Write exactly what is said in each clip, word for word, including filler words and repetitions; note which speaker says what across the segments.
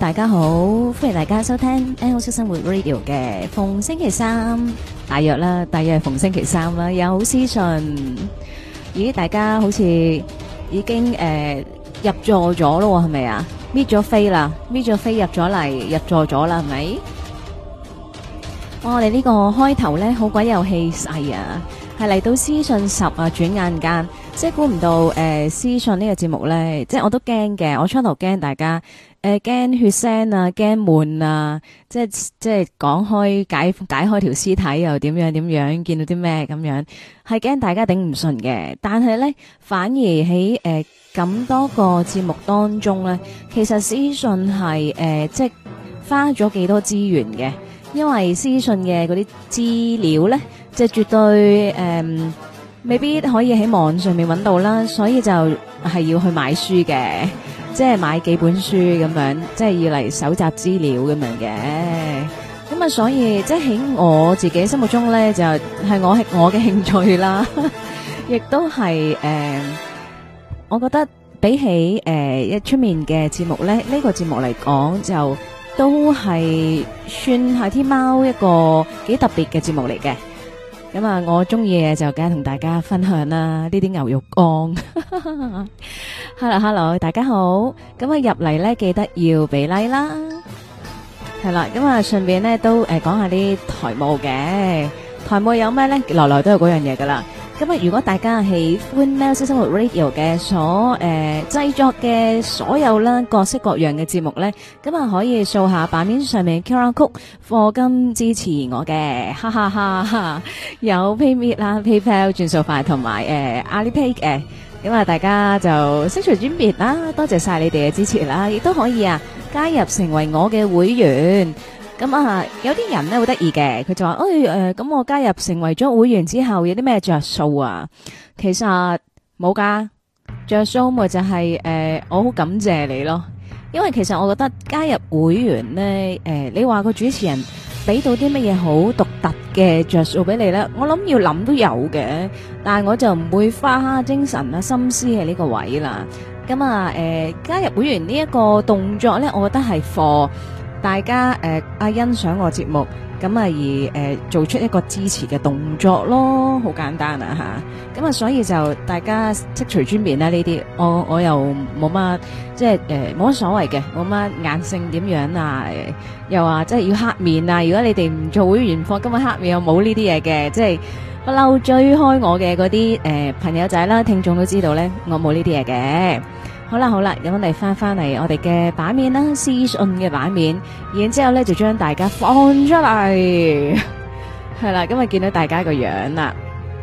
Speaker 1: 大家好，歡迎大家收聽 L 式生活 Radio 嘅逢星期三，大約啦，大約係逢星期三啦，有屍訊。咦，大家好似已經誒、呃、入座咗咯，係咪啊？搣咗飛啦，搣咗飛入咗嚟，入座咗啦，係咪？哇，我哋呢個開頭咧好鬼有氣勢啊！係嚟到屍訊十啊，轉眼間，即係估唔到誒，屍訊呢個節目咧，即係我都驚嘅。我初頭驚大家誒，驚血腥啊，驚悶啊，即係即係講開解解開條屍體又點樣點樣，見到啲咩咁樣，係驚大家頂唔順嘅。但係咧，反而喺誒咁多個節目當中咧，其實屍訊係誒即係花咗幾多資源嘅，因為屍訊嘅嗰啲資料咧。即係絕對誒、嗯，未必可以喺網上面揾到啦，所以就係要去買書嘅，即係買幾本書咁樣，即係要嚟搜集資料咁樣嘅。咁啊，所以即係喺我自己心目中咧，就係、是、我係我嘅興趣啦，亦都係誒、呃，我覺得比起誒一出面嘅節目咧，呢、這個節目嚟講就都係算係天貓一個幾特別嘅節目嚟嘅。咁啊，我中意嘅就梗係同大家分享啦，呢啲牛肉乾。Hello Hello， 大家好。咁啊入嚟咧，記得要俾 like 啦。係啦，咁啊順便咧都誒講下啲台務嘅。台務有咩咧？來來都有嗰樣嘢噶啦。咁啊，如果大家喜歡喵式生活 Radio 嘅所誒製作嘅所有啦各式各樣嘅節目咧，咁啊可以掃下版面上面 Q R code 課金支持我嘅，哈哈哈哈！有 PayMe 啦、PayPal 轉數快同埋誒 Alipay 嘅，咁啊大家就悉隨尊便啦，多謝晒你哋嘅支持啦，亦都可以啊加入成為我嘅會員。咁啊，有啲人咧好得意嘅，佢就話：誒、哎，誒，咁我加入成為咗會員之後，有啲咩着數啊？其實冇噶，着數咪就係、是、誒、呃，我好感謝你咯。因為其實我覺得加入會員咧，誒、呃，你話個主持人俾到啲乜嘢好獨特嘅着數俾你咧，我諗要諗都有嘅，但係我就唔會花精神啊心思喺呢個位啦。咁啊，誒、呃，加入會員呢一個動作咧，我覺得係貨。大家誒啊欣賞我節目，咁啊而誒做出一個支持嘅動作咯，好簡單啊吓，咁啊所以就大家悉隨尊便啦呢啲，我我又冇乜即係誒冇乜所謂嘅，冇乜硬性點樣啊，又話即係要黑面啊，如果你哋唔做會員課，今日黑面又冇呢啲嘢嘅，即係不嬲追開我嘅嗰啲誒朋友仔啦，聽眾都知道咧，我冇呢啲嘢嘅。好啦好啦，咁我哋翻翻嚟我哋嘅版面啦，屍訊嘅版面，然之後咧就將大家放出嚟，係啦，今日見到大家個樣啦，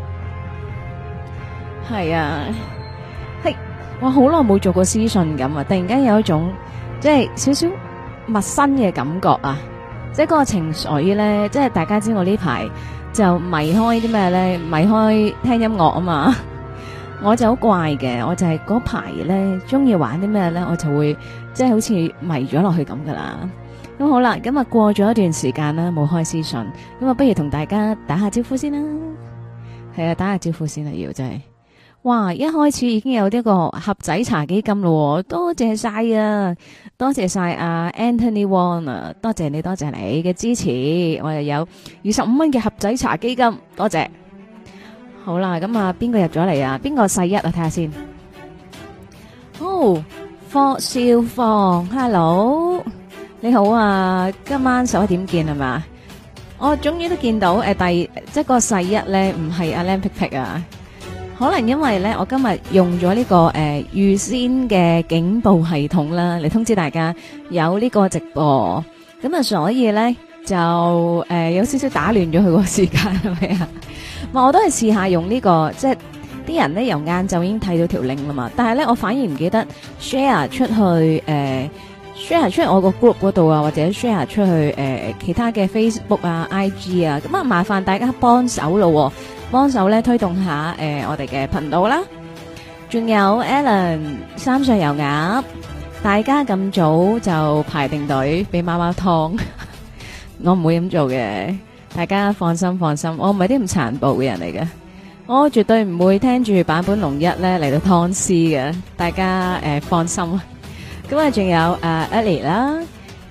Speaker 1: 係啊，係我好耐冇做過屍訊咁啊，突然間有一種即係少少陌生嘅感覺啊，即係嗰個情緒咧，即係大家知我呢排就迷開啲咩咧，迷開聽音樂啊嘛。我就好怪嘅，我就係嗰排咧中意玩啲咩咧，我就會即係好似迷咗落去咁噶啦。咁好啦，咁啊過咗一段時間啦，冇開屍訊，咁啊不如同大家打下招呼先啦。係啊，打下招呼先啦，要真係。哇，一開始已經有呢個盒仔茶基金咯，多謝晒啊，多謝晒啊 Anthony Wong 啊，多謝你，多謝你嘅支持，我又有二十五蚊嘅盒仔茶基金，多謝。好啦，咁啊，邊個入咗嚟啊？邊個細一啊？睇下先。哦，霍少鳳 ，hello，你好啊！今晚十一點見係嘛？我終於都見到誒、呃，第即係個細一咧，唔係阿 Lam Pick Pick 啊。可能因為咧，我今日用咗呢、這個誒預、呃、先嘅警報系統啦，嚟通知大家有呢個直播，咁啊，所以咧就誒、呃、有少少打亂咗佢個時間係咪啊？我都係試下用呢、這個，即係啲人咧由晏晝已經睇到條 link 啦嘛，但係咧我反而唔記得 share 出去，誒、呃、share 出去我個 group 嗰度啊，或者 share 出去誒、呃、其他嘅 Facebook 啊、I G 啊，咁啊麻煩大家幫手咯，幫手咧推動下誒、呃、我哋嘅頻道啦。仲有 Alan 三歲油鴨，大家咁早就排定隊俾貓貓湯，我唔會咁做嘅。大家放心放心，我唔係啲咁殘暴嘅人嚟嘅，我絕對唔會聽住版本龍一咧嚟到湯屍嘅，大家誒、呃、放心。咁啊，仲有誒 Ellie 啦，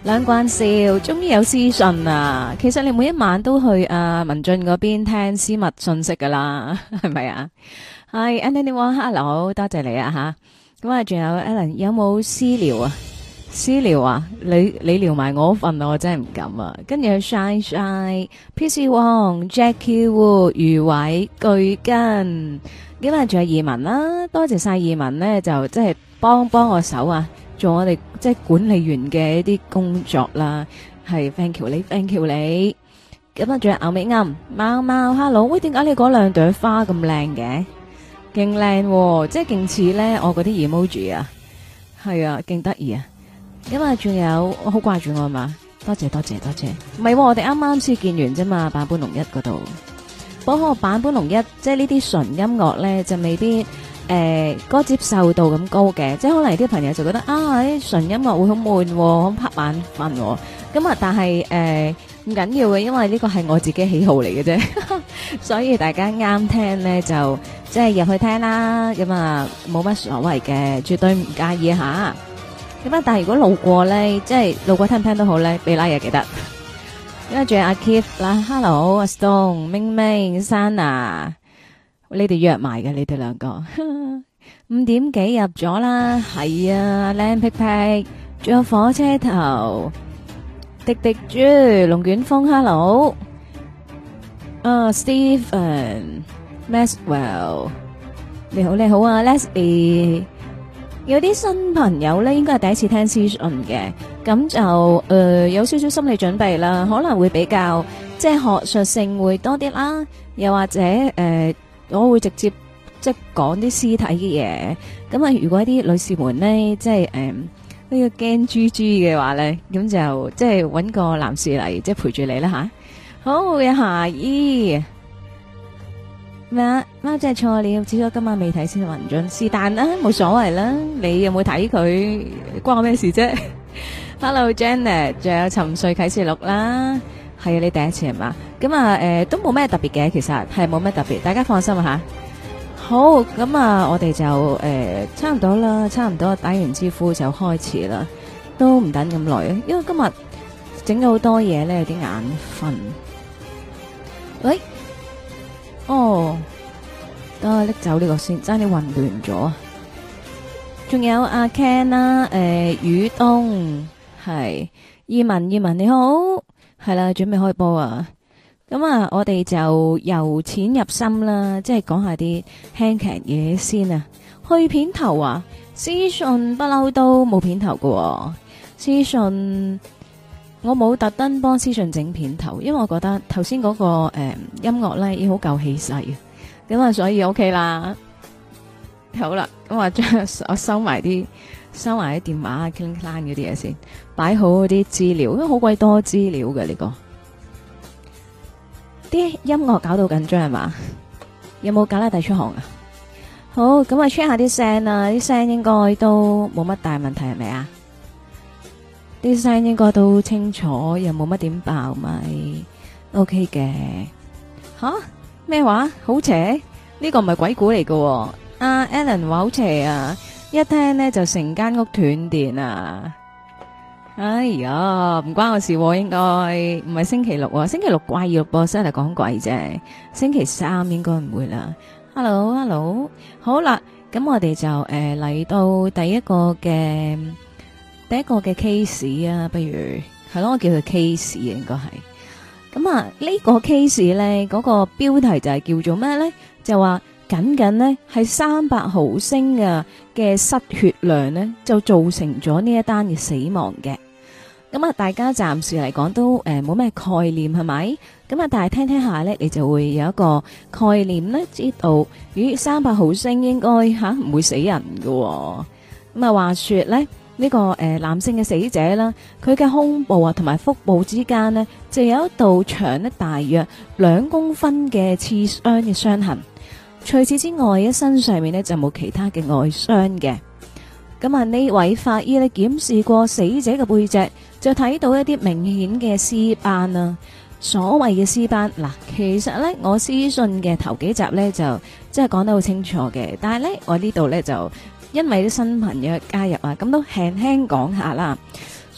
Speaker 1: 兩關笑，終於有私信啊！其實你每一晚都去啊文進嗰邊聽私密信息噶啦，係咪啊？係 Anthony Wong，Hello，多謝你啊吓。咁啊，仲有 Alan，有冇私聊啊？私聊啊？你你聊埋我份，我真係唔敢啊！跟住 Shine Shine，P C Wong，Jackie Wu，余偉巨根，咁啊仲有移民啦，多謝晒移民呢，就即係幫幫我手啊！做我哋即係管理員嘅一啲工作啦，係 thank you 你 thank you 你，咁啊仲有牛尾啱貓貓 hello，喂，點解你嗰兩朵花咁靚嘅？勁靚，即係勁似咧我嗰啲 emoji 啊，係啊，勁得意啊！咁啊仲有我好掛住我嘛，多謝多謝多謝，唔係我哋啱啱先見完啫嘛，版本龍一嗰度，不過版本龍一即係呢啲純音樂咧就未必。誒，嗰個接受度咁高嘅，即係可能啲朋友就覺得啊，啲純音樂會好悶，好拍眼瞓。咁啊，但係誒唔緊要嘅，因為呢個係我自己喜好嚟嘅啫，所以大家啱聽咧就即係入去聽啦。咁啊，冇乜所謂嘅，絕對唔介意吓。咁啊，但係如果路過咧，即係路過聽唔聽都好咧，俾拉嘢記得。因為仲有阿 Keith 啦 ，Hello 阿 Stone、明明、Sana。你哋約埋嘅，你哋兩個五點幾入咗啦，係啊，靚皮皮，仲有火車頭，滴滴豬，龍捲風 ，hello，啊 ，Stephen，Maxwell，你好你好啊 ，Leslie，有啲新朋友咧，應該係第一次聽資訊嘅，咁就誒、呃、有少少心理準備啦，可能會比較即係學術性會多啲啦，又或者誒。呃我會直接即係講啲屍體嘅嘢，咁啊如果啲女士們咧，即係誒呢個驚豬豬嘅話咧，咁就即係搵個男士嚟即係陪住你啦吓。好嘅，夏姨咩啊？貓真係錯了，只咗今晚未睇先雲進，是但啦，冇所謂啦。你有冇睇佢關我咩事啫？Hello Janet，仲有沉睡啟示錄啦。係啊，你第一次係嘛？咁啊，誒、呃，都冇咩特別嘅，其實係冇咩特別，大家放心啊吓。好，咁啊，我哋就誒、呃、差唔多啦，差唔多打完招呼就開始啦，都唔等咁耐啊，因為今日整咗好多嘢咧，有啲眼瞓。喂，哦，等我拎走呢個先，爭啲混亂咗啊！仲有阿 Ken 啦，誒、呃，宇東係，葉文葉文你好。係啦，準備開波啊！咁啊，我哋就由淺入深啦，即係講下啲輕劇嘢先啊。去片頭啊，屍訊不嬲都冇片頭噶。屍訊我冇特登幫屍訊整片頭，因為我覺得頭先嗰個誒、呃、音樂咧已經好夠氣勢嘅，咁啊所以 OK 啦。好啦，咁我將我收埋啲。收埋啲電話啊 clean clean 嗰啲嘢先，擺好嗰啲資料，因為好鬼多資料嘅呢個。啲音樂搞到緊張係嘛？有冇搞拉底出汗啊？好，咁啊 check 下啲聲啊，啲聲應該都冇乜大問題係咪啊？啲聲應該都清楚，又冇乜點爆咪 OK 嘅。吓？咩話？好邪？呢、這個唔係鬼故嚟嘅。阿 Alan 話好邪啊！一聽呢就成間屋斷電啊！哎呀，唔關我事，應該唔係星期六啊，星期六怪異錄播室嚟講鬼啫，星期三應該唔會啦。Hello，Hello， 好啦，咁我哋就誒嚟、呃、到第一個嘅第一個嘅 case 啊，不如係咯，我叫佢 case 啊，應該係。咁啊，呢、這個 case 咧，嗰、那個標題就係叫做咩咧？就話。僅僅呢係三百毫升嘅嘅失血量呢，就造成咗呢一單嘅死亡嘅。咁啊，大家暫時嚟講都誒冇咩概念係咪？咁啊，但係聽聽下呢，你就會有一個概念呢，知道咦三百毫升應該吓唔會死人㗎喎。咁啊，話說呢，呢、呢個誒、呃、男性嘅死者啦，佢嘅胸部啊同埋腹部之間呢，就有一道長呢大約兩公分嘅刺傷嘅傷痕。除此之外，喺身上面呢就冇其他嘅外傷嘅。咁啊，呢位法醫呢檢視過死者嘅背脊，就睇到一啲明顯嘅屍斑啊。所謂嘅屍斑，嗱，其實呢我屍訊嘅頭幾集呢就即係講得好清楚嘅，但係呢我呢度呢就因為啲新朋友加入啊，咁都輕輕講下啦。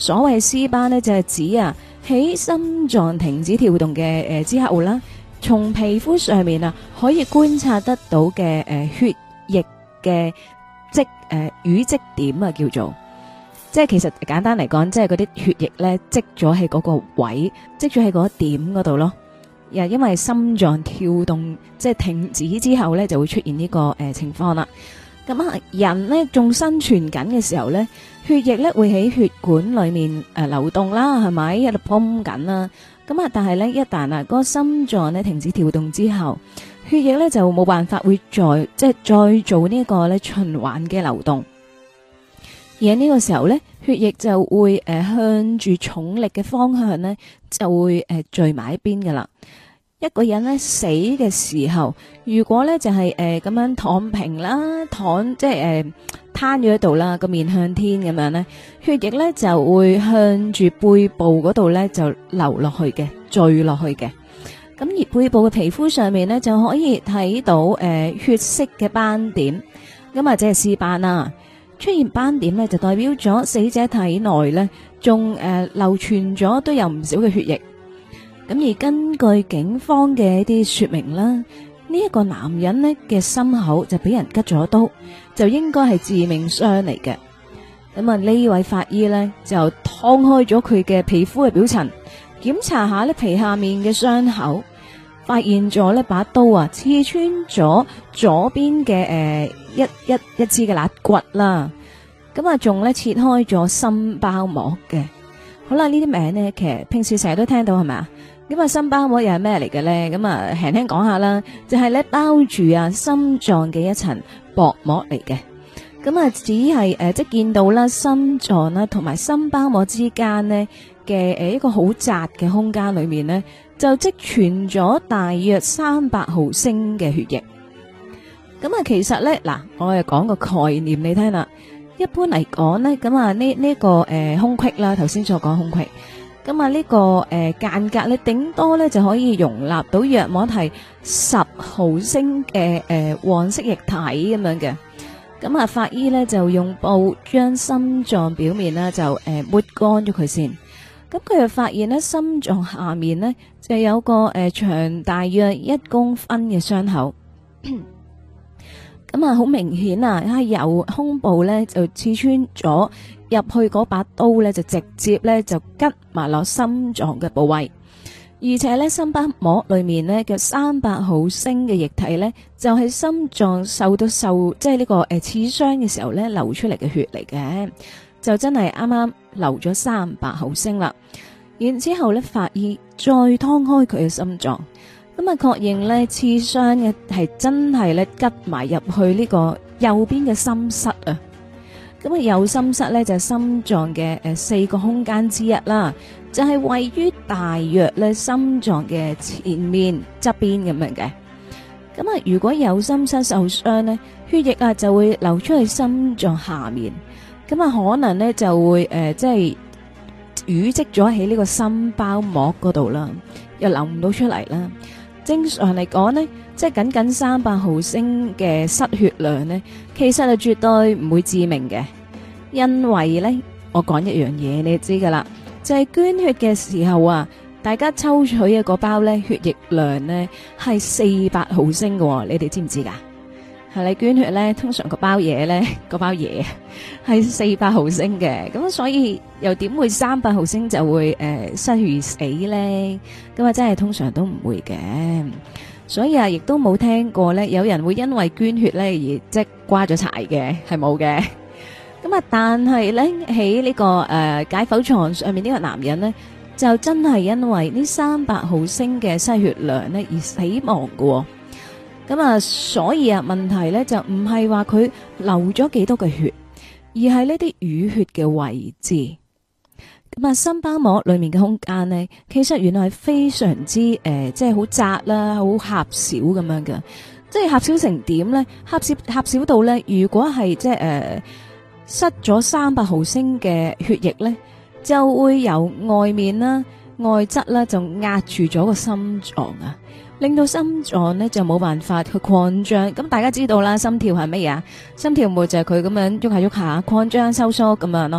Speaker 1: 所謂絲斑呢，就係指啊喺心臟停止跳動嘅誒之後啦，從皮膚上面啊可以觀察得到嘅誒血液嘅積誒淤積點啊，叫做。即係其實簡單嚟講，即係嗰啲血液咧積咗喺嗰個位，積咗喺嗰點嗰度咯。又因為心臟跳動即係停止之後咧，就會出現呢、這個誒、呃、情況啦。咁啊，人呢仲生存緊嘅時候咧，血液咧會喺血管裏面誒、呃、流動啦，係咪喺度泵緊啦？咁啊，但係咧一旦啊嗰個心臟咧停止跳動之後，血液咧就冇辦法會再即係再做呢個咧循環嘅流動。而喺呢個時候咧，血液就會誒、呃、向住重力嘅方向咧，就會誒、呃、聚埋一邊噶啦。一個人咧死嘅時候，如果咧就係誒咁樣躺平啦，躺即係誒攤咗喺度啦，個面向天咁樣咧，血液咧就會向住背部嗰度咧就流落去嘅，聚落去嘅。咁而背部嘅皮膚上面咧就可以睇到誒、呃、血色嘅斑點，咁啊即係屍斑啦。出現斑點咧，就代表咗死者體內咧，仲誒流傳咗都有唔少嘅血液。咁而根據警方嘅一啲說明啦，呢、這、一個男人呢嘅心口就俾人拮咗刀，就應該係致命傷嚟嘅。咁啊呢位法醫呢，就劏開咗佢嘅皮膚嘅表層，檢查下呢皮下面嘅傷口，發現咗呢把刀啊刺穿咗左邊嘅誒一一一支嘅肋骨啦，咁啊仲咧切開咗心包膜嘅。好啦，呢啲名呢，其實平時成日都聽到係咪啊？咁啊心包膜又係咩嚟嘅咧？咁啊輕輕講下啦，就係咧包住啊心臟嘅一層薄膜嚟嘅。咁啊只係誒即係見到啦心臟啦同埋心包膜之間呢嘅誒一個好窄嘅空間裏面呢，就積存咗大約三百毫升嘅血液。咁啊，其實咧，嗱，我又講個概念你聽啦。一般嚟講咧，咁啊呢呢個誒空隙啦，頭先所講空隙，咁啊呢個誒間隔咧，頂多咧就可以容納到約莫係十毫升嘅誒黃色液體咁樣嘅。咁啊，法醫咧就用布將心臟表面咧就誒抹乾咗佢先。咁佢就發現咧，心臟下面咧就有個誒長大約一公分嘅傷口。咁啊，好明顯啊，係由胸部咧就刺穿咗入去嗰把刀咧，就直接咧就拮埋落心臟嘅部位，而且咧心包膜裏面咧嘅三百毫升嘅液體咧，就係心臟受到受即係呢個誒刺傷嘅時候咧流出嚟嘅血嚟嘅，就真係啱啱流咗三百毫升啦。然之後咧，法醫再劏開佢嘅心臟。咁啊，確認咧刺傷嘅係真係咧拮埋入去呢個右邊嘅心室啊！咁啊，右心室咧就係心臟嘅誒四個空間之一啦，就係位於大約咧心臟嘅前面側邊咁樣嘅。咁啊，如果右心室受傷咧，血液啊就會流出去心臟下面，咁啊可能咧就會誒即係淤積咗喺呢個心包膜嗰度啦，又流唔到出嚟啦。正常嚟講呢，即係僅僅三百毫升嘅失血量呢，其實係絕對唔會致命嘅，因為呢，我講一樣嘢你就知噶啦，就係捐血嘅時候啊，大家抽取嘅嗰包呢血液量呢係四百毫升嘅，你哋知唔知噶？係你捐血呢，通常個包嘢呢，嗰包嘢係四百毫升嘅，咁所以又點會三百毫升就會誒、呃、失血而死呢？咁啊真係通常都唔會嘅，所以啊亦都冇聽過呢，有人會因為捐血呢而即瓜咗柴嘅，係冇嘅。咁啊但係呢，喺呢、這個誒、呃、解剖床上面呢個男人呢，就真係因為呢三百毫升嘅失血量呢而死亡嘅、哦。咁啊，所以啊，問題咧就唔係話佢流咗幾多嘅血，而係呢啲淤血嘅位置。咁啊，心包膜裏面嘅空間呢，其實原來係非常之誒、呃，即係好窄啦，好狹小咁樣嘅。即係狹小成點咧？狹小狹小到咧，如果係即係誒失咗三百毫升嘅血液咧，就會由外面啦、外側啦，就壓住咗個心臟啊。令到心臟呢就冇辦法去擴張，咁大家知道啦，心跳係乜嘢啊？心跳咪就係佢咁樣喐下喐下擴張收縮咁樣咯，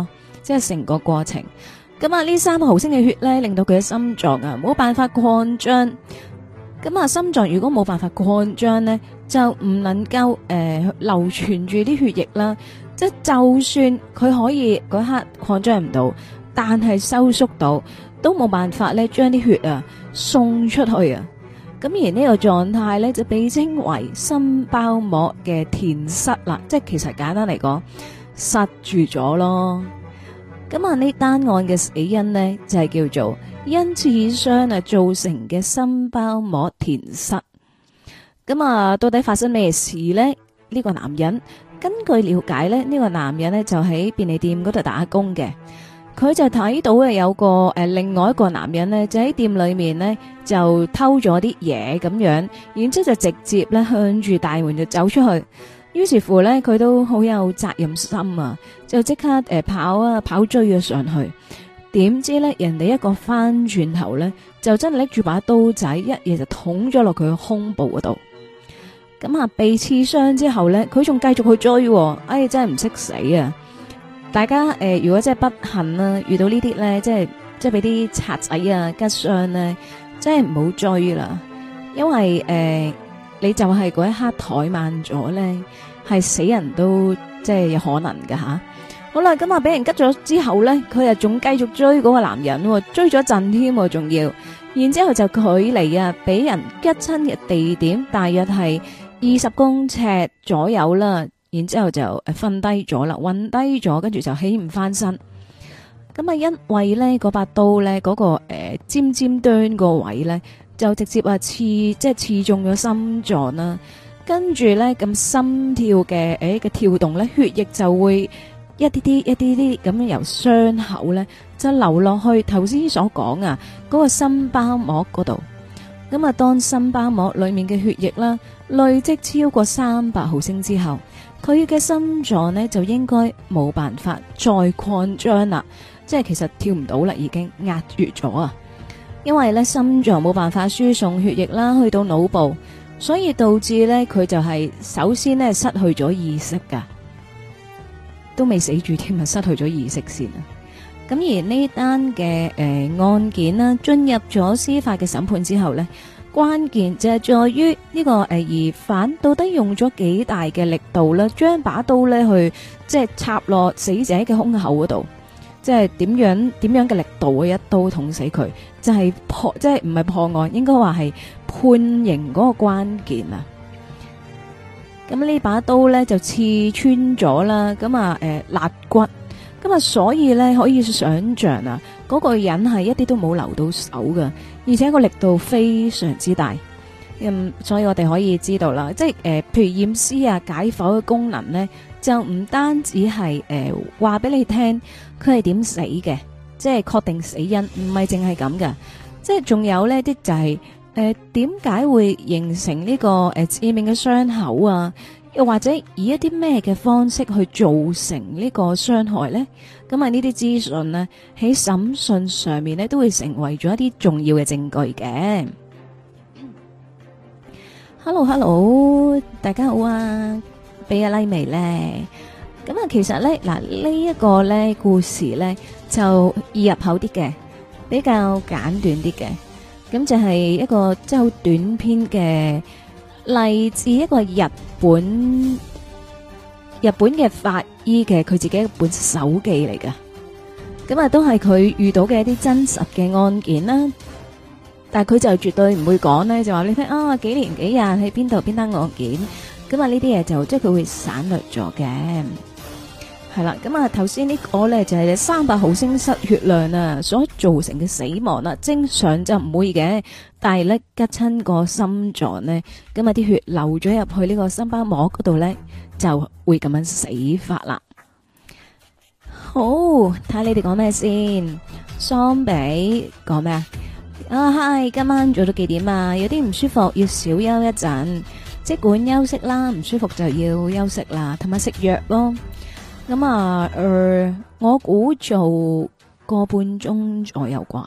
Speaker 1: 即係成個過程。咁啊，呢三毫升嘅血咧，令到佢嘅心臟啊冇辦法擴張。咁啊，心臟如果冇辦法擴張咧，就唔能夠誒、呃、流傳住啲血液啦。即係就算佢可以嗰刻擴張唔到，但係收縮到，都冇辦法咧將啲血啊送出去啊。咁而呢個狀態咧就被稱為心包膜嘅填塞啦。即係其實簡單嚟講，塞住咗咯。咁啊，呢單案嘅死因呢，就係、是、叫做因刺傷啊造成嘅心包膜填塞。咁啊，到底發生咩事呢？呢、這個男人根據了解呢，呢、這個男人呢，就喺便利店嗰度打工嘅。佢就睇到啊有個誒、呃、另外一個男人呢，就喺店裏面呢，就偷咗啲嘢咁樣，然之後就直接咧向住大門就走出去。於是乎咧，佢都好有責任心啊，就即刻誒、呃、跑啊跑追咗上去。點知咧，人哋一個翻轉頭咧，就真係拎住把刀仔，一嘢就捅咗落佢嘅胸部嗰度。咁啊，被刺傷之後咧，佢仲繼續去追、啊，哎，真係唔識死啊！大家誒、呃，如果真係不幸啦、啊，遇到呢啲咧，即係即係俾啲賊仔啊吉傷咧，真係唔好追啦，因為誒。呃你就係嗰一刻怠慢咗咧，係死人都即係有可能噶吓。好啦，咁啊俾人吉咗之後咧，佢又仲繼續追嗰個男人，追咗陣添，仲要，然之後就距離啊俾人吉親嘅地點大約係二十公尺左右啦。然之後就誒瞓低咗啦，暈低咗，跟住就起唔翻身。咁啊，因為咧嗰把刀咧嗰、嗰個誒、呃、尖尖端個位咧。就直接啊刺，即係刺中咗心臟啦，跟住咧咁心跳嘅誒嘅跳動咧，血液就會一啲啲一啲啲咁樣由傷口咧就流落去頭先所講啊嗰個心包膜嗰度。咁啊，當心包膜裏面嘅血液啦累積超過三百毫升之後，佢嘅心臟呢就應該冇辦法再擴張啦，即係其實跳唔到啦，已經壓住咗啊。因為咧心臟冇辦法輸送血液啦，去到腦部，所以導致咧佢就係首先咧失去咗意識噶，都未死住添啊，失去咗意識先啊。咁而呢單嘅誒案件啦，進入咗司法嘅審判之後咧，關鍵就係在於呢個誒疑犯到底用咗幾大嘅力度啦，將把刀咧去即係插落死者嘅胸口嗰度。即係點樣點樣嘅力度會一刀捅死佢，就係、是、破即係唔係破案，應該話係判刑嗰個關鍵啊！咁呢把刀咧就刺穿咗啦，咁啊誒肋骨，咁啊所以咧可以想象啊，嗰、那個人係一啲都冇留到手噶，而且個力度非常之大。嗯，所以我哋可以知道啦，即係誒、呃，譬如驗屍啊、解剖嘅功能咧，就唔單止係誒話俾你聽佢係點死嘅，即係確定死因，唔係淨係咁噶，即係仲有呢啲就係誒點解會形成呢、這個誒、呃、致命嘅傷口啊，又或者以一啲咩嘅方式去造成呢個傷害咧？咁啊呢啲資訊呢，喺審訊上面咧都會成為咗一啲重要嘅證據嘅。Hello Hello，大家好啊，俾個 like 未咧？咁啊，其實咧嗱呢一個咧故事咧就易入口啲嘅，比較簡短啲嘅，咁就係一個即係好短篇嘅，嚟自一個日本日本嘅法醫嘅佢自己一本手記嚟噶，咁啊都係佢遇到嘅一啲真實嘅案件啦。但係佢就絕對唔會講咧，就話你聽啊幾年幾日喺邊度邊單案件，咁啊呢啲嘢就即係佢會省略咗嘅，係啦。咁啊頭先呢個咧就係三百毫升失血量啊所造成嘅死亡啦，正常就唔會嘅，但係咧吉親個心臟咧，咁啊啲血流咗入去呢個心包膜嗰度咧，就會咁樣死法啦。好，睇下你哋講咩先。桑比講咩啊？啊，嗨！今晚做到幾點啊？有啲唔舒服，要小休一陣，即管休息啦。唔舒服就要休息啦，同埋食藥咯。咁啊，誒、呃，我估做個半鐘左右啩。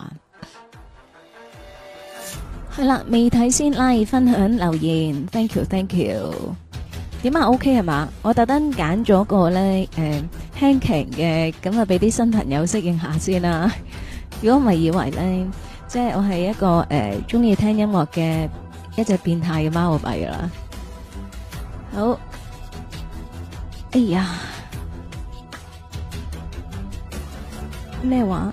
Speaker 1: 係啦，未睇先拉分享留言，thank you，thank you。 點啊 OK 係嘛？我特登揀咗個咧誒輕騎嘅，咁啊俾啲新朋友適應下先啦。如果唔係以為咧，即係我係一個誒中意聽音樂嘅一隻變態嘅貓幣啦。好，哎呀，咩話？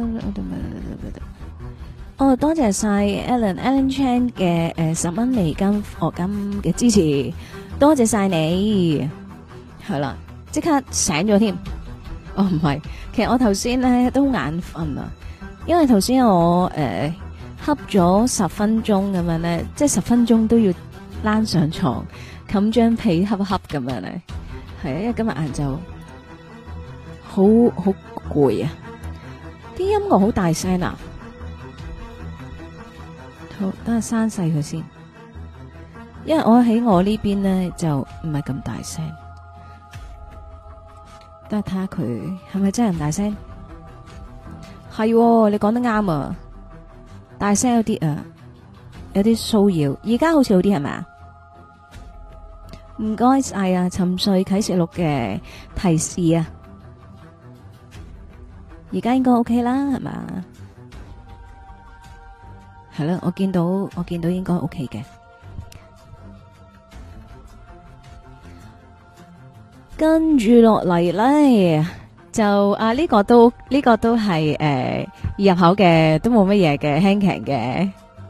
Speaker 1: 哦，多謝晒 Alan，Alan Chan 嘅誒十蚊美金課金嘅支持，多謝晒你。係啦，即刻醒咗添。哦，唔係，其實我頭先咧都眼瞓啊，因為頭先我誒瞌咗十分鐘咁樣咧，即係十分鐘都要躝上床冚張被瞌瞌咁樣咧。係啊，因為今日晏晝好好攰啊，啲音樂好大聲啊。好，等下閂細佢先，因為我喺我呢邊咧就唔係咁大聲。等下睇下佢係咪真係咁大聲？係，你講得啱啊，大聲有啲啊，有啲騷擾。而家好似好啲係咪啊？唔該晒啊，沉睡啟示錄嘅提示啊，而家應該 OK 啦，係嘛？係啦，我見到我見到應該 OK 嘅。跟住落嚟咧，就啊呢、這個都呢、這個都係誒、呃、入口嘅，都冇乜嘢嘅輕騎嘅。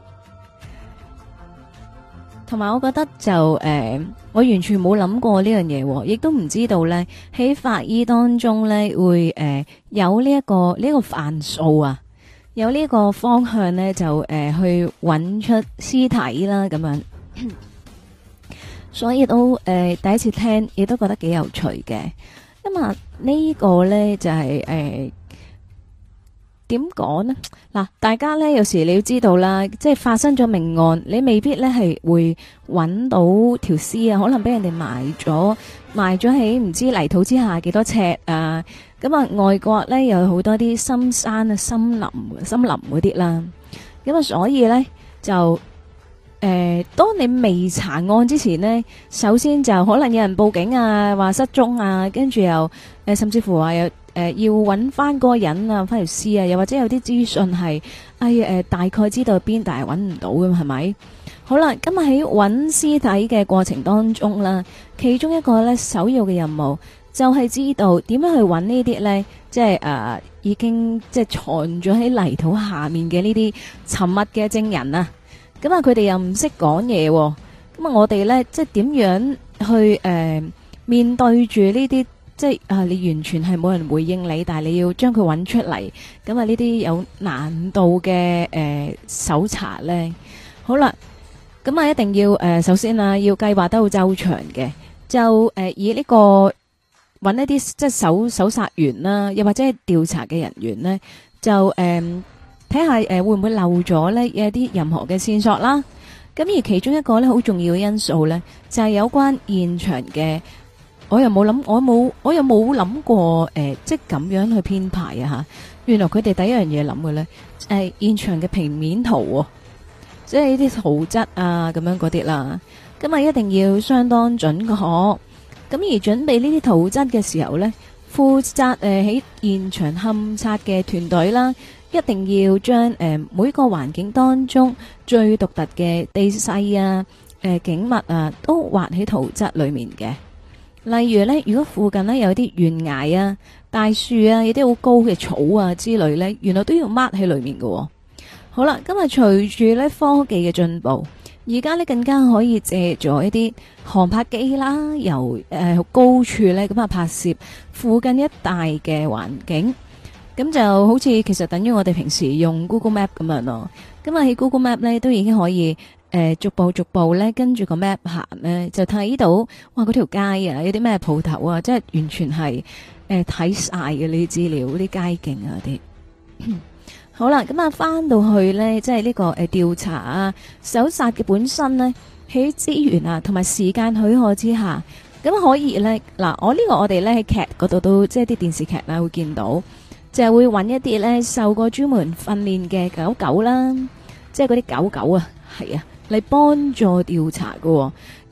Speaker 1: 同埋我覺得就誒、呃，我完全冇諗過呢樣嘢，亦都唔知道咧喺法醫當中咧會誒、呃、有呢、這、一個呢、這個範數啊。有呢個方向咧，就誒、呃、去揾出屍體啦，咁樣，所以都誒、呃、第一次聽，亦都覺得幾有趣嘅。咁啊，呢個咧就係誒點講呢？嗱，大家咧有時你要知道啦，即係發生咗命案，你未必咧係會揾到條屍啊，可能俾人哋埋咗，埋咗喺唔知泥土之下幾多尺啊！咁啊，外國咧有好多啲深山啊、森林、森林嗰啲啦。咁啊，所以咧就誒、呃，當你未查案之前呢，首先就可能有人報警啊，話失蹤啊，跟住又誒、呃，甚至乎話有誒要揾翻嗰個人啊，翻條屍啊，又或者有啲資訊係哎誒、呃，大概知道邊，但係揾唔到咁，係咪？好啦，今日喺揾屍體嘅過程當中啦，其中一個咧首要嘅任務。就係、是、知道點樣去揾呢啲咧，即係誒、呃、已經即係藏咗喺泥土下面嘅呢啲沉默嘅證人啊！咁啊，佢哋又唔識講嘢，咁啊，我哋咧即係點樣去誒、呃、面對住呢啲即係啊？你完全係冇人回應你，但係你要將佢揾出嚟，咁啊呢啲有難度嘅誒、呃、搜查咧。好啦，咁啊一定要誒、呃、首先啊要計劃得好周詳嘅，就誒、呃、以呢、這個。揾一啲即係搜搜查員啦，又或者係調查嘅人員呢，就誒睇下誒會唔會漏咗呢一啲任何嘅線索啦。咁而其中一個呢好重要嘅因素呢，就係、是、有關現場嘅，我又冇諗，我冇我又冇諗過誒、呃，即係咁樣去編排啊吓。原來佢哋第一樣嘢諗嘅呢，誒、呃、現場嘅平面圖、哦，即係呢啲圖質啊咁樣嗰啲啦。咁啊一定要相當準確。咁而準備呢啲圖則嘅時候呢，負責誒喺現場勘察嘅團隊啦，一定要將誒、呃、每個環境當中最獨特嘅地勢啊、誒、呃、景物啊，都畫喺圖則裏面嘅。例如呢，如果附近呢有啲懸崖啊、大樹啊、有啲好高嘅草啊之類呢，原來都要 mark 喺裏面嘅、哦。好啦，今日隨住呢科技嘅進步。而家呢更加可以借助一啲航拍機啦，由誒、呃、高處呢咁啊拍攝附近一帶嘅環境，咁就好似其實等於我哋平時用 Google Map 咁樣咯。咁啊喺 Google Map 呢都已經可以誒、呃、逐步逐步呢跟住個 map 行呢，就睇到哇嗰條街啊有啲咩鋪頭啊，即係完全係誒睇晒嘅呢啲資料，啲街景啊啲。好啦，咁啊，翻到去呢，即係呢個誒調查啊、搜查嘅本身呢，喺資源啊同埋時間許可之下，咁可以呢。嗱，我呢個我哋呢喺劇嗰度都即係啲電視劇啦會見到，就係會揾一啲呢受過專門訓練嘅狗狗啦，即係嗰啲狗狗啊，係啊，嚟幫助調查喎。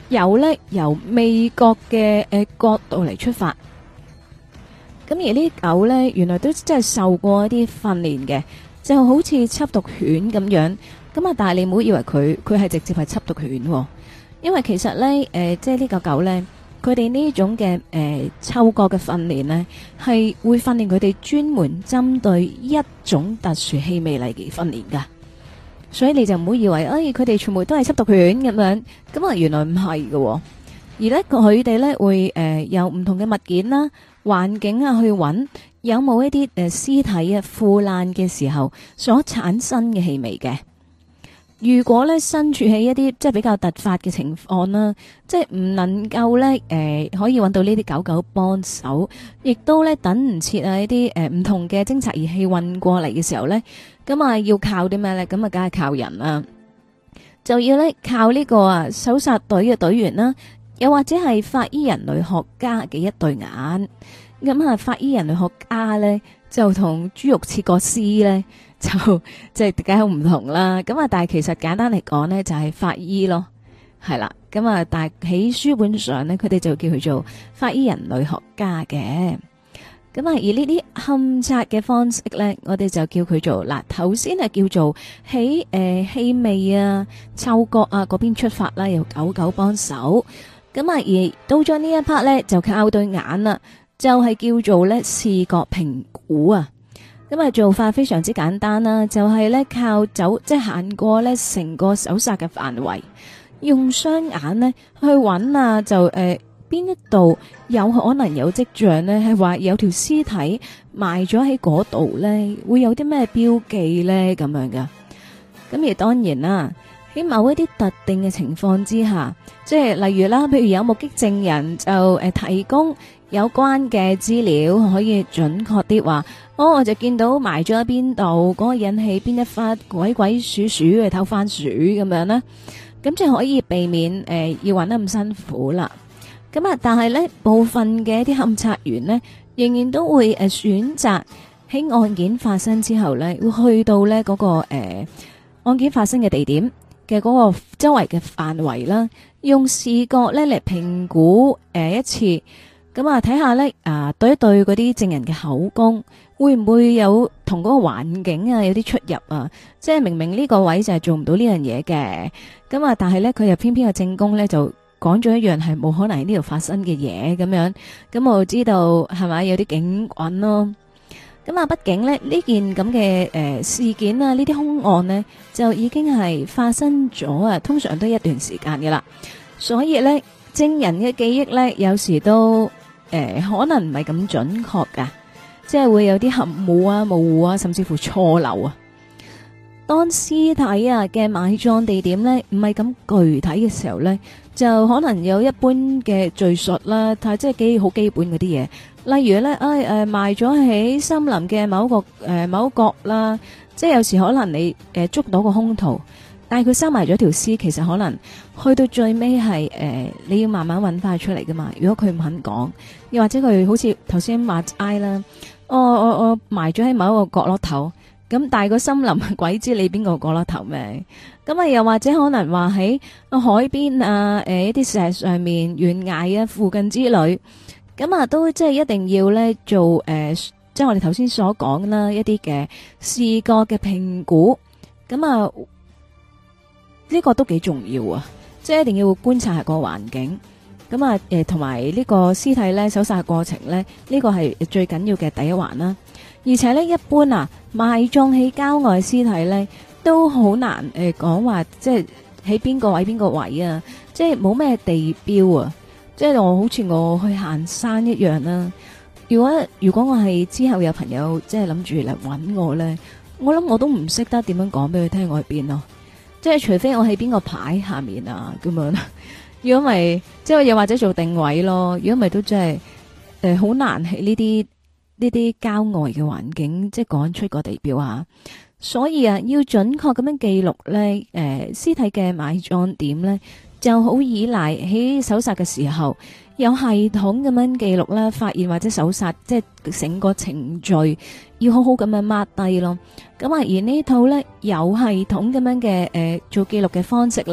Speaker 1: 有咧由味覺嘅誒角度嚟出發。咁而呢啲狗咧，原來都真係受過一啲訓練嘅，就好似緝毒犬咁樣。咁啊，但係你唔好以為佢佢係直接係緝毒犬，哦，因為其實咧誒、呃，即係呢個狗咧，佢哋呢種嘅誒嗅覺嘅訓練咧，係會訓練佢哋專門針對一種特殊氣味嚟嘅訓練噶。所以你就唔好以為，哎，佢哋全部都係緝毒犬咁樣，咁啊原來唔係嘅，而咧佢哋咧會誒、呃、有唔同嘅物件啦、環境啊去揾有冇一啲誒屍體啊腐爛嘅時候所產生嘅氣味嘅。如果咧身處喺一啲即係比較突發嘅情況啦，即係唔能夠咧誒可以揾到呢啲狗狗幫手，亦都咧等唔切啊一啲誒唔同嘅偵察儀器運過嚟嘅時候咧，咁啊要靠啲咩咧？咁啊梗係靠人啦，就要咧靠呢個啊搜殺隊嘅隊員啦，又或者係法醫人類學家嘅一對眼。咁啊法醫人類學家咧就同豬肉切割師咧。就即係梗係好唔同啦，咁啊，但係其實簡單嚟講呢，就係法醫咯，係啦，咁啊，但係喺書本上呢，佢哋就叫佢做法醫人類學家嘅，咁啊，而呢啲勘察嘅方式呢，我哋就叫佢做嗱，頭先係叫做喺誒氣味啊、嗅覺啊嗰邊出發啦，由狗狗幫手，咁啊，而到咗呢一 part 呢，就靠對眼啦，就係、是、叫做呢視覺評估啊。咁啊，做法非常之簡單啦，就係咧靠走，即係行過咧成個搜殺嘅範圍，用雙眼咧去揾啊，就誒邊一度有可能有跡象咧，係話有條屍體埋咗喺嗰度咧，會有啲咩標記咧咁樣噶。咁而當然啦，喺某一啲特定嘅情況之下，即係例如啦，譬如有目擊證人就誒提供有關嘅資料，可以準確啲話。哦，我就見到埋咗喺邊度，嗰、那個引起邊一忽鬼鬼祟祟嘅偷番薯咁樣呢，咁就可以避免誒、呃、要揾得咁辛苦啦。咁啊，但係呢部分嘅一啲勘察員呢，仍然都會誒、呃、選擇喺案件發生之後呢，會去到呢嗰、那個誒、呃、案件發生嘅地點嘅嗰個周圍嘅範圍啦，用視覺呢嚟評估誒、呃、一次，咁啊睇下呢，啊、呃、對一對嗰啲證人嘅口供。會唔會有同嗰個環境啊有啲出入啊？即係明明呢個位就係做唔到呢樣嘢嘅，咁啊，但係呢，佢又偏偏個證供呢就講咗一樣係冇可能喺呢度發生嘅嘢咁樣，咁我知道係咪有啲警棍咯？咁啊，畢竟呢呢件咁嘅誒事件啊，呢啲兇案呢，就已經係發生咗啊，通常都一段時間嘅啦，所以呢，證人嘅記憶呢，有時都誒、呃、可能唔係咁準確噶。即係會有啲含糊啊、模糊啊，甚至乎錯漏啊。當屍體啊嘅埋葬地點呢唔係咁具體嘅時候呢，就可能有一般嘅敘述啦，但係即係幾好基本嗰啲嘢。例如呢，誒、哎、誒、呃、埋咗喺森林嘅某個誒、呃、某角啦，即係有時可能你誒、呃、捉到個兇徒，但係佢收埋咗條屍，其實可能去到最尾係誒你要慢慢揾翻出嚟噶嘛。如果佢唔肯講，又或者佢好似頭先話齋啦。我我我埋咗喺某一個角落頭，咁但係個森林鬼知你邊個角落頭咩？咁啊又或者可能話喺海邊啊，誒、呃、一啲石上面懸崖啊附近之類，咁啊都即係一定要咧做誒、呃，即係我哋頭先所講啦一啲嘅視覺嘅評估，咁啊呢、這個都幾重要啊，即係一定要觀察下個環境。咁啊，誒，同埋呢個屍體咧搜殺過程咧，呢個係最緊要嘅第一環啦。而且咧，一般啊，埋葬喺郊外屍體咧，都好難誒講話，即係喺邊個位邊個位啊，即係冇咩地標啊，即係我好似我去行山一樣啦。如果如果我係之後有朋友即係諗住嚟搵我咧，我諗我都唔識得點樣講俾佢聽我喺邊咯，即係除非我喺邊個牌下面啊咁樣。如果咪即係又或者做定位咯，如果咪都真係誒好難喺呢啲呢啲郊外嘅環境，即係講出個地標啊。所以啊，要準確咁樣記錄咧，誒屍體嘅埋葬點咧，就好依賴喺搜殺嘅時候有系統咁樣記錄啦，發現或者搜殺即係成個程序要好好咁樣 mark 低咯。咁啊，而呢套咧有系統咁樣嘅誒做記錄嘅方式咧，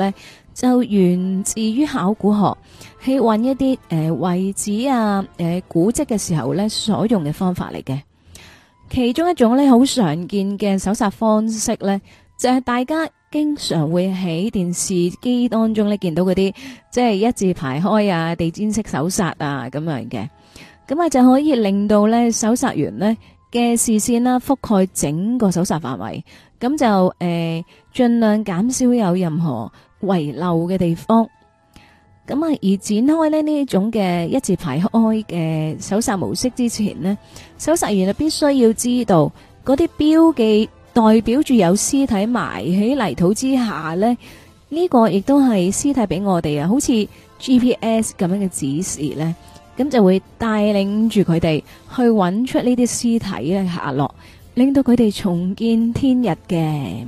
Speaker 1: 就源自於考古學，去揾一啲誒遺址啊、誒、呃、古蹟嘅時候咧所用嘅方法嚟嘅。其中一種咧好常見嘅搜查方式咧，就係、是、大家經常會喺電視機當中咧見到嗰啲，即係一字排開啊、地氈式搜查啊咁樣嘅。咁啊就可以令到咧搜查員咧嘅視線啦覆蓋整個搜查範圍，咁就誒盡、呃、量減少有任何遺漏嘅地方。咁啊而展開咧呢種嘅一字排開嘅搜查模式之前呢，搜查員就必須要知道嗰啲標記代表住有屍體埋喺泥土之下呢，呢、這個亦都係屍體俾我哋啊，好似 G P S 咁樣嘅指示呢，咁就會帶領住佢哋去揾出呢啲屍體嘅下落，令到佢哋重見天日嘅。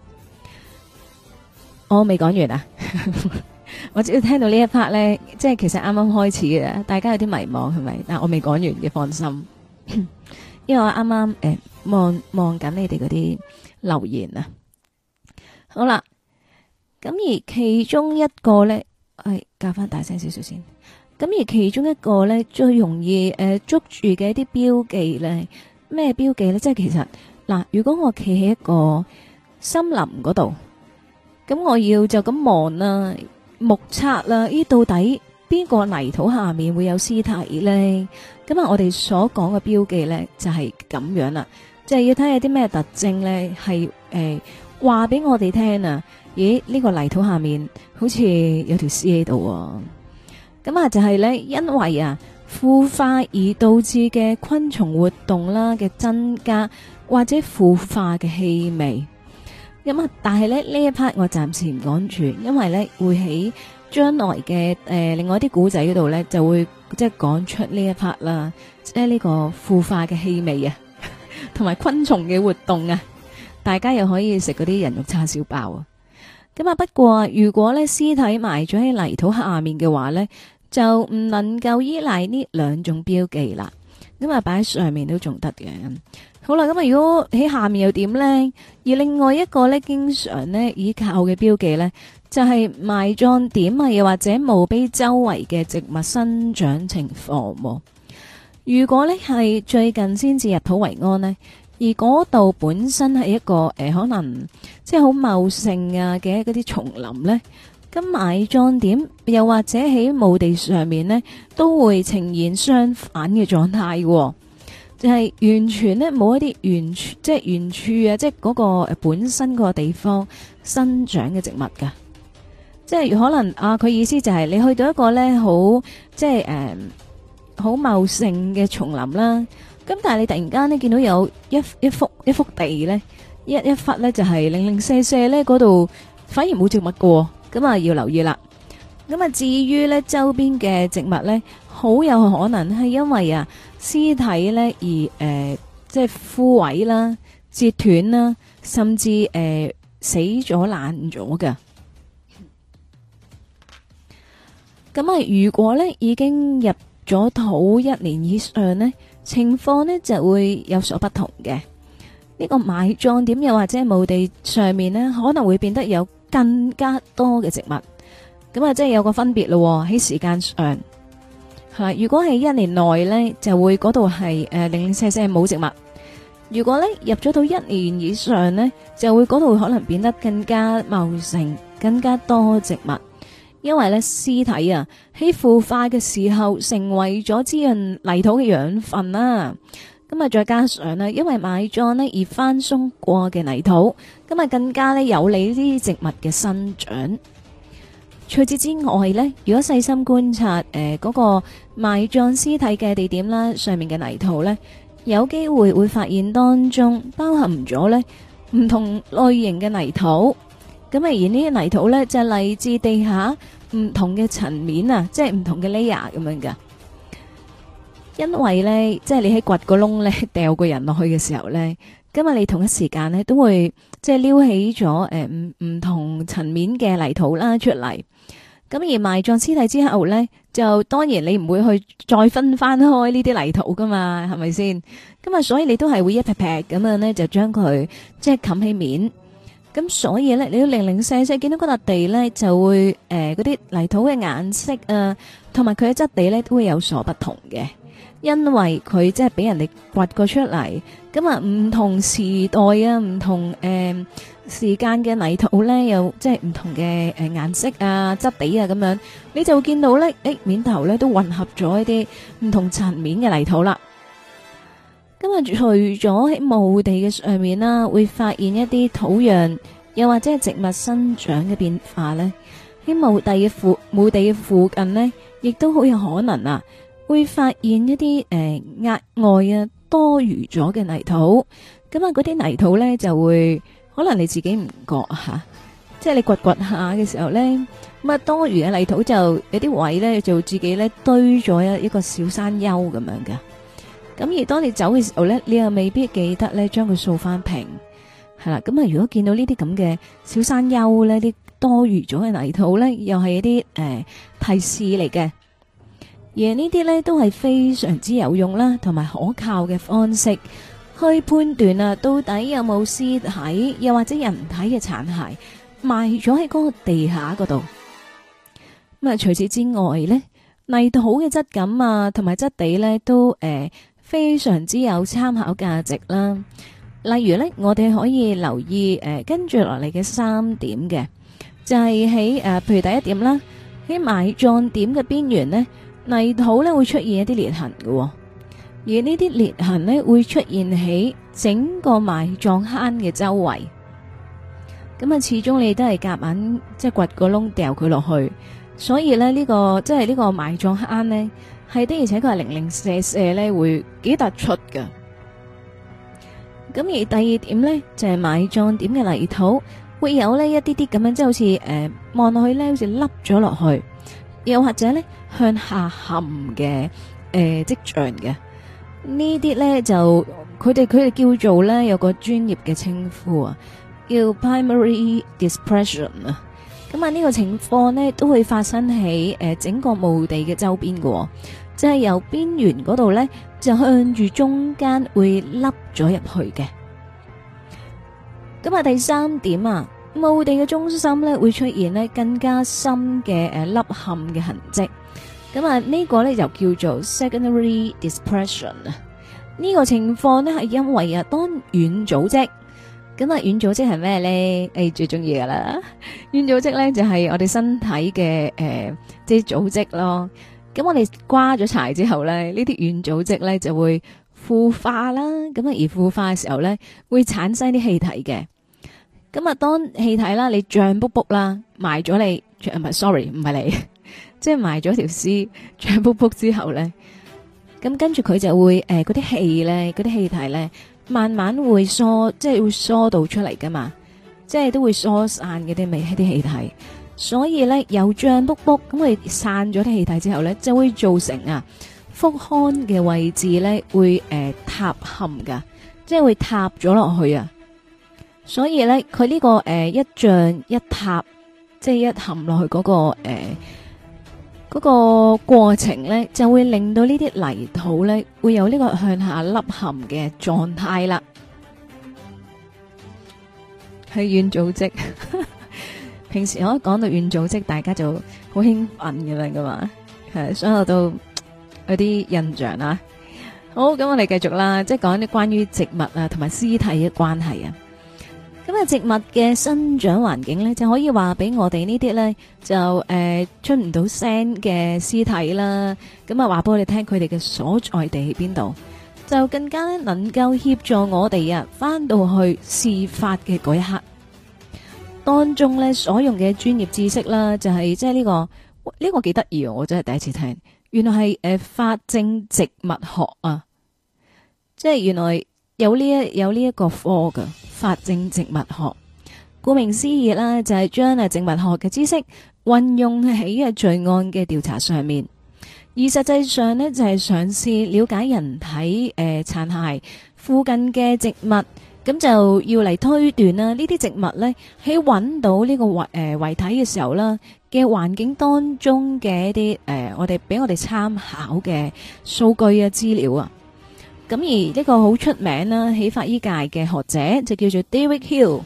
Speaker 1: 我未講完啊！我只要聽到呢一 part 咧，即係其實啱啱開始嘅，大家有啲迷茫係咪？但我未講完嘅，放心，因為我啱啱誒望望緊你哋嗰啲留言啊。好啦，咁而其中一個咧，係加翻大聲少少先。咁而其中一個咧，最容易誒、呃、捉住嘅一啲標記咧，咩標記咧？即係其實嗱，如果我企喺一個森林嗰度，咁我要就咁望啦。目測啦，呢到底邊個泥土下面會有屍體呢？咁啊，我哋所講嘅標記呢，就係咁樣啦，即係要睇下啲咩特徵呢，係誒話俾我哋聽啊！咦，呢個泥土下面好似有條屍喺度，咁啊就係呢，因為啊腐化而導致嘅昆蟲活動啦嘅增加，或者腐化嘅氣味。咁啊！但係咧呢一 part 我暫時唔講住，因為咧會喺將來嘅誒、呃、另外啲古仔嗰度咧就會即係講出呢一 part 啦，即係呢個腐化嘅氣味啊，同埋昆蟲嘅活動啊，大家又可以食嗰啲人肉叉燒包啊。咁啊，不過如果咧屍體埋咗喺泥土下面嘅話咧，就唔能夠依賴呢兩種標記啦。咁啊，擺喺上面都仲得嘅。好啦，咁啊，如果喺下面又點呢？而另外一個咧，經常咧依靠嘅標記咧，就係、是、埋葬點啊，又或者墓碑周圍嘅植物生長情況。如果咧係最近先至入土為安呢，而嗰度本身係一個誒、呃，可能即係好茂盛啊嘅嗰啲叢林呢，咁埋葬點又或者喺墓地上面呢，都會呈現相反嘅狀態。就係、是、完全咧冇一啲原處，即係原處啊，即係嗰個誒本身個地方生長嘅植物噶，即係可能啊，佢意思就係你去到一個咧好即係誒好茂盛嘅叢林啦，咁但係你突然間咧見到有一一幅一幅地咧一一忽咧就係零零舍舍咧嗰度反而冇植物噶，咁啊要留意啦。咁啊至於咧周邊嘅植物咧，好有可能係因為啊。屍體咧而誒、呃，即係枯萎啦、折斷啦，甚至誒、呃、死咗爛咗㗎。咁啊，如果咧已經入咗土一年以上呢，情況呢就會有所不同嘅。呢、這個埋葬點又或者墓地上面呢，可能會變得有更加多嘅植物。咁啊，即係有個分別咯喺時間上。係，如果係一年內呢，就會嗰度係誒零零舍舍冇植物；如果呢入咗到一年以上呢，就會嗰度可能變得更加茂盛、更加多植物。因為呢屍體啊喺腐化嘅時候，成為咗滋潤泥土嘅養分啦。咁啊，再加上呢，因為埋葬呢而翻鬆過嘅泥土，咁啊更加呢有利呢啲植物嘅生長。除此之外呢，如果細心觀察誒嗰、呃那個埋葬屍體嘅地點啦，上面嘅泥土呢，有機會會發現當中包含咗呢唔同類型嘅泥土。咁啊，而呢啲泥土呢，就係嚟自地下唔同嘅層面啊，即係唔同嘅 layer 咁樣噶。因為呢，即係你喺掘個窿呢，掉個人落去嘅時候呢，今日你同一時間呢，都會即係撩起咗誒唔唔同層面嘅泥土啦出嚟。咁而埋葬屍體之後呢，就當然你唔會去再分翻開呢啲泥土噶嘛，係咪先？咁啊，所以你都係會一劈劈咁樣呢，就將佢即係冚起面。 咁所以咧，你要零零舍舍見到嗰笪地咧，就會誒嗰啲泥土嘅顏色啊，同埋佢嘅質地咧，都會有所不同嘅。因為佢即係俾人哋掘過出嚟，咁啊唔同時代啊，唔同誒、呃、時間嘅泥土咧，有即係唔同嘅誒顏色啊、質地啊咁樣，你就會見到咧，誒面頭咧都混合咗一啲唔同層面嘅泥土啦。咁啊，除咗喺墓地嘅上面啦，會發現一啲土壤，又或者係植物生長嘅變化咧，喺墓地嘅附墓地嘅附近呢，亦都好有可能啊。會發現一啲誒額外啊多餘咗嘅泥土，咁啊嗰啲泥土咧就會可能你自己唔覺吓，即係你掘掘下嘅時候咧，咁啊多餘嘅泥土就有啲位咧就自己咧堆咗一一個小山丘咁樣噶。咁而當你走嘅時候咧，你又未必記得咧將佢掃翻平，係啦。咁啊如果見到呢啲咁嘅小山丘咧，啲多餘咗嘅泥土咧，又係一啲誒、呃、提示嚟嘅。而呢啲咧都係非常之有用啦，同埋可靠嘅方式去判斷啊，到底有冇屍體，又或者人體嘅殘骸埋咗喺嗰個地下嗰度。咁啊，除此之外咧，泥土嘅質感啊，同埋質地咧都誒、呃、非常之有參考價值啦。例如咧，我哋可以留意誒、呃、跟住落嚟嘅三點嘅，就係喺誒，譬如第一點啦，喺埋葬點嘅邊緣呢。泥土咧會出現一啲裂痕嘅，而呢啲裂痕咧會出現喺整個埋葬坑嘅周圍。咁啊，始終你都係夾硬即係掘個窿掉佢落去，所以咧、這、呢個即係呢個埋葬坑呢，係的而且確係零零舍舍咧會幾突出㗎。咁而第二點呢，就係、是、埋葬點嘅泥土會有呢一啲啲咁樣，即係好似誒望落去咧好似凹咗落去。又或者咧向下陷嘅誒跡象嘅呢啲咧，就佢哋佢哋叫做咧有個專業嘅稱呼啊，叫 primary dispersion 啊。咁啊呢個情況呢都會發生喺誒整個墓地嘅周邊嘅，即係由邊緣嗰度咧就向住中間會凹咗入去嘅。咁啊第三點啊。墓地嘅中心咧會出現咧更加深嘅誒凹陷嘅痕跡，咁啊呢個咧就叫做 secondary dispersion 啊。呢個情況咧係因為啊當軟組織，咁啊軟組織係咩咧？誒最中意噶啦，軟組織咧就係我哋身體嘅誒即係組織咯。咁我哋瓜咗柴之後咧，呢啲軟組織咧就會腐化啦，咁啊而腐化嘅時候咧會產生啲氣體嘅。咁啊，當氣體啦，你脹卜卜啦，埋咗你，唔係 sorry，唔係你，即係埋咗條屍脹卜卜之後咧，咁跟住佢就會誒嗰啲氣咧，嗰啲氣體咧，慢慢會疏，即係會疏導出嚟噶嘛，即係都會疏散嗰啲味啲氣體，所以咧有脹卜卜咁佢散咗啲氣體之後咧，就會造成啊腹腔嘅位置咧會誒、呃、塌陷噶，即係會塌咗落去啊。所以咧，佢呢、這個誒、呃、一脹一塌，即係一陷落去嗰、那個誒嗰、呃那個過程咧，就會令到呢啲泥土咧會有呢個向下凹陷嘅狀態啦。係軟組織，平時我一講到軟組織，大家就好興奮咁樣噶嘛，係，所以我都有啲印象啦。好，咁我哋繼續啦，即係講啲關於植物啊同埋屍體嘅關係啊。咁啊，植物嘅生長環境咧，就可以話俾我哋呢啲咧，就誒、呃、出唔到聲嘅屍體啦。咁啊，話俾我哋聽佢哋嘅所在地喺邊度，就更加咧能夠協助我哋啊，翻到去事發嘅嗰一刻當中咧，所用嘅專業知識啦，就係即係呢個呢、呢個幾得意啊！我真係第一次聽，原來係誒、呃、法證植物學啊，即係原來有呢一有呢一個科㗎。法證植物學，顧名思義啦，就係將啊植物學嘅知識運用喺啊罪案嘅調查上面，而實際上呢，就係嘗試了解人體誒殘骸附近嘅植物，咁就要嚟推斷啦呢啲植物呢，喺揾到呢個遺誒遺體嘅時候啦嘅環境當中嘅一啲誒、呃、我哋俾我哋參考嘅數據啊資料啊。咁而呢個好出名啦，喺法醫界嘅學者就叫做 David Hill，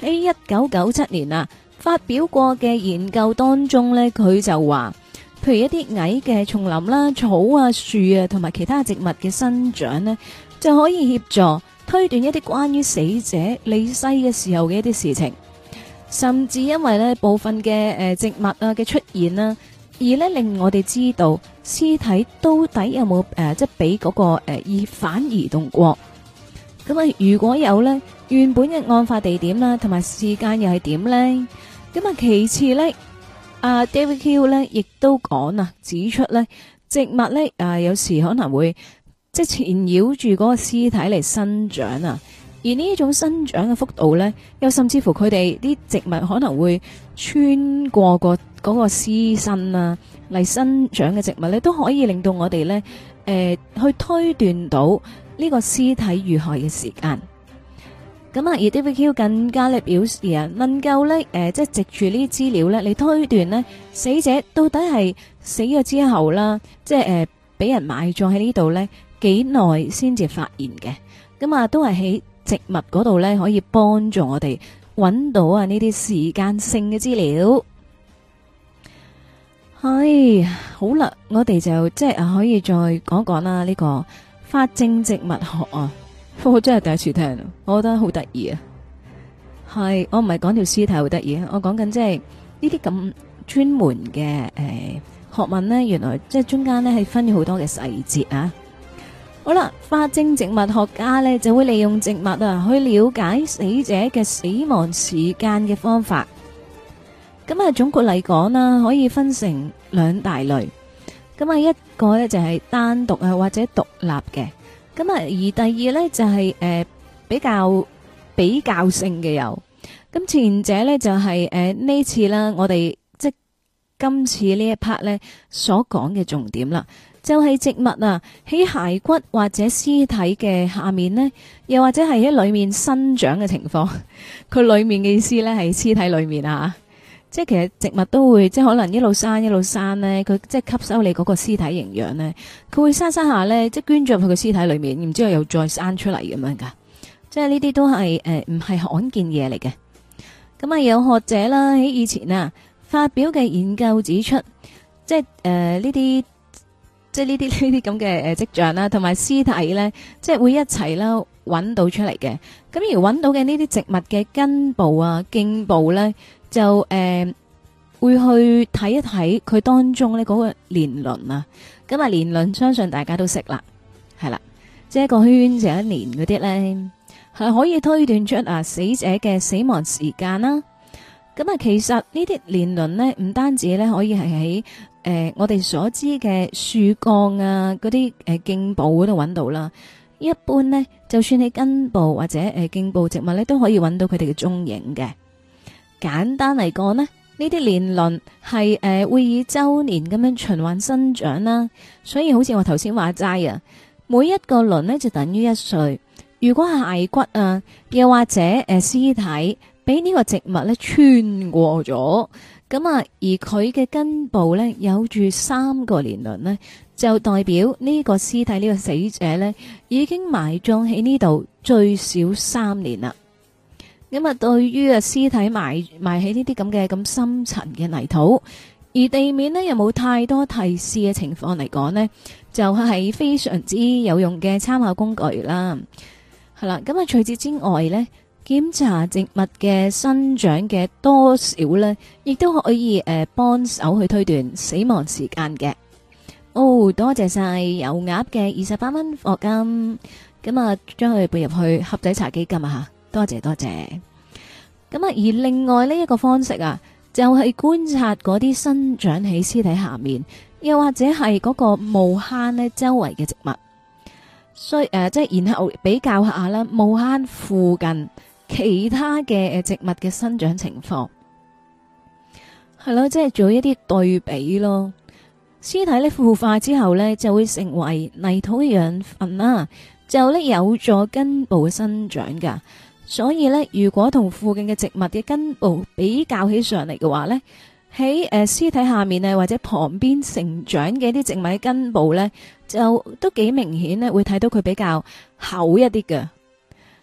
Speaker 1: 喺一九九七年啊發表過嘅研究當中呢，佢就話，譬如一啲矮嘅叢林啦、草啊、樹啊同埋其他植物嘅生長呢，就可以協助推斷一啲關於死者離世嘅時候嘅一啲事情，甚至因為呢部分嘅誒植物啊嘅出現啦，而呢令我哋知道屍體到底有冇誒即係俾嗰個誒疑犯移動過。咁啊，如果有呢，原本嘅案發地點啦，同埋時間又係點呢？咁啊，其次呢，阿 David Hill 呢亦都講啊，指出呢植物呢，啊有時可能會即係纏繞住嗰個屍體嚟生長啊，而呢一種生長嘅幅度呢，又甚至乎佢哋啲植物可能會穿過個嗰個屍身啊嚟生長嘅植物呢，都可以令到我哋呢誒去推斷到呢個屍體遇害嘅時間。咁啊，而 David Hill 更加咧表示啊，能夠咧誒，即係藉住呢啲資料咧嚟推斷呢死者到底係死咗之後啦，即係誒俾人埋葬喺呢度咧幾耐先至發現嘅。咁啊，都係喺植物嗰度咧可以幫助我哋揾到啊呢啲時間性嘅資料。係好啦，我哋就即係啊可以再講講啦呢個法證植物學啊。我真係第一次聽，我覺得好得意啊！係我唔係講條屍體好得意啊，我講緊即係呢啲咁專門嘅誒、呃、學問呢，原來即係中間呢係分咗好多嘅細節啊！好啦，法證植物學家呢就會利用植物啊去了解死者嘅死亡時間嘅方法。咁啊，總括嚟講啦，可以分成兩大類。咁啊，一個呢就係單獨啊或者獨立嘅。咁啊，而第二呢，就係、是、誒、呃、比較比較性嘅有，咁前者呢，就係誒呢次啦，我哋即今次呢一 part 呢所講嘅重點啦，就係、是、植物啊喺骸骨或者屍體嘅下面呢，又或者係喺裏面生長嘅情況，佢裏面嘅意思呢，係屍體裏面啊。即係其實植物都會即係可能一路生一路生咧，佢即係吸收你嗰個屍體營養咧，佢會生生下咧，即係捐咗入去個屍體裏面，然之後又再生出嚟咁樣噶。即係呢啲都係誒唔係罕見嘢嚟嘅。咁啊有學者啦喺以前啊發表嘅研究指出，即係誒呢啲即係呢啲呢啲咁嘅誒跡象啦，同埋屍體咧，即係會一齊啦揾到出嚟嘅。咁而揾到嘅呢啲植物嘅根部啊、莖部咧。就誒、呃、會去睇一睇佢當中呢嗰個年輪啊，咁啊年輪相信大家都識啦，係啦，即係一個圈就一年嗰啲咧，係可以推斷出啊死者嘅死亡時間啦。咁啊，其實呢啲年輪呢，唔單止咧可以係喺誒我哋所知嘅樹幹啊嗰啲誒莖部嗰度揾到啦，一般呢，就算喺根部或者誒莖部植物咧都可以揾到佢哋嘅蹤影嘅。簡單嚟講呢，呢啲年輪係誒會以周年咁樣循環生長啦，所以好似我頭先話齋啊，每一個輪呢就等於一歲。如果係骸骨啊，又或者誒屍體俾呢個植物咧穿過咗，咁啊而佢嘅根部呢有住三個年輪呢，就代表呢個屍體呢個死者呢已經埋葬喺呢度最少三年啦。咁啊，對於啊屍體埋埋喺呢啲咁嘅咁深層嘅泥土，而地面呢又冇太多提示嘅情況嚟講呢，就係非常之有用嘅參考工具啦。係啦，咁啊除此之外呢，檢查植物嘅生長嘅多少呢，亦都可以誒幫手去推斷死亡時間嘅。哦，多謝晒油鴨嘅二十八蚊課金，咁啊將佢撥入去盒仔茶基金啊吓。多謝多謝，咁啊而另外呢一個方式啊，就係、是、觀察嗰啲生長喺屍體下面，又或者係嗰個墓坑呢周圍嘅植物，所以誒、呃、即係然後比較下啦，墓坑附近其他嘅誒植物嘅生長情況，係咯，即係做一啲對比咯。屍體呢腐化之後呢，就會成為泥土嘅養分啦，就呢有助根部嘅生長噶。所以咧，如果同附近嘅植物嘅根部比較起上嚟嘅話咧，喺誒屍體下面啊或者旁邊成長嘅啲植物嘅根部咧，就都幾明顯咧，會睇到佢比較厚一啲嘅。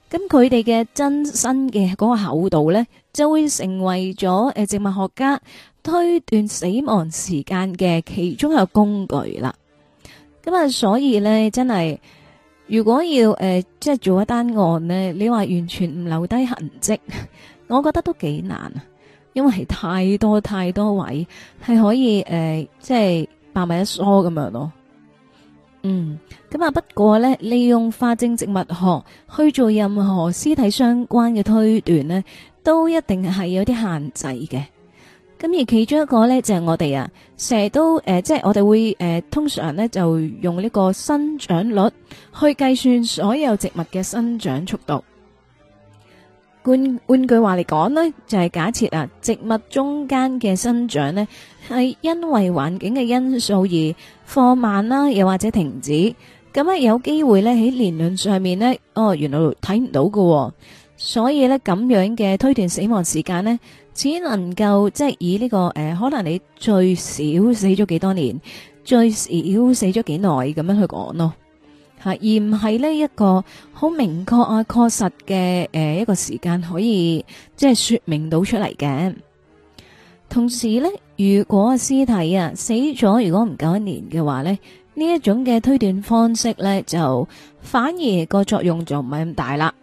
Speaker 1: 咁佢哋嘅真身嘅嗰個厚度呢，就會成為咗誒植物學家推斷死亡時間嘅其中一個工具啦。咁啊，所以呢，真係如果要誒、呃、即係做一單案呢，你話完全唔留低痕跡，我覺得都幾難啊，因為係太多太多位係可以誒、呃、即係百密一疏咁樣咯。嗯，咁啊，不過呢，利用法證植物學去做任何屍體相關嘅推斷呢，都一定係有啲限制嘅。咁而其中一個呢，就係、是、我哋啊，成日都誒、呃，即係我哋會誒、呃，通常呢，就用呢個生長率去計算所有植物嘅生長速度。換換句話嚟講呢，就係、是、假設啊，植物中間嘅生長呢，係因為環境嘅因素而放慢啦，又或者停止。咁啊，有機會呢，喺年輪上面呢，哦，原來睇唔到㗎、哦，所以呢，咁樣嘅推斷死亡時間呢，只能夠即係以呢、這個誒、呃，可能你最少死咗幾多年，最少死咗幾耐咁樣去講咯。而唔係呢一個好明確啊、確實嘅誒一個時間可以即係說明到出嚟嘅。同時呢，如果屍體啊死咗，如果唔夠一年嘅話呢，呢一種嘅推斷方式呢，就反而個作用就唔係咁大啦。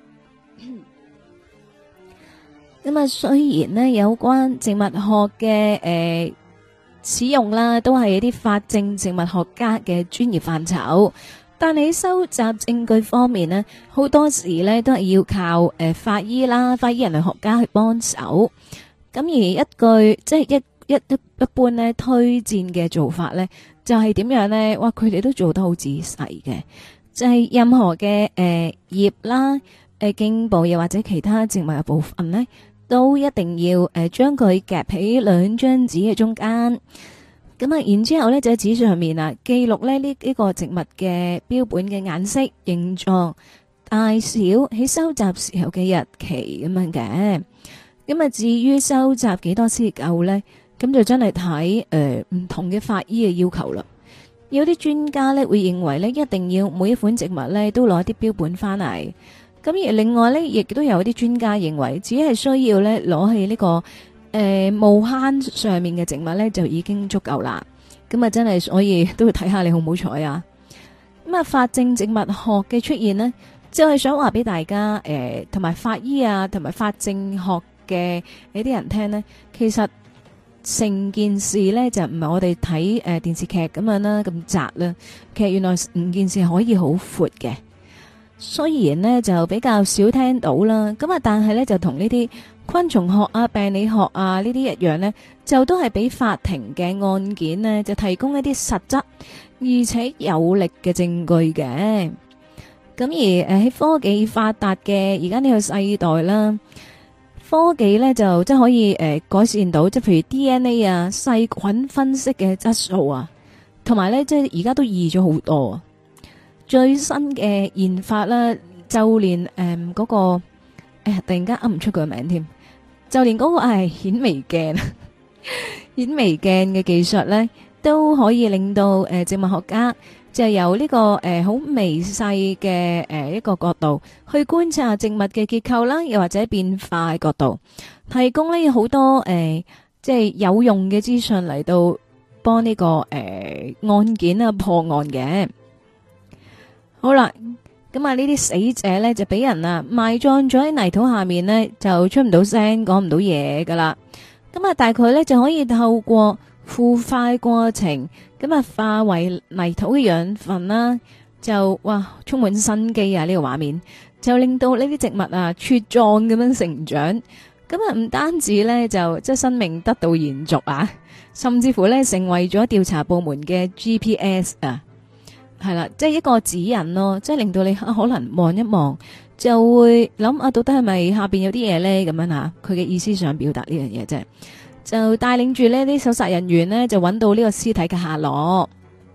Speaker 1: 咁啊，雖然呢有關植物學嘅誒、呃、使用啦，都係一啲法證植物學家嘅專業範疇。但喺收集證據方面呢，好多時呢都係要靠誒、呃、法醫啦、法醫人類學家去幫手。咁而一句即係一一一一般呢推薦嘅做法呢，就係、是、點樣呢？哇！佢哋都做得好仔細嘅，就係、是、任何嘅誒、呃、葉啦、誒、呃、莖部又或者其他植物嘅部分呢，都一定要誒將佢夾喺兩張紙嘅中間。咁啊，然之後咧就喺紙上面啊記錄咧呢呢個植物嘅標本嘅顏色、形狀、大小，喺收集時候嘅日期咁樣嘅。咁啊，至於收集幾多先夠咧，咁就真係睇誒唔同嘅法醫嘅要求啦。有啲專家咧會認為咧一定要每一款植物咧都攞啲標本翻嚟。咁而另外咧，亦都有啲專家認為只係需要咧攞起呢個。誒，木坑上面嘅植物咧就已經足夠啦。咁啊，真係所以都要睇下你好唔好彩啊。咁啊，法證植物學嘅出現呢，就係想話俾大家誒，同埋法醫啊，同埋法證學嘅呢啲人聽呢，其實成件事呢，就唔係我哋睇誒電視劇咁樣啦，咁窄啦。其實原來成件事可以好闊嘅。雖然呢就比較少聽到啦，咁啊，但係呢就同呢啲昆蟲學啊、病理學啊呢啲一樣呢，就都係俾法庭嘅案件呢就提供一啲實質而且有力嘅證據嘅。咁而誒喺科技發達嘅而家呢個世代啦，科技呢就即係可以誒改善到，即係譬如 D N A 啊、細菌分析嘅質素啊，同埋呢即係而家都易咗好多啊。最新嘅研發啦，就連誒嗰個誒突然間噏唔出佢個名添，就連嗰個係顯微鏡、顯微鏡嘅技術咧，都可以令到誒植物學家就由呢個誒好微細嘅誒一個角度去觀察植物嘅結構啦，又或者變化嘅角度，提供呢好多誒即係有用嘅資訊嚟到幫呢個誒案件啊破案嘅。好啦，咁啊呢啲死者呢，就俾人啊埋葬咗喺泥土下面呢，就出唔到聲，講唔到嘢噶啦。咁啊，大概呢，就可以透過腐化過程，咁啊化為泥土嘅養分啦，就哇充滿生機啊！呢個畫面就令到呢啲植物啊茁壯咁樣成長。咁啊唔單止呢，就即係生命得到延續啊，甚至乎呢，成為咗調查部門嘅 G P S 啊。係啦，即係一個指引咯，即係令到你可能望一望，就會諗啊，到底係咪下邊有啲嘢咧？咁樣吓，佢嘅意思想表達呢樣嘢啫，就帶領住呢啲搜查人員呢，就揾到呢個屍體嘅下落。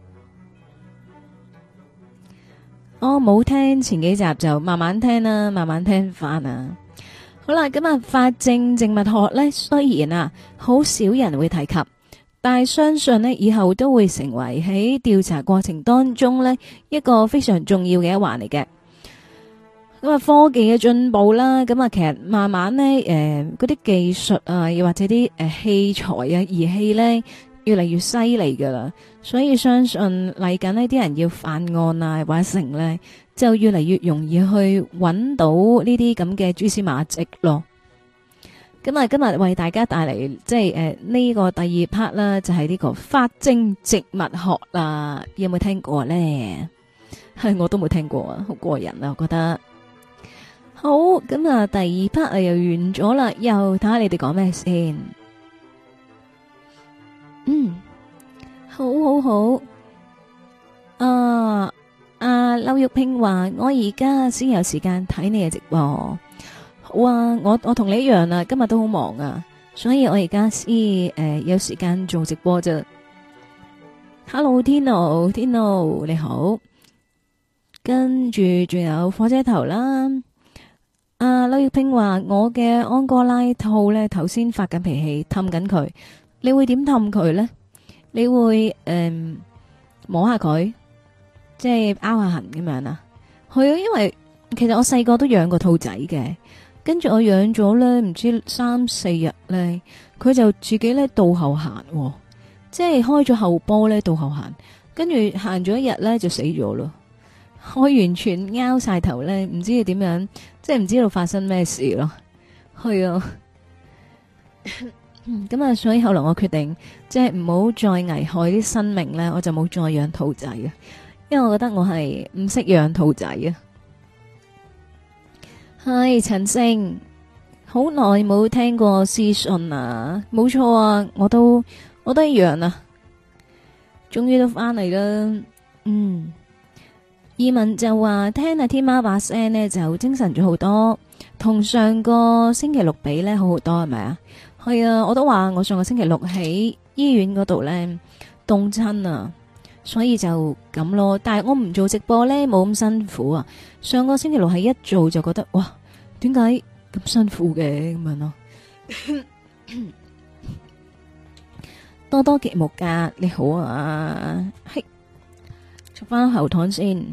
Speaker 1: 我冇聽前幾集，就慢慢聽啦，慢慢聽翻啊。好啦，咁啊，法證植物學咧，雖然啊，好少人會提及。但係相信呢，以後都會成為喺調查過程當中呢一個非常重要嘅一環嚟嘅。 咁啊，科技嘅進步啦，咁啊，其實慢慢咧，誒，嗰啲技術啊，又或者啲誒器材啊、儀器咧，越嚟越犀利噶啦，所以相信嚟緊呢啲人要犯案啊，或者成咧，就越嚟越容易去揾到呢啲咁嘅蛛絲馬跡咯。咁啊，今日為大家帶嚟即係誒呢個第二 part 啦，就係呢個法證植物學啦，有冇聽過咧？係我都冇聽過啊，好過癮啊，我覺得。好，咁啊，第二 part 啊又完咗啦，又睇下你哋講咩先。嗯，好好好。啊，阿劉玉萍話我而家先有時間睇你嘅直播。好啊，我我同你一樣啊，今日都好忙啊，所以我而家先誒有時間做直播啫。Hello，Tino，Tino 你好。跟住仲有火車頭啦。啊，劉玉萍話我嘅安哥拉兔咧，頭先發緊脾氣，氹緊佢。你會點氹佢咧？你會誒、嗯、摸下佢，即係拗下痕咁樣啊？係啊，因為其實我細個都養過兔仔嘅，跟住我養咗咧，唔知三四日咧，佢就自己咧倒後行，即係開咗後波咧倒後行，跟住行咗一日咧就死咗咯。我完全拗晒頭咧，唔知佢點樣，即係唔知道發生咩事咯。係啊，咁啊，所以後來我決定，即係唔好再危害啲生命咧，我就冇再養兔仔啊。因為我覺得我係唔識養兔仔啊。係陳星，好耐冇聽過私信啊，冇錯啊，我都我都一樣啊，終於都翻嚟啦，嗯。二文就話聽阿天喵把聲呢就精神咗好多，同上個星期六比呢好好多係咪啊？係啊，我都話我上個星期六喺醫院嗰度呢凍親啊，所以就咁咯。但係我唔做直播呢冇咁辛苦啊。上個星期六係一做就覺得哇，點解咁辛苦嘅咁樣咯？多多節目噶，你好啊，係食翻喉糖先。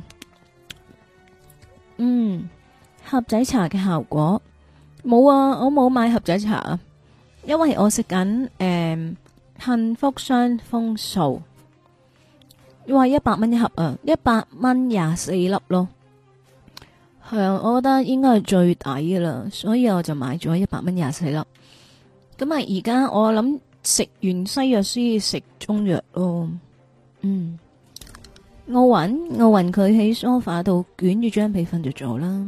Speaker 1: 嗯，盒仔茶嘅效果冇啊，我冇買盒仔茶啊，因為我食緊誒幸福雙豐素，話一百蚊一盒啊，一百蚊廿四粒咯，係啊，我覺得應該係最抵㗎啦，所以我就買咗一百蚊廿四粒。咁啊，而家我諗食完西藥先食中藥咯，嗯。奧運，奧運佢喺梳化度捲住張被瞓着咗啦。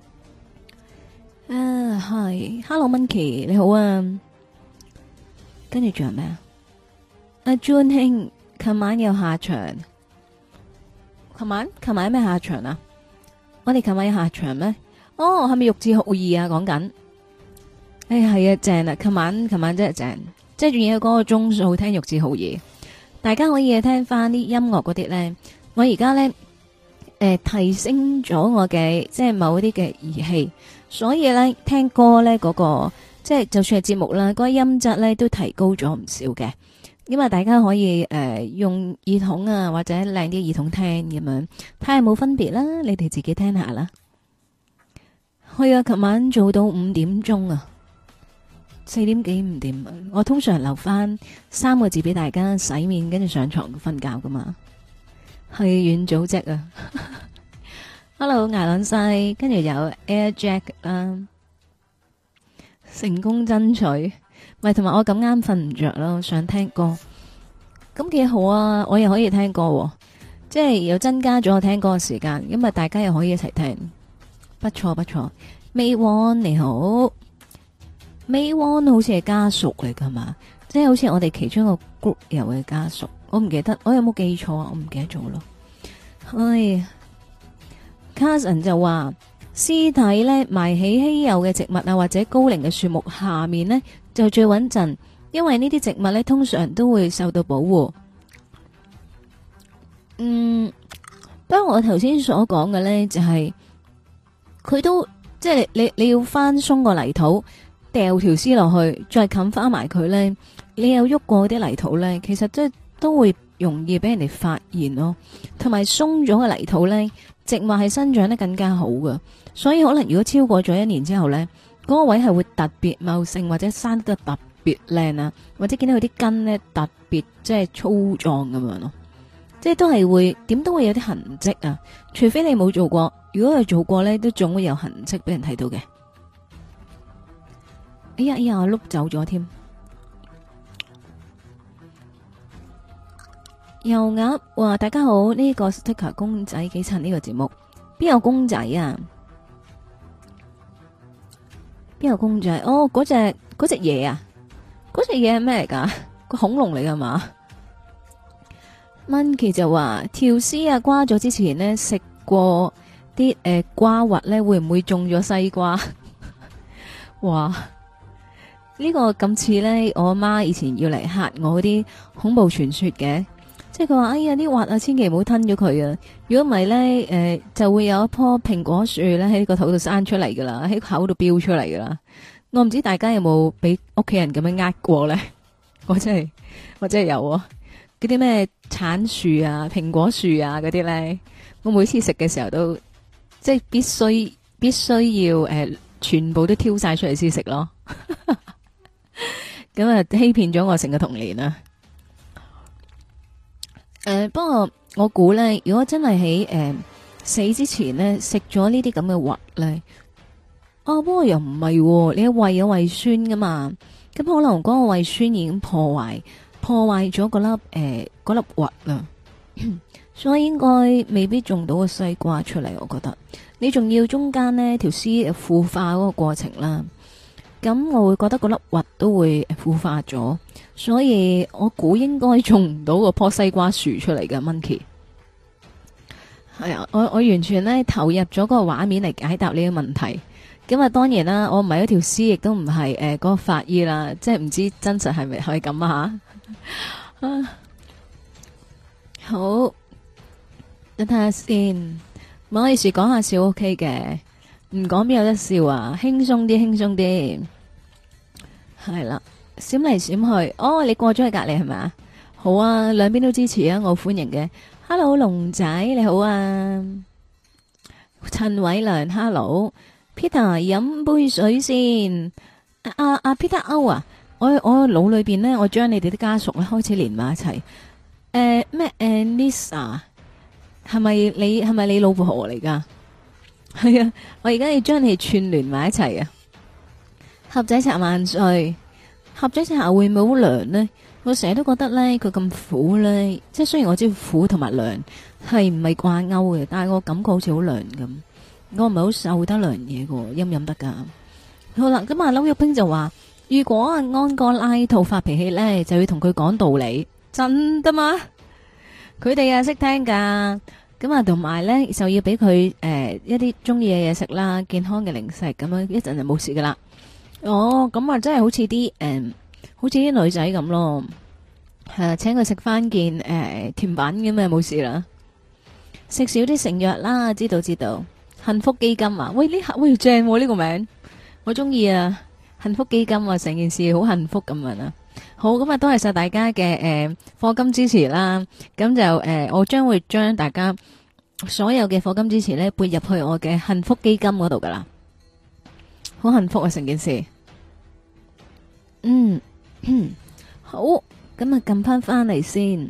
Speaker 1: 啊，係，Hello Monkey，你好啊。跟住仲有咩啊？阿 Jun 兄，琴晚有下場。琴晚，琴晚有咩下場啊？我哋琴晚有下場咩？哦，係咪玉置浩二啊？講緊。哎呀，係啊，正啊！琴晚，琴晚真係正，即係仲有嗰個鐘數聽玉置浩二。大家可以聽翻啲音樂嗰啲咧。我而家咧，誒、呃、提升咗我嘅即係某啲嘅儀器，所以咧聽歌咧嗰、那個即係就算係節目啦，嗰、那個音質咧都提高咗唔少嘅。因為大家可以誒、呃、用耳筒啊，或者靚啲耳筒聽咁樣，睇下有冇分別啦。你哋自己聽下啦。去啊！琴晚做到五點鐘啊，四點幾五點。我通常留翻三個字俾大家洗面，跟住上床瞓覺噶嘛。係軟組織啊！Hello，艾朗西，跟住有 Air Jack 啦，成功爭取，咪同埋我咁啱瞓唔着咯，想聽歌，咁幾好啊！我又可以聽歌，啊，即係又增加咗我聽歌嘅時間，咁啊大家又可以一齊聽，不錯不錯。May One 你好，May One 好似係家屬嚟噶嘛，即係好似我哋其中一個 group 有嘅家屬。我唔記得，我有冇記錯啊？我唔記得咗咯。唉，Carson 就話屍體咧埋喺稀有嘅植物啊，或者高齡嘅樹木下面呢，就最穩陣，因為呢啲植物咧通常都會受到保護。嗯，不過我頭先所講嘅咧就係、是、佢都即係你你要翻鬆個泥土，掉條屍落去，再冚翻埋佢咧，你有喐過啲泥土咧，其實即係。都會容易俾人哋發現咯。同埋鬆咗嘅泥土咧，植物係生長得更加好㗎。所以可能如果超過咗一年之後咧，嗰、那個位係會特別茂盛，或者生得特別靚啊，或者見到佢啲根咧特別即係粗壯咁樣咯。即係都係會點都會有啲痕跡啊，除非你冇做過。如果佢做過咧，都總會有痕跡俾人睇到嘅。哎呀哎呀，我碌走咗添。油鴨話大家好，呢、這個 sticker 公仔幾襯呢個節目，邊有公仔啊？邊有公仔？哦，嗰隻嗰隻嘢啊，嗰隻嘢係咩嚟噶？個恐龍嚟噶嘛？Monkey 就話條絲啊瓜咗之前呢，食過啲誒、呃、瓜核咧，會唔會中咗西瓜？哇！呢、這個咁似咧，我阿媽以前要嚟嚇我嗰啲恐怖傳說嘅，即係佢話哎呀啲核啊，千祈唔好吞咗佢啊！如果唔係咧，誒就會有一棵蘋果樹咧喺個肚度生出嚟噶啦，喺口度飆出嚟噶啦。我唔知大家有冇俾屋企人咁樣呃過咧？我真係我真係有啊！嗰啲咩橙樹啊、蘋果樹啊嗰啲咧，我每次食嘅時候都即係必須必須要誒、呃，全部都挑晒出嚟先食咯。咁啊，欺騙咗我成個童年啊！誒、呃，不過我估咧，如果真係喺誒死之前咧食咗呢啲咁嘅核咧，哦，不過又唔係、啊，你胃有胃酸噶嘛，咁可能嗰個胃酸已經破壞。破壞咗嗰粒誒嗰粒核啦，所以應該未必種到個西瓜出嚟。我覺得你仲要中間呢條絲腐化嗰個過程啦，咁我會覺得嗰粒核都會腐化咗，所以我估應該種唔到個棵西瓜樹出嚟嘅。Monkey 係啊，我我完全呢投入咗嗰個畫面嚟解答呢個問題。咁啊，當然啦，我唔係一條絲，亦都唔係誒嗰個法醫啦，即係唔知真實係咪係咁啊吓。啊，好，等睇下先，唔好意思，講下笑 OK 嘅，唔講邊有得笑啊，輕鬆啲，輕鬆啲，係啦，閃嚟閃去，哦，你過咗去隔籬係咪啊？好啊，兩邊都支持啊，我歡迎嘅。Hello，龍仔你好啊，陳偉良 ，Hello。Peter 飲杯水先，阿阿 Peter 歐啊，我我腦裏邊呢，我將你哋啲家屬咧開始連埋一齊。誒咩誒 Lisa 係咪你係咪你老婆嚟噶？係啊，我而家要將你哋串聯埋一齊啊！盒仔茶萬歲，盒仔茶會唔會好涼呢？我成日都覺得咧，佢咁苦咧，即係雖然我知苦同埋涼係唔係掛鈎嘅，但係我感覺好似好涼咁。我唔係好受得涼嘢嘅，飲唔飲得噶？好啦，咁啊，劉玉冰就話：如果啊安哥拉套發脾氣咧，就要同佢講道理，真得嘛？佢哋啊識聽噶，咁啊同埋咧就要俾佢誒一啲中意嘅嘢食啦，健康嘅零食咁樣，一陣就冇事噶啦。哦，咁啊真係好似啲誒，好似啲女仔咁咯，係啊，請佢食翻件誒甜品咁啊冇事啦，食少啲成藥啦，知道知道。幸福基金啊，喂呢下喂正呢、呢個名，我中意啊！幸福基金啊，成件事好幸福咁樣啊！好，咁啊，多謝晒大家嘅誒課金支持啦，咁就誒、呃、我將會將大家所有嘅課金支持咧撥入去我嘅幸福基金嗰度噶啦，好幸福啊成件事。嗯，嗯好，咁啊撳翻翻嚟先，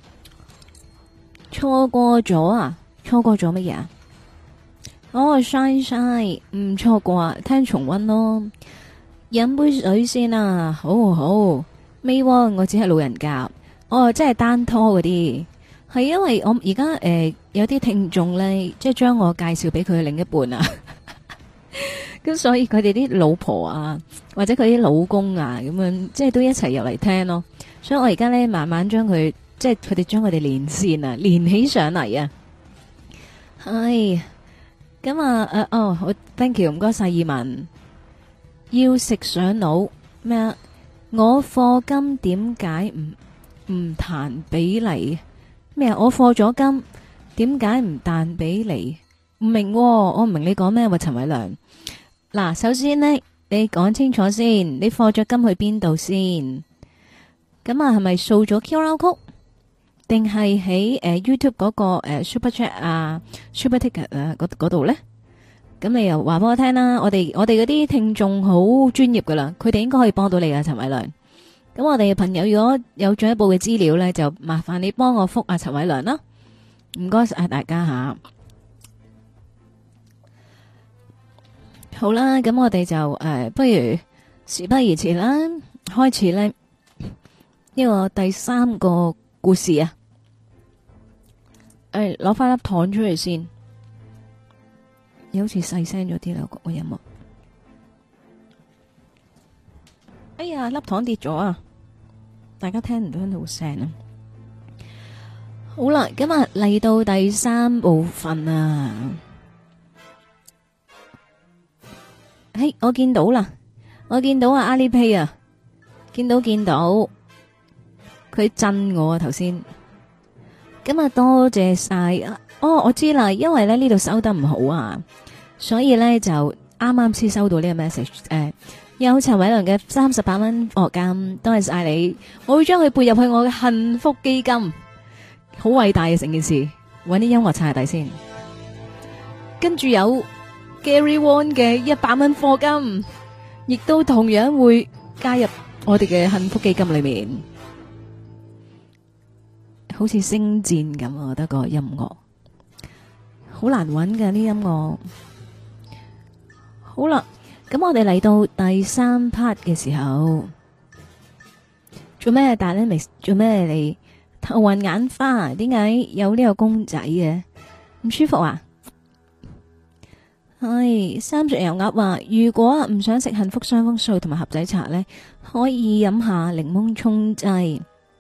Speaker 1: 錯過咗啊，錯過咗乜嘢啊？哦，shine shine，唔錯啩，聽重溫咯。飲杯水先啊，好好。未喎，我只係老人家，哦，即係單拖嗰啲，係因為我而家誒有啲聽眾咧，即係將我介紹俾佢嘅另一半啊。咁所以佢哋啲老婆啊，或者佢啲老公啊，咁樣即係都一齊入嚟聽咯。所以我而家咧慢慢將佢，即係佢哋將佢哋連線啊，連起上嚟啊。係。咁啊，誒，哦，好 ，thank you，唔該晒，二文，要食上腦咩啊？我課金點解唔唔彈俾你咩啊？我課咗金，點解唔彈俾你？唔明、哦，我唔明你講咩？喂，陳偉良，嗱，首先呢，你講清楚先，你課咗金去邊度先？咁啊，係咪掃咗 Q R code？ 定係喺誒 YouTube 嗰個誒 Super Chat 啊、Super Ticket 啊嗰嗰度咧？咁你又話俾我聽啦。我哋我哋嗰啲聽眾好專業噶啦，佢哋應該可以幫到你啊，陳偉良。咁我哋嘅朋友如果有進一步嘅資料咧，就麻煩你幫我覆阿陳偉良啦。唔該晒大家吓。好啦，咁我哋就誒、呃，不如事不宜遲啦，開始咧呢個第三個故事啊。誒，攞翻粒糖出嚟先，又好似細聲咗啲啦個音樂。哎呀，粒糖跌咗啊！大家聽唔聽到聲啊？好啦，今日嚟到第三部分啊！嘿，我見到啦，我見到啊，阿里 pay 啊，見到見到，佢震我啊頭先。今日多謝晒啊！哦，我知啦，因為咧呢度收得唔好啊，所以咧就啱啱先收到呢個 message 誒、呃。有陳偉良嘅三十八蚊課金，多謝晒你，我會將佢撥入去我嘅幸福基金，好偉大嘅成件事。搵啲音樂擦下底先，跟住有 Gary Won 嘅一百蚊課金，亦都同樣會加入我哋嘅幸福基金裏面，好似星戰咁，我覺得個音樂好難搵嘅呢音樂。好啦。咁我哋嚟到第三 part 嘅時候，做咩大咧？未做咩嚟？頭暈眼花，點解有呢個公仔嘅？唔舒服啊？係三隻油鴨話，如果唔想食幸福雙豐素同埋盒仔茶呢，可以飲下檸檬沖劑。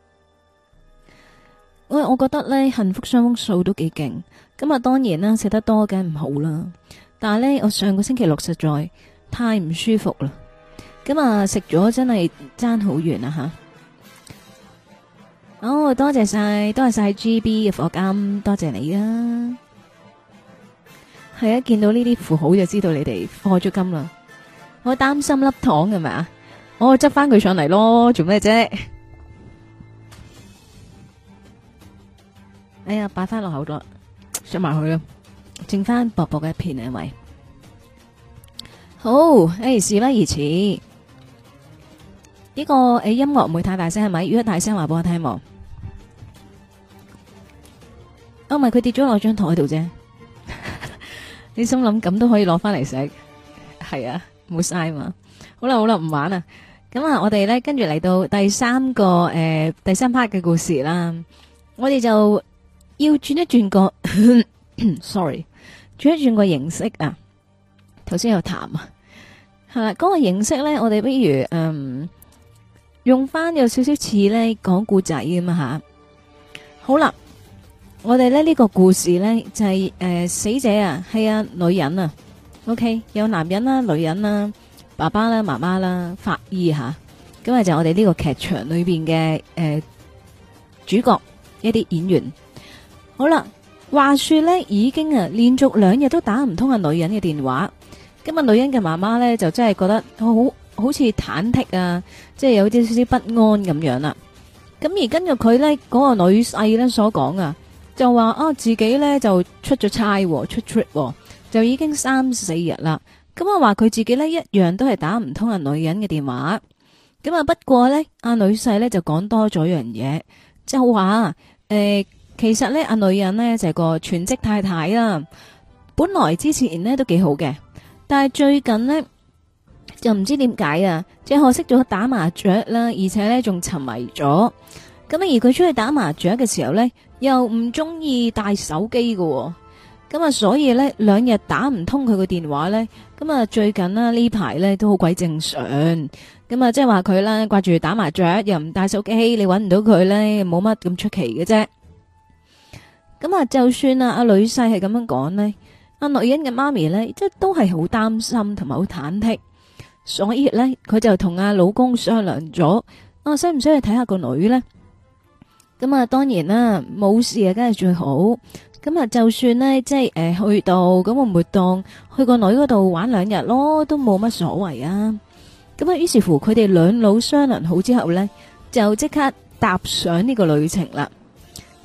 Speaker 1: 喂，我覺得呢幸福雙豐素都幾勁。咁啊，當然啦，食得多梗唔好啦。但係呢，我上個星期六實在太唔舒服啦，咁啊食咗真係爭好遠啊吓！哦，多謝晒，多謝晒 G B 嘅課金，多謝你啊！係啊，見到呢啲符號就知道你哋課咗金啦。我擔心粒糖係咪啊？我執翻佢上嚟咯，做咩啫？哎呀，擺翻落口度，食埋佢啦，剩翻薄薄嘅一片啊，因為。好，誒，事不宜遲。呢個誒音樂唔會太大聲係咪？如果大聲話俾我聽喎。哦，唔係佢跌咗落張台度啫。你心諗咁都可以攞翻嚟食，係啊，冇嘥嘛。好啦好啦，唔玩啦。咁啊，我哋咧跟住嚟到第三個誒第三 part 嘅故事啦。我哋就要轉一轉個，sorry，轉一轉個形式啊。頭先有談啊，係啦，嗰個形式咧，我哋不如嗯用翻有少少似咧講故仔咁啊吓。好啦，我哋咧呢個故事咧就係誒死者啊係啊女人啊 ，OK 有男人啦、女人啦、爸爸啦、媽媽啦、法醫吓，咁啊就我哋呢個劇場裏邊嘅誒主角一啲演員。好啦，話說咧已經啊連續兩日都打唔通啊女人嘅電話。今日女人嘅媽媽咧就真係覺得好好似忐忑啊，即係有啲少少不安咁樣啦。咁而根據佢咧嗰個女婿咧所講啊，就話啊自己咧就出咗差出 trip，就已經三四日啦。咁啊話佢自己咧一樣都係打唔通啊女人嘅電話。咁啊不過咧阿女婿咧就講多咗樣嘢，就話誒其實咧阿女人咧就係個全職太太啦，本來之前咧都幾好嘅。但係最近呢，就唔知點解啊，即係學識咗打麻雀啦，而且呢仲沉迷咗。咁而佢出去打麻雀嘅時候呢，又唔中意帶手機喎。咁啊，所以呢，兩日打唔通佢個電話呢。咁啊最近啦呢排呢都好鬼正常。咁啊即係話佢啦掛住打麻雀，又唔帶手機，你搵唔到佢呢，冇乜咁出奇嘅啫。咁啊就算啊阿女婿係咁樣講呢。阿女人嘅媽咪咧，即係都係好擔心同埋好忐忑，所以咧佢就同阿老公商量咗，啊，使唔使去睇下個女咧？咁啊，當然啦，冇事啊，梗係最好。咁啊，就算咧，即係誒去到咁，我唔會當去個女嗰度玩兩日咯，都冇乜所謂啊。咁啊，於是乎佢哋兩老商量好之後咧，就即刻踏上呢個旅程啦。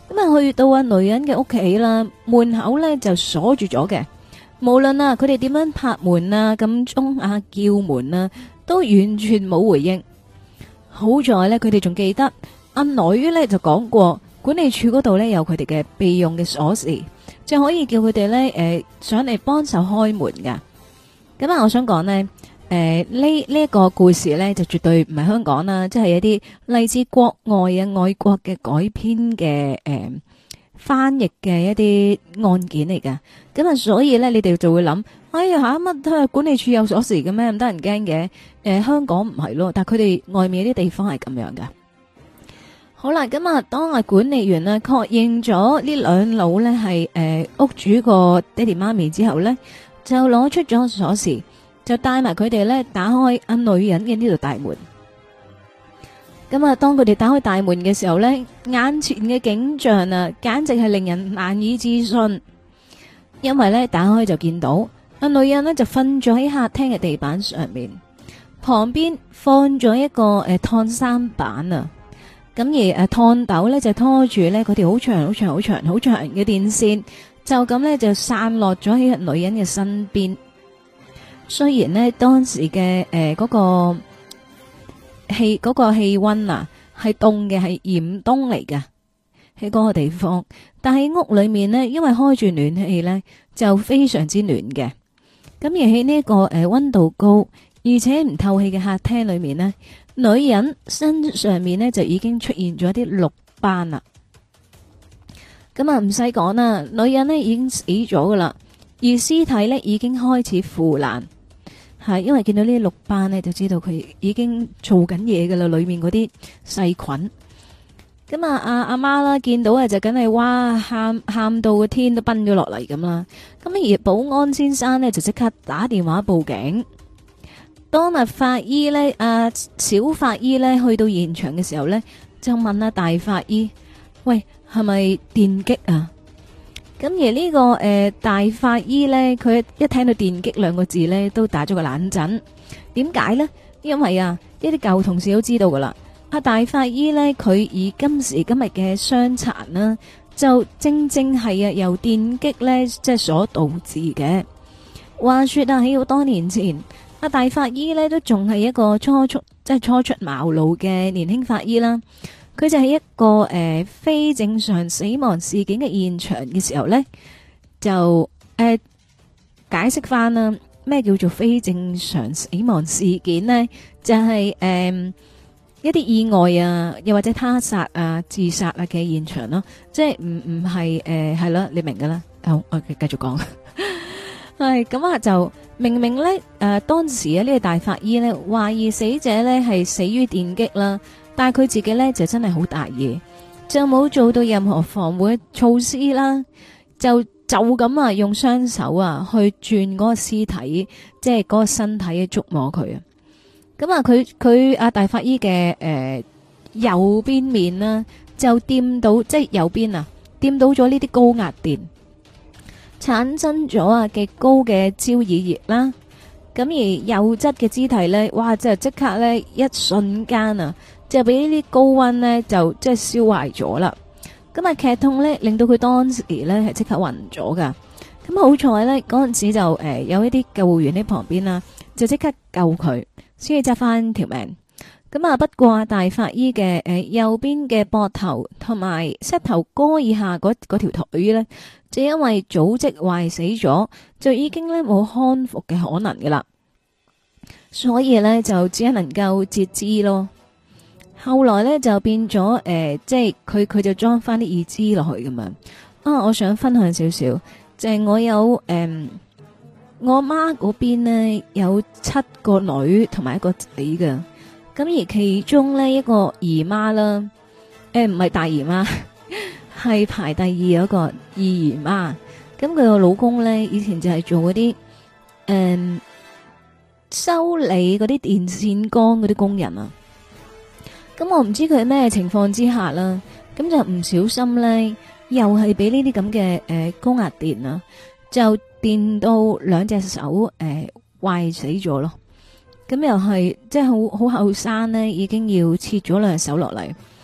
Speaker 1: 咁啊去到啊女人嘅屋企啦，門口咧就鎖住咗嘅。無論啊佢哋點樣拍門啊、撳鐘啊、叫門啊，都完全冇回應。好在咧佢哋仲記得阿女咧就講過，管理處嗰度咧有佢哋嘅備用嘅鎖匙，就可以叫佢哋咧誒上嚟幫手開門噶。咁啊，我想講呢，誒呢呢一個故事咧就絕對唔係香港啦，即係一啲嚟自國外啊外國嘅改編嘅誒翻譯嘅一啲案件嚟噶。咁啊，所以咧你哋就會諗，哎呀吓乜都係管理處有鎖匙嘅咩？咁得人驚嘅？誒，香港唔係咯，但係佢哋外面啲地方係咁樣噶。好啦，咁啊，當啊管理員呢確認咗呢兩老呢係誒屋主個爹哋媽咪之後呢，就攞出咗鎖匙，就帶埋佢哋呢打開阿女人嘅呢度大門。咁啊，當佢哋打開大門嘅時候呢，眼前嘅景象啊，簡直係令人難以置信。因為呢，打開就見到阿女人呢就瞓咗喺客廳嘅地板上面，旁邊放咗一個誒燙衫板啊。咁而誒燙斗咧就拖住咧嗰條好長好長好長好長嘅電線，就咁咧就散落咗喺女人嘅身邊。雖然呢，當時嘅誒嗰個氣嗰個氣溫啊係凍嘅，係嚴冬嚟㗎喺嗰個地方，但係屋裏面呢，因為開住暖氣咧就非常之暖嘅。咁而喺呢一個誒溫度高而且唔透氣嘅客廳裏面呢，女人身上面呢就已經出現咗啲綠斑啦。咁啊唔使講啦，女人呢已經死咗噶啦，而屍體呢已經開始腐爛，係因為見到呢啲綠斑呢，就知道佢已經做緊嘢噶啦，裏面嗰啲細菌。咁啊阿阿媽啦見到啊就梗係哇喊喊到個天都崩咗落嚟咁啦。咁而保安先生呢，就即刻打電話報警。當日法醫呢，阿小法醫呢去到現場嘅時候呢，就問阿大法醫：喂，係咪電擊啊？咁而呢、這個誒、呃、大法醫呢，佢一聽到電擊兩個字呢，都打咗個冷震。點解呢？因為啊，呢啲舊同事都知道噶啦。阿大法醫呢，佢以今時今日嘅傷殘啦，就正正係啊由電擊呢，即係所導致嘅。話說啊，喺好多年前。阿大法醫呢都仲係一個初出即係初出茅廬嘅年輕法醫啦，佢就係一個誒、呃、非正常死亡事件嘅現場嘅時候呢，就誒、呃、解釋翻啦，咩叫做非正常死亡事件呢？就係、是、誒、呃、一啲意外啊，又或者他殺啊、自殺啊嘅現場咯，即係唔唔係誒係啦，你明噶啦。好，我繼續講。係咁啊，就明明咧，誒、呃，當時啊呢個大法醫咧懷疑死者咧係死於電擊啦，但係佢自己咧就真係好大意，就冇做到任何防護嘅措施啦，就就咁啊用雙手啊去轉嗰個屍體，即係嗰個身體嘅觸摸佢啊。咁啊，佢佢阿大法醫嘅誒、呃、右邊面啦，就掂到即係右邊啊掂到咗呢啲高壓電。產生咗啊極高嘅焦耳熱啦，咁而右側嘅肢體呢，哇！就即刻呢，一瞬間啊，就俾呢啲高溫呢，就即係燒壞咗啦。咁啊劇痛呢，令到佢當時呢係即刻暈咗噶。咁好彩呢，嗰陣時就誒、呃、有一啲救護員喺旁邊啦，就即刻救佢，先至執翻條命。咁啊，不過大法醫嘅誒、呃、右邊嘅膊頭同埋膝頭哥以下嗰嗰條腿呢，就因為組織壞死咗，就已經咧冇康復嘅可能噶啦，所以咧就只係能夠截肢咯。後來咧就變咗誒、呃，即係佢佢就裝翻啲義肢落去咁樣。啊，我想分享少少，就係、是、我有誒、呃，我媽嗰邊呢有七個女同埋一個仔噶，咁而其中呢一個姨媽啦，誒唔係大姨媽。係排第二嗰個二姨媽，咁佢個老公咧以前就係做嗰啲誒修理嗰啲電線桿嗰啲工人啊，咁我唔知佢係咩情況之下啦，咁就唔小心咧，又係俾呢啲咁嘅誒高壓電啊，就電到兩隻手誒壞死咗咯，咁又係即係好好後生咧，已經要切咗兩隻手落嚟。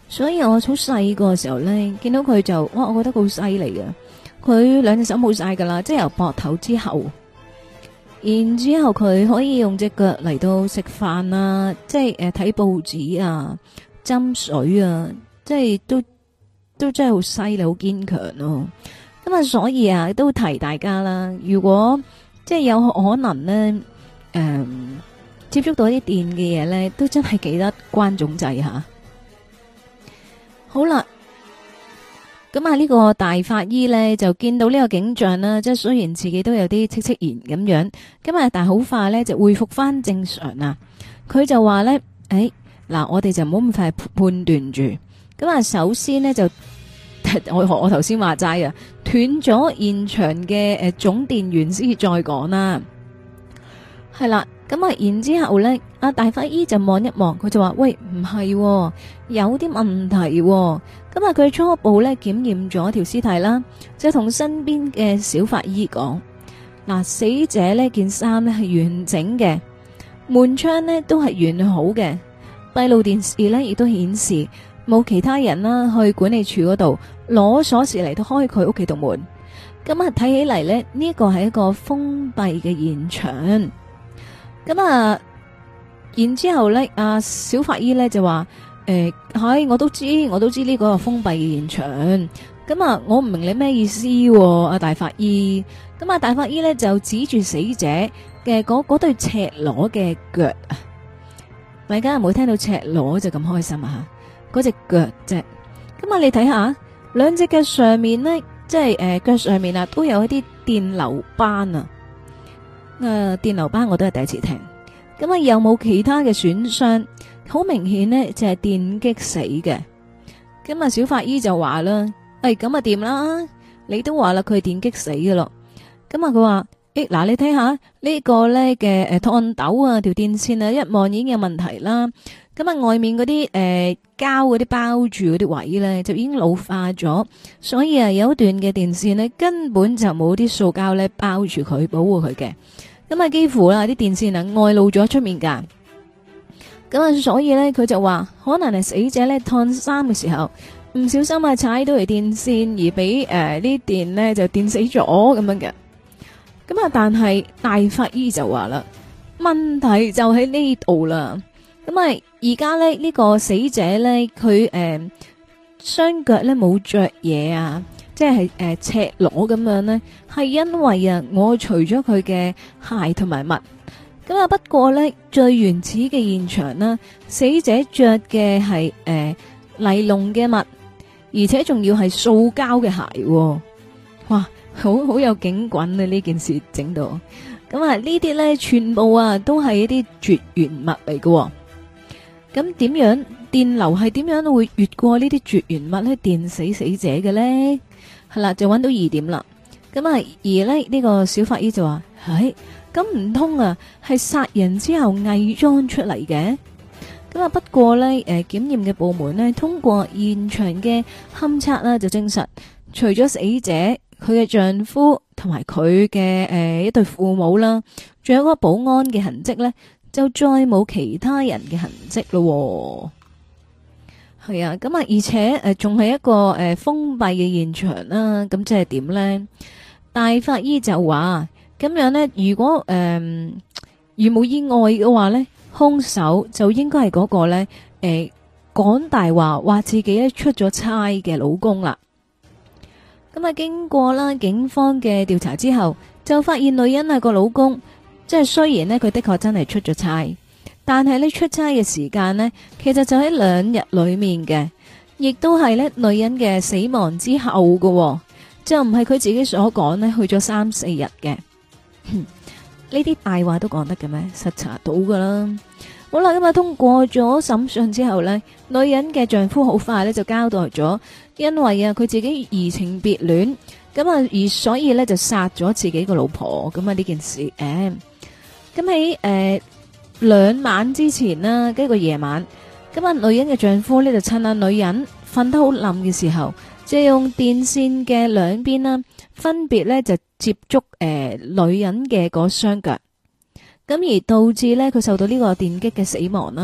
Speaker 1: 所以我好細個嘅時候咧，見到佢就哇，我覺得好犀利嘅。佢兩隻手冇晒噶啦，即係由膊頭之後，然之後佢可以用隻腳嚟到食飯啊，即係誒睇報紙啊、斟水啊，即係都都真係好犀利、好堅強咯。咁啊，所以啊，都提大家啦，如果即係有可能咧，誒、嗯、接觸到啲電嘅嘢咧，都真係記得關總掣吓。好啦。咁啊！呢個大法醫呢，就見到呢個景象啦，即係雖然自己都有啲戚戚然咁樣，咁啊，但係好快呢，就恢復翻正常啦。佢就話呢：誒，嗱，我哋就唔好咁快判斷住。咁啊，首先呢，就我我頭先話齋啊，斷咗現場嘅誒總電源先至再講啦。係啦。咁啊，然之後咧，阿大法醫就望一望，佢就話：喂，唔係喎，有啲問題喎。咁啊，佢初步咧檢驗咗條屍體啦，就同身邊嘅小法醫講：嗱，死者呢件衫呢係完整嘅，門窗呢都係完好嘅，閉路電視呢亦都顯示冇其他人啦去管理處嗰度攞鎖匙嚟到開佢屋企度門。咁啊，睇起嚟呢，呢個係一個封閉嘅現場。咁啊，然之後咧，阿小法醫咧就話：誒、呃，係我都知，我都知呢個係封閉嘅現場。咁啊，我唔明你咩意思，阿大法醫。咁啊，大法醫咧就指住死者嘅嗰嗰對赤裸嘅腳啊！大家有冇聽到赤裸就咁開心啊？吓，嗰隻腳啫。咁啊，你睇下，兩隻腳上面呢，即係誒腳上面啊，都有一啲電流斑啊。誒、呃，電流斑我都係第一次聽，咁啊有冇其他嘅損傷？好明顯呢，就係、是、電擊死嘅。咁啊小法醫就話啦，誒咁啊掂啦，你都話啦佢係電擊死嘅咯。咁啊佢話，誒嗱你睇下呢個咧嘅誒燙斗啊條電線啊一望已經有問題啦。咁啊外面嗰啲誒膠嗰啲包住嗰啲位咧就已經老化咗，所以啊有一段嘅電線呢，根本就冇啲塑膠咧包住佢保護佢嘅。咁啊，幾乎啦，啲電線啊外露咗出面噶。咁啊，所以咧，佢就話可能係死者咧燙衫嘅時候唔小心啊踩到條電線，而俾誒啲電咧就電死咗咁樣嘅。咁啊，但係大法醫就話啦，問題就喺呢度啦。咁啊，而家咧呢個死者咧，佢誒雙腳咧冇着嘢啊。即係誒、呃、赤裸咁樣呢，係因為啊，我除咗佢嘅鞋同埋襪，咁啊不過呢，最原始嘅現場啦，死者着嘅係誒尼龍嘅襪，而且仲要係塑膠嘅鞋，哇，好好有警棍啊！呢件事整到，咁啊呢啲呢，全部啊都係一啲絕緣物嚟嘅，咁點樣電流係點樣會越過呢啲絕緣物咧電死死者嘅呢？係啦，就揾到疑點啦。咁啊，而呢呢、呢個小法醫就話：唉，咁唔通啊，係殺人之後偽裝出嚟嘅？咁啊，不過呢，誒、呃，檢驗嘅部門呢，通過現場嘅勘測啦，就證實，除咗死者佢嘅丈夫同埋佢嘅誒一對父母啦，仲有嗰個保安嘅痕跡呢，就再冇其他人嘅痕跡咯。係啊，咁啊，而且誒，仲係一個誒封閉嘅現場啦。咁即係點咧？大法醫就話咁樣咧，如果誒如冇意外嘅話咧，兇手就應該係嗰個咧誒講大話，話自己咧出咗差嘅老公啦。咁啊，經過啦警方嘅調查之後，就發現女人係個老公，即係雖然咧佢的確真係出咗差。但係呢出差嘅時間呢，其實就喺兩日裏面嘅，亦都係呢女人嘅死亡之後嘅，哦，就唔係佢自己所講呢去咗三四日嘅。呢啲大話都講得嘅咩？實查到噶啦。好啦，咁啊通過咗審訊之後呢，女人嘅丈夫好快呢就交代咗，因為啊佢自己移情別戀，咁啊而所以呢就殺咗自己個老婆。咁啊呢件事誒，咁喺誒。兩晚之前啦，一個夜晚，咁啊女人嘅丈夫呢就趁啊女人瞓得好冧嘅時候，就用電線嘅兩邊啦，分別呢就接觸誒、呃、女人嘅嗰雙腳，咁而導致呢佢受到呢個電擊嘅死亡啦。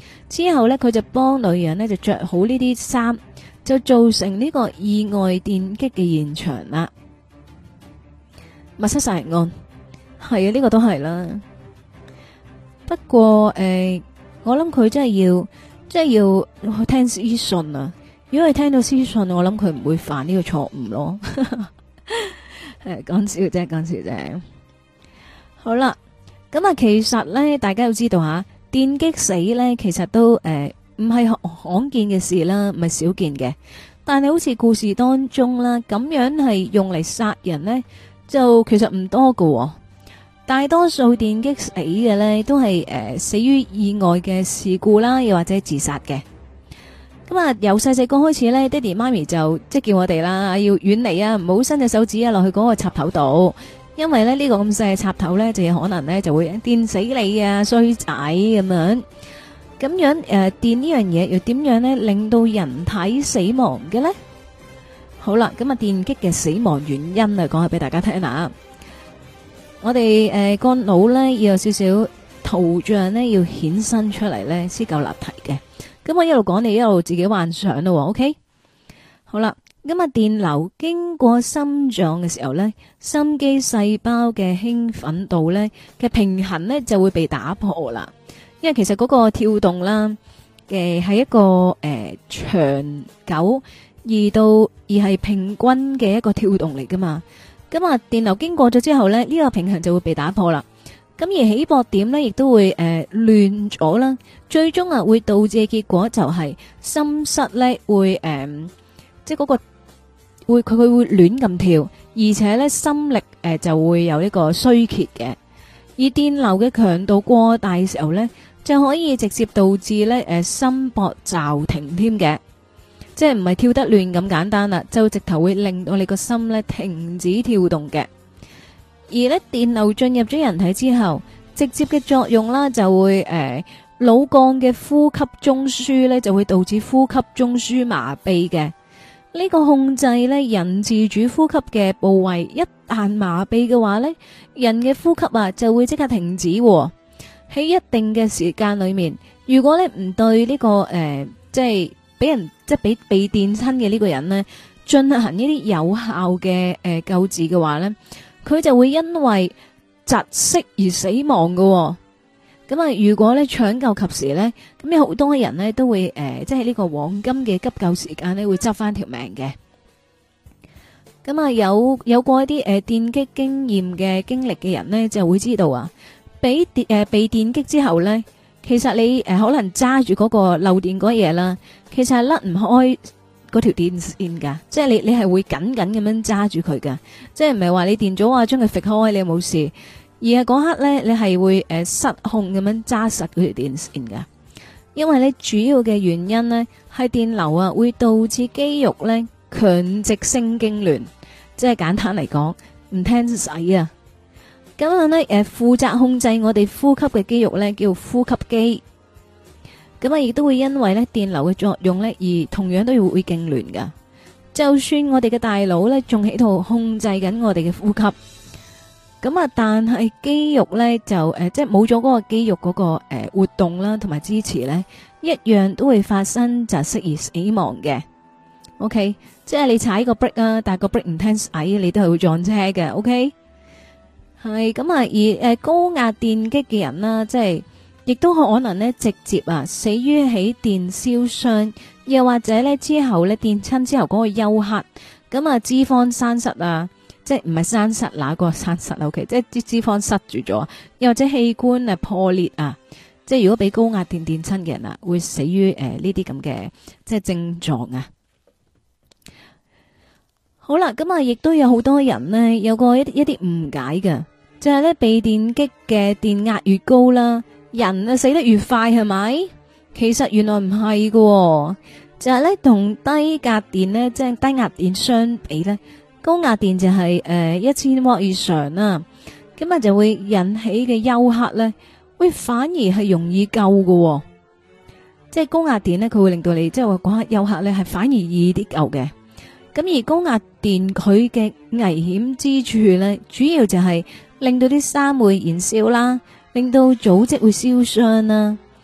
Speaker 1: 之後呢，佢就幫女人呢就着好呢啲衫，就造成呢個意外電擊嘅現場啦。密室殺人案係啊，呢個都係啦。不過誒，我諗佢真係要，真係要去聽屍訊啊！如果係聽到屍訊，我諗佢唔會犯呢個錯誤咯。誒，講笑啫，講笑啫。好啦，咁啊，其實咧，大家要知道吓，電擊死咧，其實都誒唔係罕見嘅事啦，唔係少見嘅。但係好似故事當中啦，咁樣係用嚟殺人咧，就其實唔多㗎。大多數電擊死嘅咧，都係誒、呃、死於意外嘅事故啦，又或者自殺嘅。咁啊，由細細個開始咧，爹哋媽咪就即係叫我哋啦，要遠離啊，唔好伸隻手指啊落去嗰個插頭度，因為咧呢、呢個咁細嘅插頭咧，就有可能咧就會電死你啊，衰仔咁樣。咁樣誒、呃，電呢樣嘢又點樣咧令到人體死亡嘅咧？好啦，咁啊，電擊嘅死亡原因啊，講下俾大家聽下。我哋誒個腦咧要有少少圖像咧，要衍生出嚟咧先夠立體嘅。咁我一路講，你一路自己幻想咯。OK，好啦，咁啊電流經過心臟嘅時候咧，心肌細胞嘅興奮度咧嘅平衡咧就會被打破啦。因為其實嗰個跳動啦嘅係一個誒、呃、長久而到而係平均嘅一個跳動嚟噶嘛。咁啊，電流經過咗之後呢，呢、呢個平衡就會被打破啦。咁而起搏點呢，亦都會誒亂咗啦。最終啊，會導致嘅結果就係心室呢會誒、呃，即係嗰個會佢佢會亂咁跳，而且呢心力誒、呃、就會有呢個衰竭嘅。而電流嘅強度過大嘅時候呢，就可以直接導致呢誒、呃、心搏驟停添嘅。即係唔係跳得亂咁簡單啦，就直頭會令到你個心咧停止跳動嘅。而咧電流進入咗人體之後，直接嘅作用啦就會誒腦幹嘅呼吸中樞咧就會導致呼吸中樞麻痹嘅。呢、這個控制咧人自主呼吸嘅部位一旦麻痹嘅話咧，人嘅呼吸啊就會即刻停止。喺一定嘅時間裏面，如果咧唔對呢、這個誒、呃、即係。俾人即係俾被電親嘅呢個人呢，進行呢啲有效嘅誒、呃、救治嘅話呢，佢就會因為窒息而死亡㗎、哦。咁啊，如果咧搶救及時呢，咁有好多人呢都會誒、呃，即係呢個黃金嘅急救時間呢會執翻條命嘅。咁啊，有有過一啲誒、呃、電擊經驗嘅經歷嘅人呢，就會知道啊，俾電誒、呃、被電擊之後呢。其實你誒、呃、可能揸住嗰個漏電嗰嘢啦，其實係甩唔開嗰條電線噶，即係你你係會緊緊咁樣揸住佢噶，即係唔係話你電咗啊將佢搣開你冇事，而係嗰刻咧你係會誒、呃、失控咁樣揸實嗰條電線噶，因為咧主要嘅原因呢係電流啊會導致肌肉咧強直性痙攣，即係簡單嚟講唔聽使啊。咁樣咧，誒，負責控制我哋呼吸嘅肌肉咧，叫呼吸肌。咁啊，亦都會因為咧電流嘅作用咧，而同樣都要會痙攣噶。就算我哋嘅大腦咧，仲喺度控制緊我哋嘅呼吸，咁啊，但係肌肉咧就誒，即係冇咗嗰個肌肉嗰個誒活動啦，同埋支持咧，一樣都會發生窒息而死亡嘅。OK，即係你踩個 brake 啊，但係個 brake 唔聽使，你都係會撞車嘅。OK。係咁啊，而誒高壓電擊嘅人啦，即係亦都可能咧直接啊死於喺電燒傷，又或者咧之後咧電親之後嗰個休克，咁啊脂肪生塞啊，即係唔係生塞那個生塞 OK，即係啲脂肪塞住咗，又或者器官啊破裂啊，即係如果俾高壓電電親嘅人啊，會死於誒呢啲咁嘅即係症狀啊。好啦，咁啊，亦都有好多人呢，有個一一啲誤解嘅，就係咧被電擊嘅電壓越高啦，人啊死得越快，係咪？其實原來唔係喎，就係咧同低壓電呢，即係低壓電相比咧，高壓電就係誒一千瓦以上啦，咁啊就會引起嘅休克咧，喂反而係容易救喎。即係高壓電呢，佢會令到你即係話嗰刻休克咧係反而易啲救嘅。咁而高壓電佢嘅危險之處咧，主要就係令到啲衫會燃燒啦，令到組織會燒傷啦。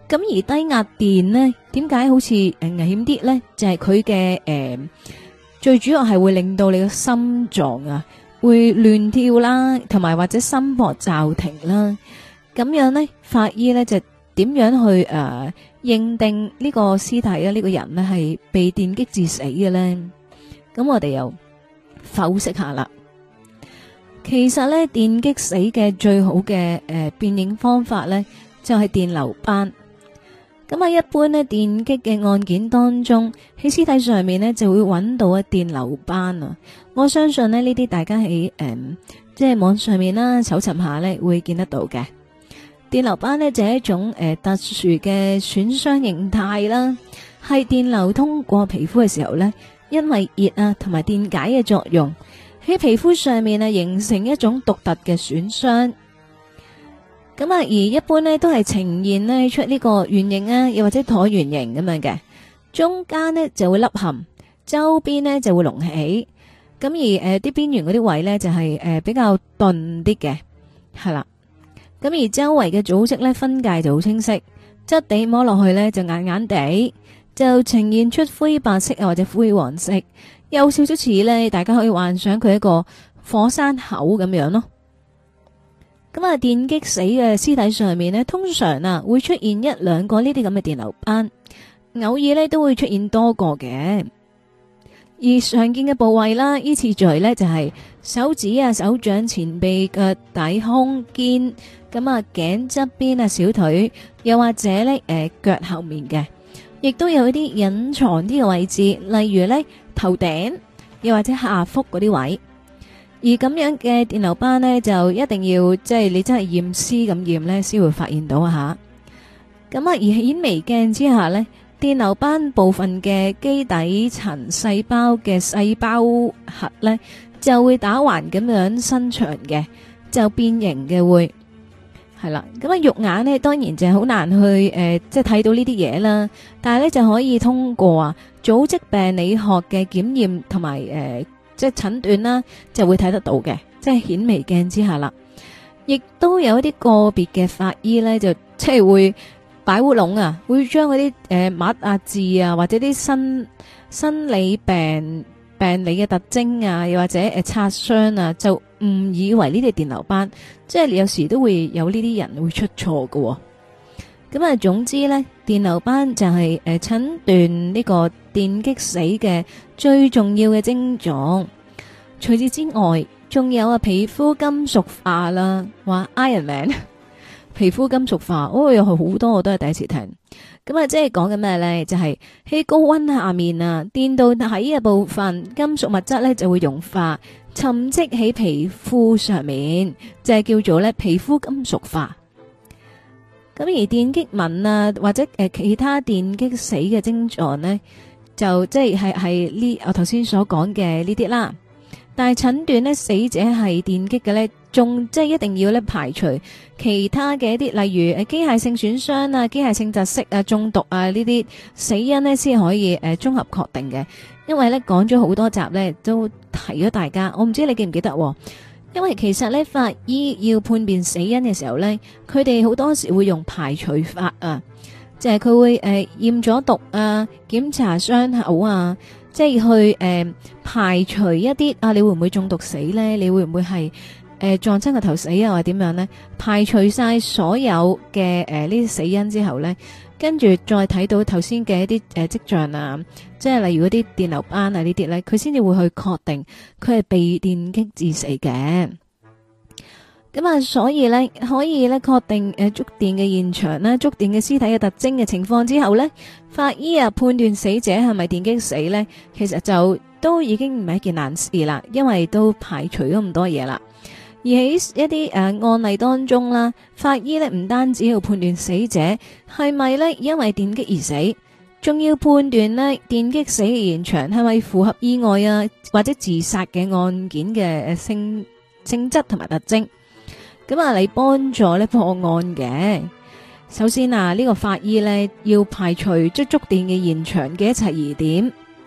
Speaker 1: 咁而低壓電呢，點解好似誒危險啲呢？就係佢嘅誒，最主要係會令到你嘅心臟啊會亂跳啦，同埋或者心搏驟停啦。咁樣呢，法醫呢就點樣去誒、呃、認定呢個屍體啊？呢、呢個人呢係被電擊致死嘅呢？咁我哋又剖析下啦。其實呢，電擊死嘅最好嘅誒、呃、辨認方法呢，就係、是、電流斑。咁喺一般呢電擊嘅案件當中，喺屍體上面呢就會揾到一電流斑啊。我相信呢呢啲大家喺誒、嗯、即係網上面啦搜尋下呢會見得到嘅。電流斑呢就係一種誒、呃、特殊嘅損傷形態啦，係電流通過皮膚嘅時候呢，因為熱啊同埋電解嘅作用喺皮膚上面啊形成一種獨特嘅損傷。咁啊，而一般呢都係呈現呢出呢個圓形啊，又或者橢圓形咁樣嘅，中間呢就會凹陷，周邊呢就會隆起。咁而誒啲邊緣嗰啲位呢，就係、是、誒、呃、比較鈍啲嘅，係啦。咁而周圍嘅組織呢，分界就好清晰，質地摸落去呢，就硬硬地，就呈現出灰白色啊或者灰黃色，有少少似呢，大家可以幻想佢一個火山口咁樣咯。咁啊，電擊死嘅屍體上面呢，通常啊會出現一兩個呢啲咁嘅電流斑，偶爾呢都會出現多個嘅。而常見嘅部位啦，依次序呢就係手指啊、手掌、前臂、腳底、胸肩，咁啊頸側邊啊、小腿，又或者呢誒腳後面嘅，亦都有一啲隱藏啲嘅位置，例如呢頭頂，又或者下腹嗰啲位。而咁樣嘅電流斑呢，就一定要即係你真係驗屍咁驗呢，先會發現到啊吓。咁啊，而顯微鏡之下呢，電流斑部分嘅基底層細胞嘅細胞核呢，就會打橫咁樣伸長嘅，就變形嘅會係啦。咁啊，肉眼呢，當然就係好難去誒、呃，即係睇到呢啲嘢啦。但係呢，就可以通過啊組織病理學嘅檢驗同埋誒。呃即係診斷啦，就會睇得到嘅，即係顯微鏡之下啦。亦都有一啲個別嘅法醫咧，就即係會擺烏龍啊，會將嗰啲誒抹啊字啊，或者啲生生理病病理嘅特徵啊，又或者誒擦傷啊，就誤以為呢啲電流斑，即係有時都會有呢啲人會出錯㗎喎。咁啊，總之咧，電流斑就係誒診斷呢個電擊死嘅最重要嘅症狀。除此之外，仲有啊皮膚金屬化啦，話 Iron Man 皮膚金屬化，哦，有好多我都係第一次聽。咁啊，即係講緊咩咧？就係、是、喺高溫下面啊，電導體嘅部分金屬物質咧就會融化，沉積喺皮膚上面，就係叫做咧皮膚金屬化。咁而電擊紋啊，或者誒其他電擊死嘅症狀呢，就即係係係呢我頭先所講嘅呢啲啦。但係診斷呢，死者係電擊嘅呢，仲即係一定要咧排除其他嘅一啲，例如誒機械性損傷啊、機械性窒息啊、中毒啊呢啲死因呢，先可以誒綜合確定嘅。因為咧講咗好多集呢，都提咗大家，我唔知你記唔記得喎。因為其實咧，法醫要判別死因嘅時候咧，佢哋好多時會用排除法啊，就係、是、佢會誒驗咗毒啊，檢查傷口啊，即係去誒、呃、排除一啲啊，你會唔會中毒死咧？你會唔會係誒、呃、撞親個頭死啊？或者點樣咧？排除晒所有嘅誒呢啲死因之後咧，跟住再睇到頭先嘅一啲誒跡象啊。即係例如嗰啲電流斑啊呢啲咧，佢先至會去確定佢係被電擊致死嘅。咁啊，所以咧可以咧確定誒觸電嘅現場啦、觸電嘅屍體嘅特徵嘅情況之後咧，法醫啊判斷死者係咪電擊死咧，其實就都已經唔係一件難事啦，因為都排除咗咁多嘢啦。而喺一啲誒、呃、案例當中啦，法醫咧唔單止要判斷死者係咪咧因為電擊而死。仲要判斷呢電擊死嘅現場係咪符合意外啊或者自殺嘅案件嘅性性質同埋特徵，咁啊嚟幫助呢破案嘅。首先啊，呢、這個法醫呢要排除即觸電嘅現場嘅一切疑點，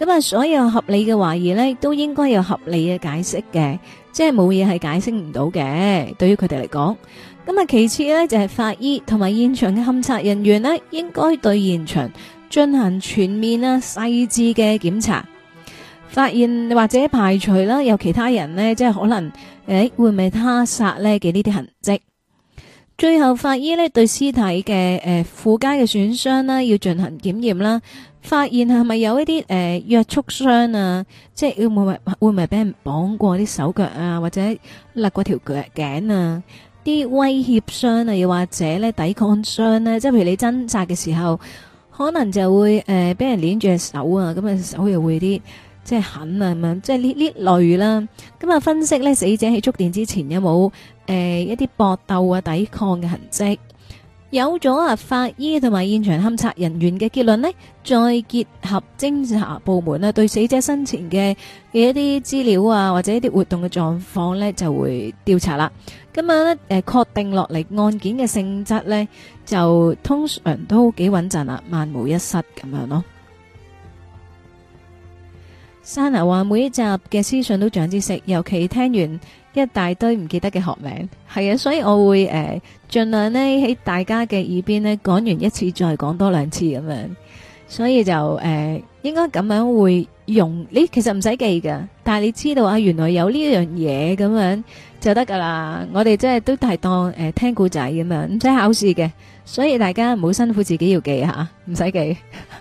Speaker 1: 咁啊，所有合理嘅懷疑呢，都應該有合理嘅解釋嘅，即係冇嘢係解釋唔到嘅。對於佢哋嚟講，咁啊，其次呢，就係法醫同埋現場嘅勘察人員呢，應該對現場進行全面啊細緻嘅檢查，發現或者排除啦有其他人呢，即係可能誒會唔會他殺呢嘅呢啲痕跡。最後，法醫呢對屍體嘅誒附加嘅損傷啦，要進行檢驗啦，發現係咪有一啲誒約束傷啊，即係會唔會會唔會俾人綁過啲手腳啊，或者勒過條腳頸啊，啲威脅傷啊，又或者咧抵抗傷咧，即係譬如你掙扎嘅時候，可能就會誒俾人捏住隻手啊，咁啊手又會啲即係痕啊咁樣，即係呢呢類啦。咁啊分析咧死者喺觸電之前有冇誒一啲搏鬥啊抵抗嘅痕跡。有咗啊法醫同埋現場勘察人員嘅結論呢，再結合偵查部門啊對死者生前嘅嘅一啲資料啊或者一啲活動嘅狀況呢，就會調查啦。咁啊咧誒確定落嚟案件嘅性質呢，就通常都幾穩陣啦，萬無一失咁樣咯。Sana 話每一集嘅資訊都長知識，尤其聽完一大堆唔記得嘅學名，係啊，所以我會誒盡量呢喺大家嘅耳邊呢講完一次再講多兩次咁樣，所以就誒、呃、應該咁樣會用，你其實唔使記噶，但係你知道啊，原來有呢樣嘢咁樣就得噶啦。我哋真係都係當誒、呃、聽故仔咁樣，唔使考試嘅，所以大家唔好辛苦自己要記吓，唔使記。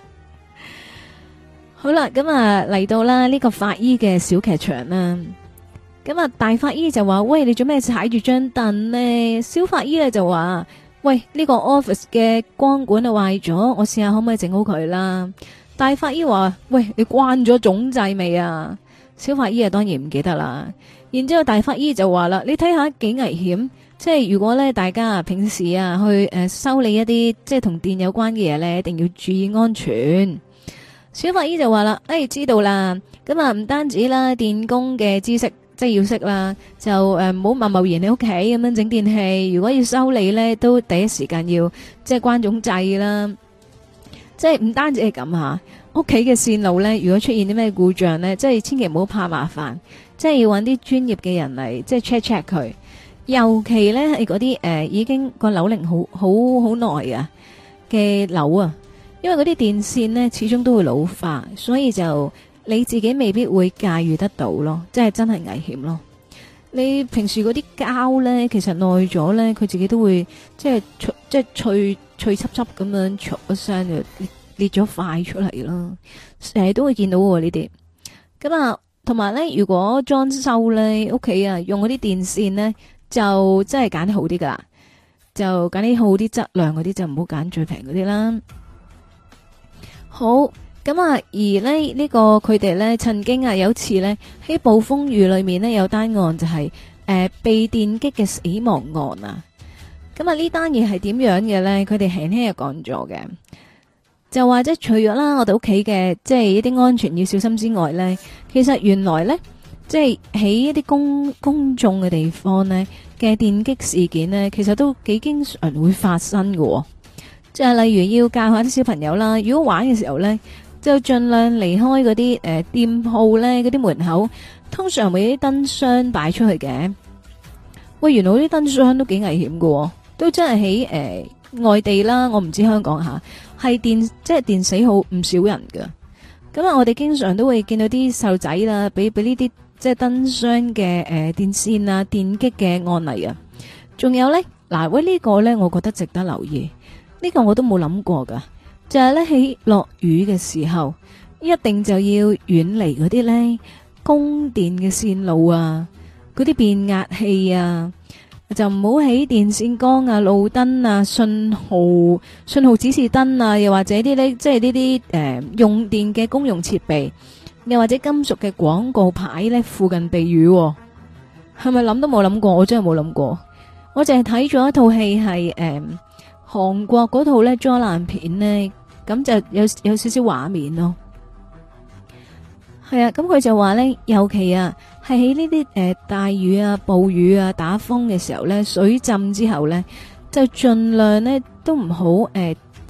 Speaker 1: 好啦，咁啊嚟到啦呢個法醫嘅小劇場啦。咁啊大法醫就話：喂，你做咩踩住張凳呢？小法醫咧就話：喂，呢個 office 嘅光管啊壞咗，我試下可唔可以整好佢啦。大法醫話：喂，你關咗總掣未啊？小法醫啊當然唔記得啦。然之後大法醫就話啦：你睇下幾危險，即係如果咧大家平時啊去誒修理一啲即係同電有關嘅嘢咧，一定要注意安全。小法醫就話啦：誒、哎，知道啦，咁啊唔單止啦，電工嘅知識即係要識啦，就誒唔好貿貿然喺屋企咁樣整電器，如果要修理咧，都第一時間要即係關總掣啦。即係唔單止係咁吓，屋企嘅線路咧，如果出現啲咩故障咧，即係千祈唔好怕麻煩，即係要搵啲專業嘅人嚟即係 check check 佢。尤其咧係嗰啲誒已經個樓齡好好好耐啊嘅樓啊。因為嗰啲電線呢始終都會老化，所以就你自己未必會駕馭得到咯，即係真係危險咯。你平時嗰啲膠呢，其實耐咗呢，佢自己都會即係即係脆脆脆濕濕咁樣，唰一聲就裂裂咗塊出嚟咯。成日都會見到喎呢啲。咁啊，同埋呢，如果裝修呢，屋企啊用嗰啲電線呢，就真係揀啲好啲噶啦，就揀啲好啲質量嗰啲，就唔好揀最平嗰啲啦。好咁啊！而呢呢、呢個佢哋呢曾經啊有次呢喺暴風雨裏面呢有單案就係、是、誒、呃、被電擊嘅死亡案啊！咁啊呢單嘢係點樣嘅呢？佢哋輕輕又講咗嘅，就話即係除咗啦，我哋屋企嘅即係一啲安全要小心之外呢，其實原來呢，即係喺一啲公公眾嘅地方呢嘅電擊事件呢，其實都幾經常會發生嘅、哦。即係例如要教下啲小朋友啦，如果玩嘅時候呢，就盡量離開嗰啲誒店鋪呢，嗰啲門口，通常會有啲燈箱擺出去嘅。喂，原來啲燈箱都幾危險喎，都真係喺誒外地啦，我唔知香港吓，係電即係電死好唔少人噶。咁啊，我哋經常都會見到啲細路仔啦，俾俾呢啲即係燈箱嘅誒電線啊電擊嘅案例啊。仲有呢，嗱喂呢個呢，我覺得值得留意。呢個我都冇諗過噶，就係咧喺落雨嘅時候，一定就要遠離嗰啲咧供電嘅線路啊，嗰啲變壓器啊，就唔好喺電線桿啊、路燈啊、信號信號指示燈啊，又或者啲咧即係呢啲誒用電嘅公用設備，又或者金屬嘅廣告牌咧附近避雨，係咪諗都冇諗過？我真係冇諗過，我淨係睇咗一套戲係誒。韓國嗰套咧災難片呢，咁就有有少少畫面咯。係啊，咁佢就話呢，尤其啊係喺呢啲誒大雨啊、暴雨啊、打風嘅時候呢，水浸之後呢，就盡量呢都唔好誒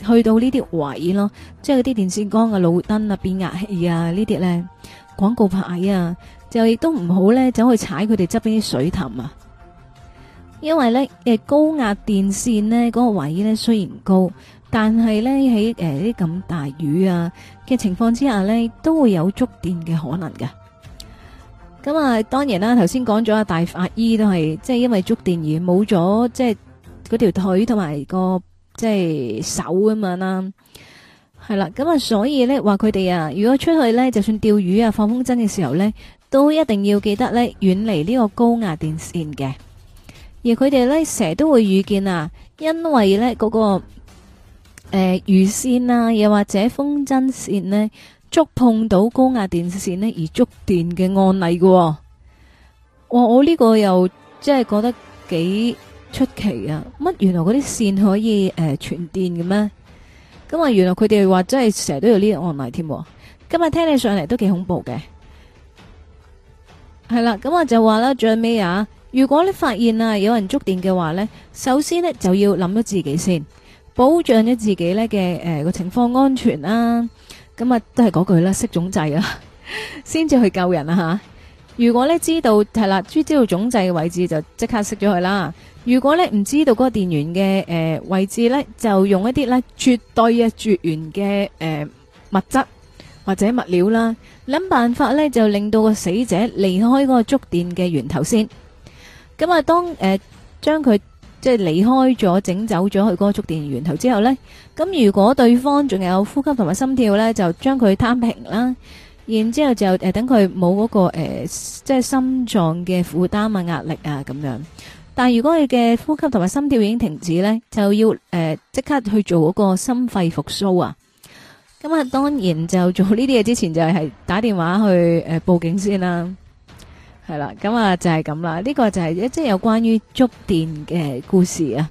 Speaker 1: 去到呢啲位咯，即係嗰啲電線桿啊、路燈啊、變壓器啊呢啲咧，廣告牌啊，就亦都唔好咧走去踩佢哋側邊啲水凼啊。因為咧誒高壓電線呢嗰個位咧雖然高，但係咧喺誒啲咁大雨啊嘅情況之下咧，都會有觸電嘅可能嘅。咁啊，當然啦，頭先講咗啊，大法醫都係即係因為觸電而冇咗即係嗰條腿同埋個即係手咁樣啦，係啦。咁啊，所以咧話佢哋啊，如果出去咧，就算釣魚啊、放風箏嘅時候咧，都一定要記得咧遠離呢個高壓電線嘅。而佢哋咧成日都會遇見啊，因為咧嗰、嗰個誒、呃、魚線啊，又或者風箏線呢，觸碰到高壓電線呢而觸電嘅案例嘅、哦。哇！我呢個又即係覺得幾出奇啊！乜原來嗰啲線可以誒傳、呃、電嘅咩？咁啊，原來佢哋話真係成日都有呢個案例添。今日聽你上嚟都幾恐怖嘅。係啦，咁我就話啦，最尾啊，如果你發現啊有人觸電嘅話呢，首先呢就要諗咗自己先，保障咗自己呢嘅誒個情況安全啦。咁啊，都係嗰句啦，熄總掣啊，先至去救人啊吓。如果咧知道係啦，知道總掣嘅位置就即刻熄咗佢啦。如果咧唔知道嗰個電源嘅誒、呃、位置咧，就用一啲咧絕對嘅絕緣嘅誒、呃、物質或者物料啦，諗辦法咧就令到個死者離開嗰個觸電嘅源頭先。咁啊，當誒將佢即係離開咗，整走咗去嗰個觸電源頭之後呢，咁如果對方仲有呼吸同埋心跳呢，就將佢攤平啦，然之後就誒、呃、等佢冇嗰個誒、呃、即係心臟嘅負擔啊、壓力啊咁樣。但係如果佢嘅呼吸同埋心跳已經停止呢，就要誒即、呃、刻去做嗰個心肺復甦啊。咁啊，當然就做呢啲嘢之前就係打電話去誒、呃、報警先啦。係啦，咁啊就係咁啦，呢個就係即係有關於觸電嘅故事啊。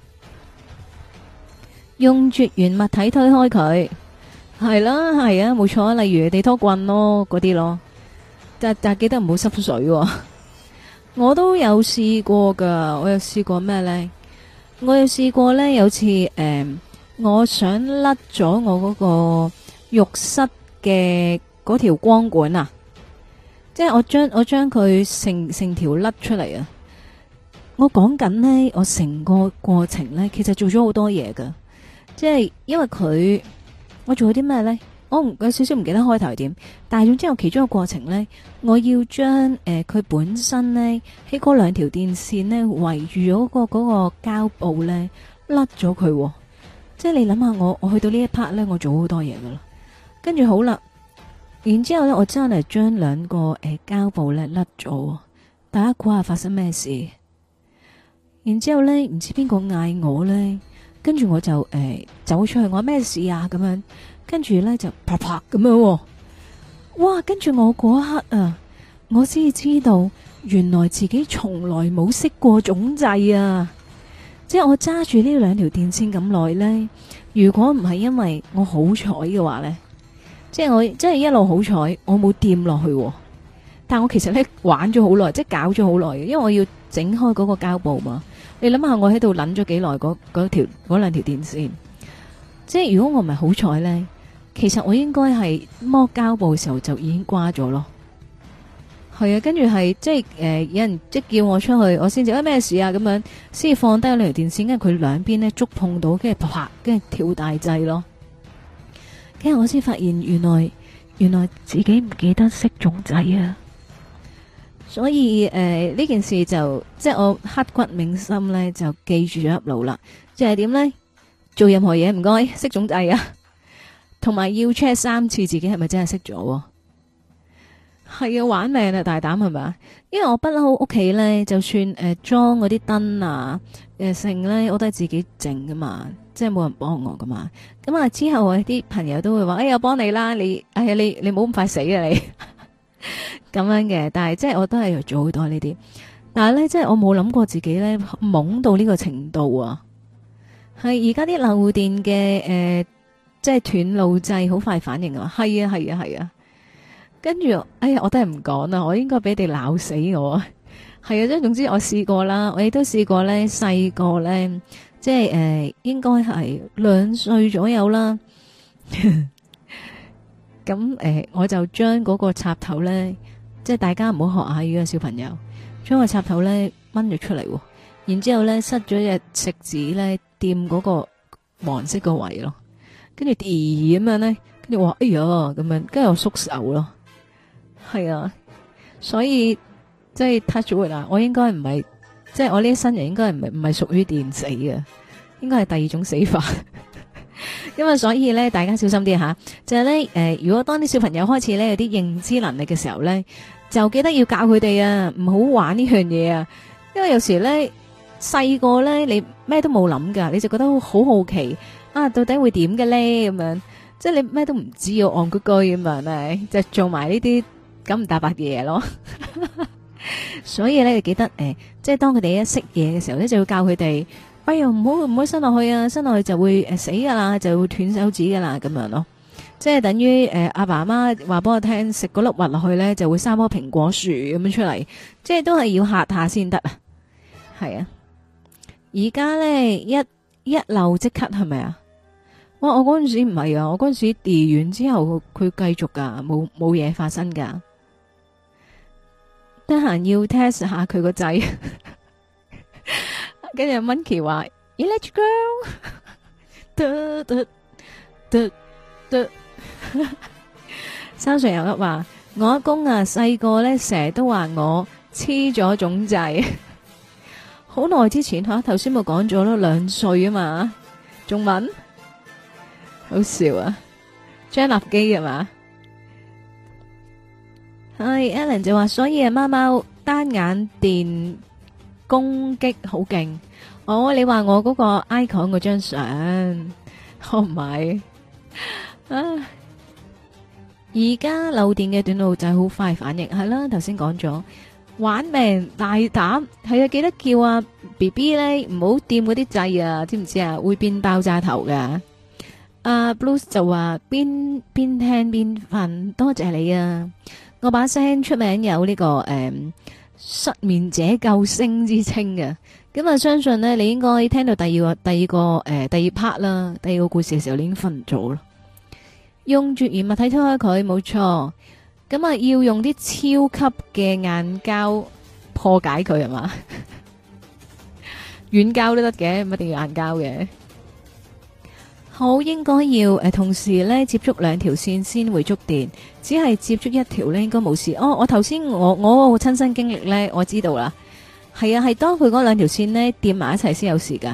Speaker 1: 用絕緣物體推開佢，係啦，係啊，冇錯，例如地拖棍咯，嗰啲咯，但但記得唔好濕水喎。我都有試過噶，我有試過咩呢？我有試過呢，有次誒、呃，我想甩咗我嗰個浴室嘅嗰條光管啊。即係我將我將佢成成條甩出嚟啊！我講緊呢，我成個過程呢，其實做咗好多嘢噶。即係因為佢，我做咗啲咩呢？我唔有少少唔記得開頭係點，但係總之我其中一個過程呢，我要將誒佢本身呢，喺嗰兩條電線呢圍住咗個嗰個膠布呢，甩咗佢。即係你諗下，我我去到呢一 part 呢，我做好多嘢噶啦。跟住好啦。然之後咧，我真係將兩個誒膠布咧甩咗，大家估下發生咩事？然之後咧，唔知邊個嗌我咧，跟住我就誒、呃、走出去，我話咩事啊？咁樣，跟住咧就啪啪咁樣，哇！跟住我嗰一刻啊，我先至知道原來自己從來冇熄過總掣啊！即係我揸住呢兩條電線咁耐咧，如果唔係因為我好彩嘅話咧。即係我，即係一路好彩，我冇掂落去。但我其實咧玩咗好耐，即係搞咗好耐嘅，因為我要整開嗰個膠布嘛。你諗下，我喺度捻咗幾耐嗰嗰條嗰兩條電線。即係如果我唔係好彩咧，其實我應該係剝膠布嘅時候就已經瓜咗咯。係啊，跟住係即係誒、呃，有人即係叫我出去，我先至啊咩事啊咁樣，先至放低嗰兩條電線，跟住佢兩邊咧觸碰到，跟住啪，跟住跳大掣咯。跟住我先發現，原來原來自己唔記得熄總掣啊！所以誒呢、呃、件事就即係我刻骨銘心咧，就記住咗入腦啦。即係點咧？做任何嘢唔該熄總掣啊，同埋要 check 三次自己係咪真係熄咗。係啊，玩命啊，大膽係咪？因為我不嬲屋企咧，就算誒裝嗰啲燈啊誒成咧，我都係自己整噶嘛。即係冇人幫我噶嘛，咁啊之後我啲朋友都會話，哎，我幫你啦，你，哎呀，你你冇咁快死啊你，咁樣嘅。但係即係我都係要做好多呢啲，但係咧即係我冇諗過自己咧懵到呢個程度啊。係而家啲漏電嘅誒，即係斷路掣好快反應啊，係啊係啊係啊，跟住哎呀我都係唔講啦，我應該俾你哋鬧死我啊。係啊，即係總之我試過啦，我亦都試過咧細個咧。 即係誒、呃，應該係兩歲左右啦。咁誒、呃，我就將嗰個插頭咧，即係大家唔好學下呢個小朋友，將個插頭咧掹咗出嚟，然之後咧塞咗隻食指咧掂嗰個黃色個位咯，跟住咦咁樣咧，跟住話哎呀咁樣，跟住我縮手咯，係啊，所以即係 touch wood 啊，我應該唔係，即係我呢一生人應該唔係唔係屬於電死嘅，應該係第二種死法。因為所以咧，大家小心啲吓，就係咧誒，如果當啲小朋友開始咧有啲認知能力嘅時候咧，就記得要教佢哋啊，唔好玩呢樣嘢啊。因為有時咧細個咧，你咩都冇諗噶，你就覺得好好奇啊，到底會點嘅咧咁樣，即係你咩都唔知，要戇居居咁樣咧，就做埋呢啲九唔搭八嘅嘢咯。所以咧，你記得誒、呃，即係當佢哋一識嘢嘅時候咧，就要教佢哋。哎呀，唔好唔好伸落去啊！伸落去就會誒、呃、死噶啦，就會斷手指噶啦，咁樣咯。即係等於誒阿爸阿媽話俾我聽，食嗰粒核落去咧就會生棵蘋果樹咁樣出嚟，即係都係要嚇下先得啊。係啊，而家咧一一漏即刻係咪啊？哇！我嗰陣時唔係啊，我嗰陣時跌完之後佢繼續噶，冇冇嘢發生噶。得閒要 test 下佢個仔。跟住 Monkey 話 Electric Girl，得得得得。山上有一話，我阿公啊細個咧成日都話我黐咗種掣，好耐之前吓，頭先咪講咗咯，兩歲啊嘛，仲問，好笑啊，張立基係嘛？係 Alan 就話，所以啊貓貓單眼電攻擊好勁，哦！你話我嗰個 icon 嗰張相，我唔係啊！而家漏電嘅短路就係好快反應，係啦，頭先講咗玩命大膽，係啊，記得叫阿 B B 咧唔好掂嗰啲掣啊，知唔知啊？會變爆炸頭噶。阿 Bruce 就話邊邊聽邊瞓，多謝你啊！我把聲出名有呢、這個誒。嗯失眠者救星之稱嘅，咁啊相信呢，你應該聽到第二個第二個誒、呃、第二 part 啦，第二個故事嘅時候你已經瞓咗啦。用絕緣物體推開佢，冇錯。咁啊要用啲超級嘅硬膠破解佢係嘛？軟膠都得嘅，唔一定要硬膠嘅。好，應該要誒、呃、同時咧接觸兩條線先會觸電，只係接觸一條咧應該冇事。哦，我頭先我我個親身經歷咧，我知道啦。係啊，係當佢嗰兩條線咧掂埋一齊先有事噶。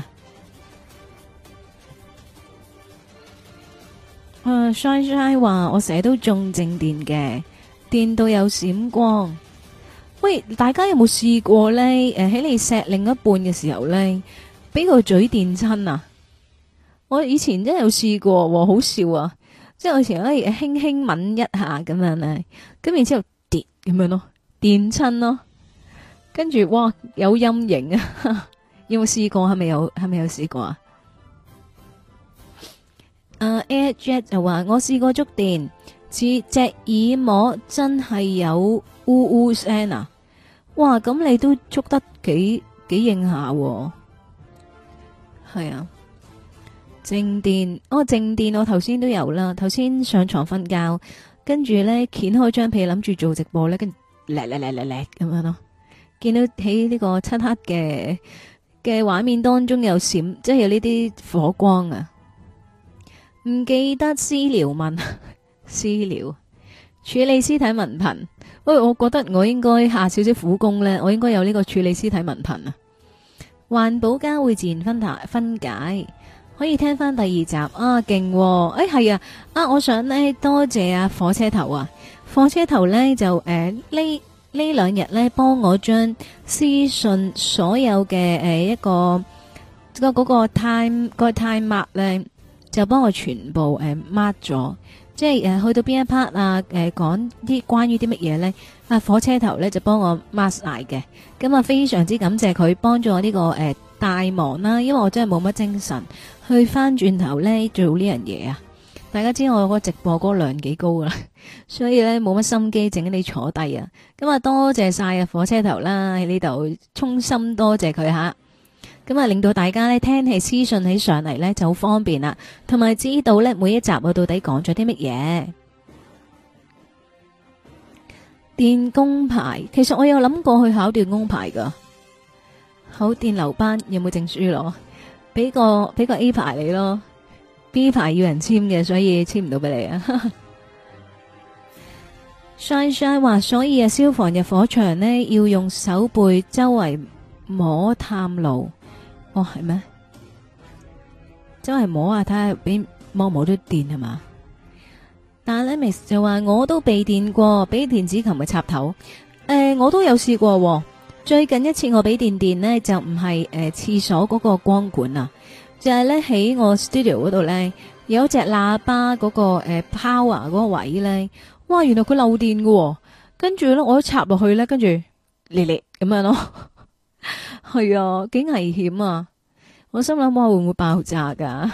Speaker 1: 誒，Shine Shine 話我成日都中靜電嘅，電到有閃光。喂，大家有冇試過咧？誒、呃，喺你錫另一半嘅時候咧，俾個嘴電親啊！我以前真係有試過，好笑啊！即係我以前可以輕輕吻一下咁樣咧，咁然之後跌咁樣咯，電親咯，跟住哇有陰影啊！有冇試過？係咪有？係咪有試過啊？誒、uh,，Air Jet 就話我試過觸電，似隻耳膜真係有嗚嗚聲啊！哇，咁你都觸得幾幾硬下，係啊！靜電，哦靜電我頭先都有啦，頭先上床瞓覺，跟住咧掀開張被諗住做直播咧，跟住叻叻叻叻叻咁樣咯，見到喺呢個漆黑嘅嘅畫面當中有閃，即係有呢啲火光啊！唔記得私聊問私聊處理屍體文憑，喂，我覺得我應該下少少苦功咧，我應該有呢個處理屍體文憑啊！環保膠會自然分解分解。可以聽翻第二集啊，勁！誒係啊，啊我想呢多謝啊火車頭啊，火車頭呢就誒呢呢兩日呢幫我將私信所有嘅誒、呃、一個個嗰個 time 個 time mark 呢就幫我全部誒 mark 咗，即係誒、呃、去到邊一 part 啊，誒講啲關於啲乜嘢呢？啊火車頭呢就幫我 mark 晒嘅，咁啊非常之感謝佢幫咗我呢、這個誒。呃大忙啦，因為我真係冇乜精神去翻轉頭咧做呢樣嘢啊！大家知我個直播嗰個量幾高啦，所以咧冇乜心機整你坐低啊！咁啊多謝晒啊火車頭啦喺呢度，衷心多謝佢吓。 咁啊令到大家咧聽起私信起上嚟咧就好方便啦，同埋知道咧每一集我到底講咗啲乜嘢。電工牌，其實我有諗過去考電工牌噶，考電流班有冇證書攞？俾個俾個 A 牌你咯 ，B 牌要人簽嘅，所以簽唔到俾你啊。Shine Shine 話，所以啊，消防入火場呢，要用手背周圍摸探路。哦，係咩？周圍摸下睇下，俾摸摸到電係嘛？但係咧 Miss 就話我都被電過，俾電子琴嘅插頭。誒、呃，我都有試過。最近一次我俾電電呢，就唔係誒廁所嗰個光管啊，就係咧喺我 studio 嗰度咧有一隻喇叭嗰、嗰個誒、呃、power 嗰個位咧。哇！原來佢漏電嘅、哦，跟住咧我一插落去咧，跟住烈烈咁樣咯，係啊，幾危險啊！我心諗哇，會唔會爆炸噶？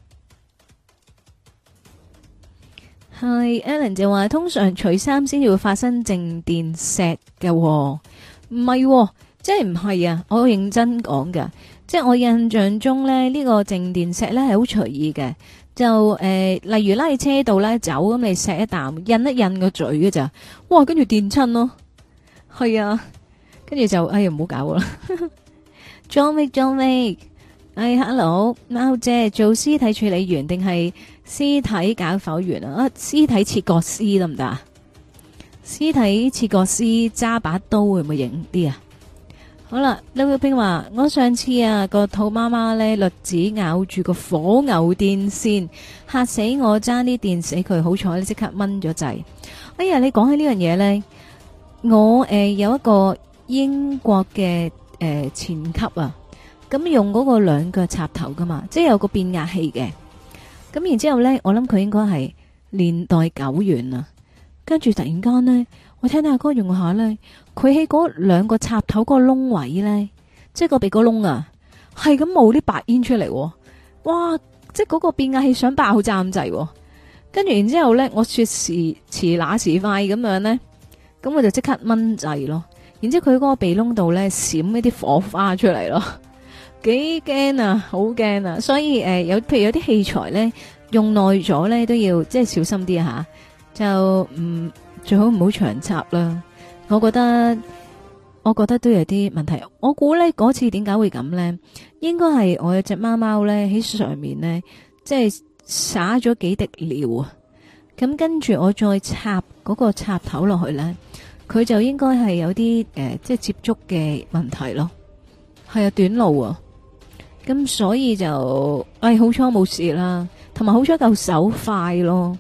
Speaker 1: 係 Alan 就話通常除衫先至會發生靜電石嘅、哦，唔係、哦，即係唔係啊！我認真講噶，即係我印象中咧呢、這個靜電石咧係好隨意嘅。就誒、呃，例如拉喺車度咧走咁，你錫一啖，印一印個嘴嘅咋，哇，跟住電親咯，係啊，跟住就哎呀唔好搞啦。John Wick John Wick，哎 hello，貓姐做屍體處理員定係屍體解剖員啊？啊，屍體切割師得唔得啊？屍體切割師揸把刀會唔會型啲啊？好啦，劉玉冰話：我上次啊個兔媽媽咧，栗子咬住個火牛電線，嚇死我，爭啲電死佢，好彩即刻掹咗掣。哎呀，你講起呢樣嘢咧，我誒、呃、有一個英國嘅誒、呃、前級啊，咁用嗰個兩腳插頭噶嘛，即係有個變壓器嘅。咁然之後咧，我諗佢應該係年代久遠啊，跟住突然間咧。我聽到阿哥用下咧，佢喺嗰兩個插頭個窿位咧，即係個鼻哥窿啊，係咁冒啲白煙出嚟，哇！即係嗰個變壓器想爆炸咁滯，跟住然之後咧，我說時遲那時快咁樣咧，咁我就即刻掹掣咯。然之後佢嗰個鼻窿度咧閃一啲火花出嚟咯，幾驚啊，好驚啊！所以誒、呃，有譬如有啲器材咧用耐咗咧，都要即係小心啲吓，就唔。嗯最好唔好長插啦，我覺得我覺得都有啲問題。我估呢嗰次點解會咁呢？應該係我有隻貓貓呢喺上面呢，即係灑咗幾滴尿啊。咁跟住我再插嗰個插頭落去呢，佢就應該係有啲誒、呃，即係接觸嘅問題咯。係啊，短路啊，咁所以就誒、哎、好彩冇事啦，同埋好彩夠手快咯。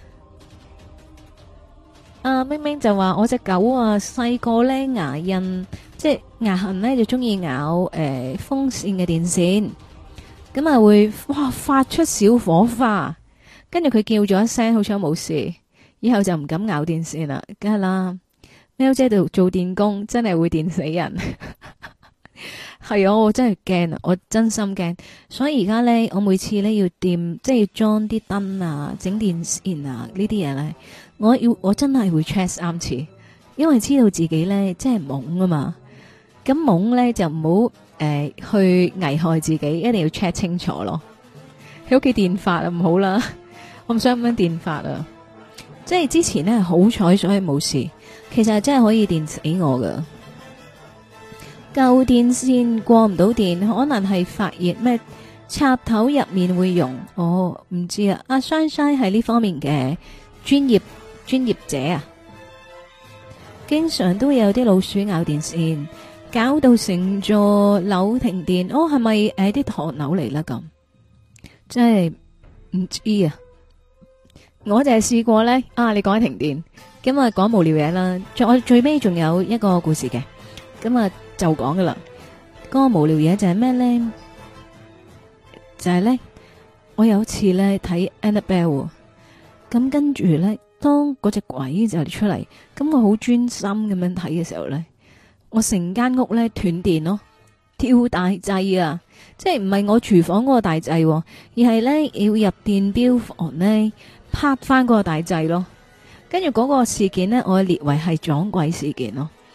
Speaker 1: 啊，明明就話我隻狗啊，細個咧牙印，即係牙痕咧就中意咬誒、呃、風扇嘅電線，咁啊會哇發出小火花，跟住佢叫咗一聲，好彩冇事，以後就唔敢咬電線啦，梗係啦。喵姐度做電工真係會電死人，係啊，我真係驚啊，我真心驚，所以而家咧我每次咧要掂，即係要裝啲燈啊，整電線啊呢啲嘢咧。我要我真係會 check 三次，因為知道自己咧真係懵啊嘛。咁懵咧就唔好誒去危害自己，一定要 check 清楚咯。喺屋企電發啊唔好啦，我唔想咁樣電發啊。即係之前咧好彩，所以冇事。其實真係可以電死我噶。舊電線過唔到電，可能係發熱咩插頭入面會溶。哦，唔知啊。阿 Shine Shine 係呢方面嘅專業。專業者啊，經常都會有啲老鼠咬電線，搞到成座樓停電。哦，係咪誒啲唐樓嚟啦？咁真係唔知啊！我就係試過咧。啊，你講起停電，咁啊講無聊嘢啦。我最尾仲有一個故事嘅，咁啊就講噶啦。嗰個無聊嘢就係咩咧？就係咧，我有一次咧睇 Annabelle，咁跟住咧。當嗰隻鬼就出嚟，咁我好專心咁樣睇嘅時候咧，我成間屋咧斷電咯，跳大掣啊！即係唔係我廚房嗰個大掣，而係咧要入電錶房咧拍翻嗰個大掣咯。跟住嗰個事件咧，我列為係撞鬼事件咯。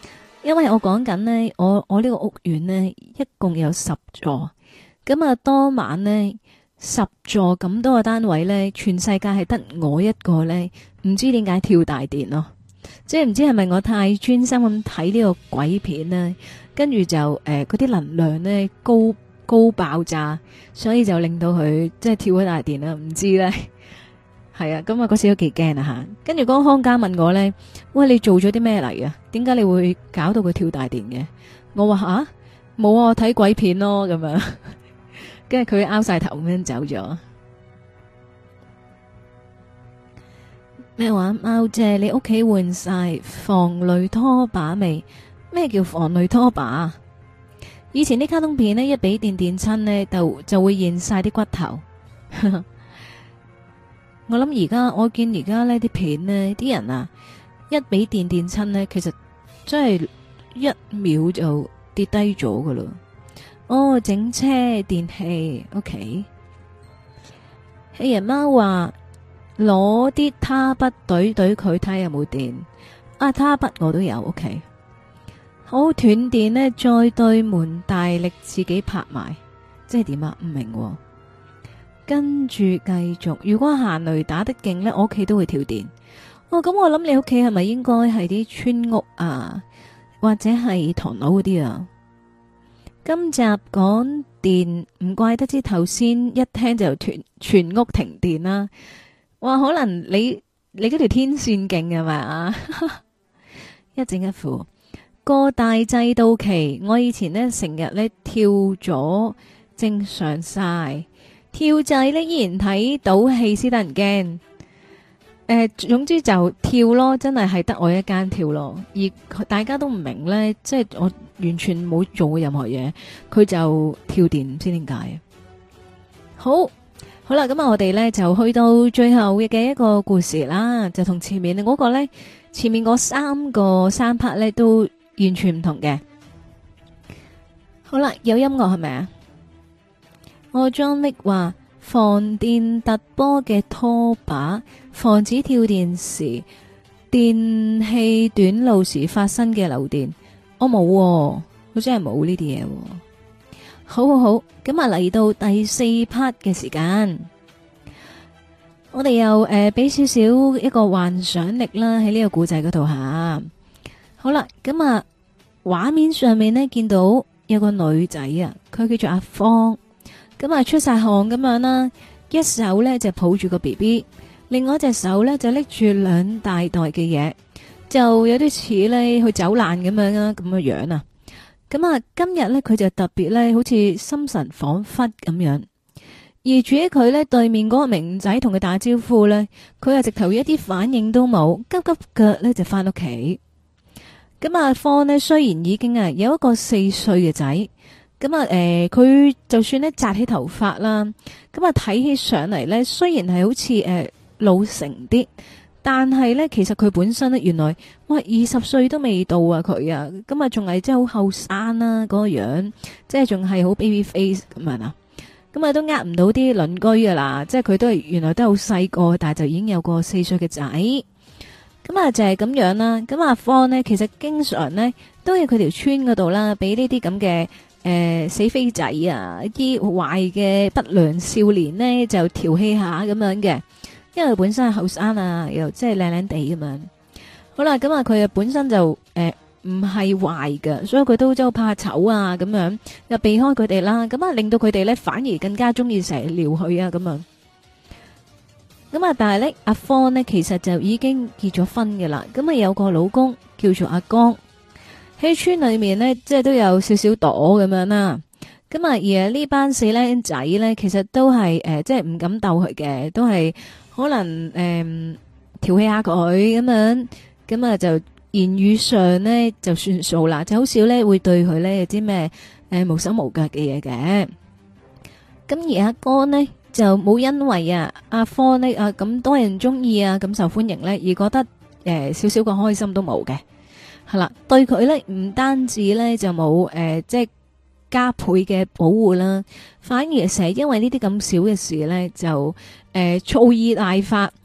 Speaker 1: 因為我講緊呢，我我呢個屋苑呢，一共有十座，咁啊當晚呢，十座咁多個單位呢，全世界係得我一個呢，唔知點解跳大電咯，即係唔知係咪我太專心咁睇呢個鬼片呢，跟住就誒嗰啲能量呢，高高爆炸，所以就令到佢即係跳咗大電啦，唔知呢。係啊，咁啊嗰時都幾驚啊吓，跟住嗰個康家問我咧，喂，你做咗啲咩嚟啊？點解你會搞到佢跳大電嘅？我話吓冇啊，睇鬼片咯咁樣，跟住佢拗晒頭咁樣走咗。咩話？貓姐，你屋企換晒防雷拖把未？咩叫防雷拖把？以前啲卡通片呢，一俾電電親呢，就就會現晒啲骨頭。我諗而家我見而家呢啲片呢，啲人啊一俾電電親呢，其實真係一秒就跌低咗噶啦。哦，整車電器 OK。黑人貓話攞啲他筆懟懟佢睇下有冇電。啊，他筆我都有 OK。好，斷電呢，再對門大力自己拍埋，即係點啊？唔明喎。跟住繼續，如果行雷打得勁呢，我屋企都會跳電。哦，咁我諗你屋企係咪應該係啲村屋啊，或者係唐樓嗰啲啊？今集講電，唔怪得知頭先一聽就全全屋停電啦。哇，可能你你嗰條天線勁係咪啊？一整一副個大掣到期，我以前呢成日呢跳咗正常晒。跳掣呢依然睇到戲先得人驚，誒、呃，總之就跳咯，真係係得我一間跳咯，而大家都唔明呢，即係我完全冇做過任何嘢，佢就跳電，唔知點解。好，好啦，咁啊，我哋呢就去到最後嘅一個故事啦，就同前面嗰個呢，前面嗰三個三 part 呢都完全唔同嘅。好啦，有音樂係咪啊？我張力話防電突波嘅拖把，防止跳電時電器短路時發生嘅漏電。我冇、喎，我真係冇呢啲嘢。好好好，咁啊嚟到第四 part 嘅時間，我哋又誒俾少少一個幻想力啦喺呢個古仔嗰度吓。好啦，咁啊畫面上面呢，見到有個女仔啊，佢叫做阿芳。咁啊，出晒汗咁樣啦，一手呢就抱住個 B B， 另外一隻手呢就拎住兩大袋嘅嘢，就有啲似呢去走難咁樣啊，咁嘅樣啊。咁啊，今日呢，佢就特別呢好似心神恍惚咁樣，而住喺佢呢對面嗰個明仔同佢打招呼呢，佢啊直頭一啲反應都冇，急急腳呢就翻屋企。咁啊，方呢雖然已經啊有一個四歲嘅仔。咁啊，誒，佢就算咧紮起頭髮啦，咁啊睇起上嚟咧，雖然係好似誒老成啲，但係咧其實佢本身咧原來，哇，二十歲都未到啊佢啊，咁啊仲係真係好後生啦嗰個樣，即係仲係好 baby face 咁樣啊，咁啊都呃唔到啲鄰居噶啦，即係佢都係原來都好細個，但係就已經有個四歲嘅仔，咁啊就係咁樣啦。咁阿方呢，其實經常呢都喺佢條村嗰度啦，俾呢啲咁嘅。誒、呃，死飛仔啊！啲壞嘅不良少年呢，就調戲下咁樣嘅，因為佢本身係後生啊，又即係靚靚地咁樣。好啦，咁啊，佢啊本身就誒唔係壞嘅，所以佢都真係怕醜啊，咁樣又避開佢哋啦。咁啊，令到佢哋咧反而更加中意成日撩佢啊，咁樣。咁啊，但係咧阿方呢，其實就已經結咗婚嘅啦。咁啊，有個老公叫做阿江。喺村裏面呢，即係都有少少朵咁樣啦。咁啊，而呢班四僆仔呢，其實都係誒、呃，即係唔敢鬥佢嘅，都係可能誒調戲下佢咁樣。咁啊，就言語上呢，就算數啦，就好少呢會對佢呢有啲咩誒無手無腳嘅嘢嘅。咁而阿哥呢，就冇因為啊阿科呢啊咁多人中意啊咁受歡迎呢，而覺得誒、呃、少少個開心都冇嘅。係啦，對佢咧唔單止咧就冇誒，即係加倍嘅保護啦，反而成日因為呢啲咁少嘅事咧就誒、呃、醋意大發，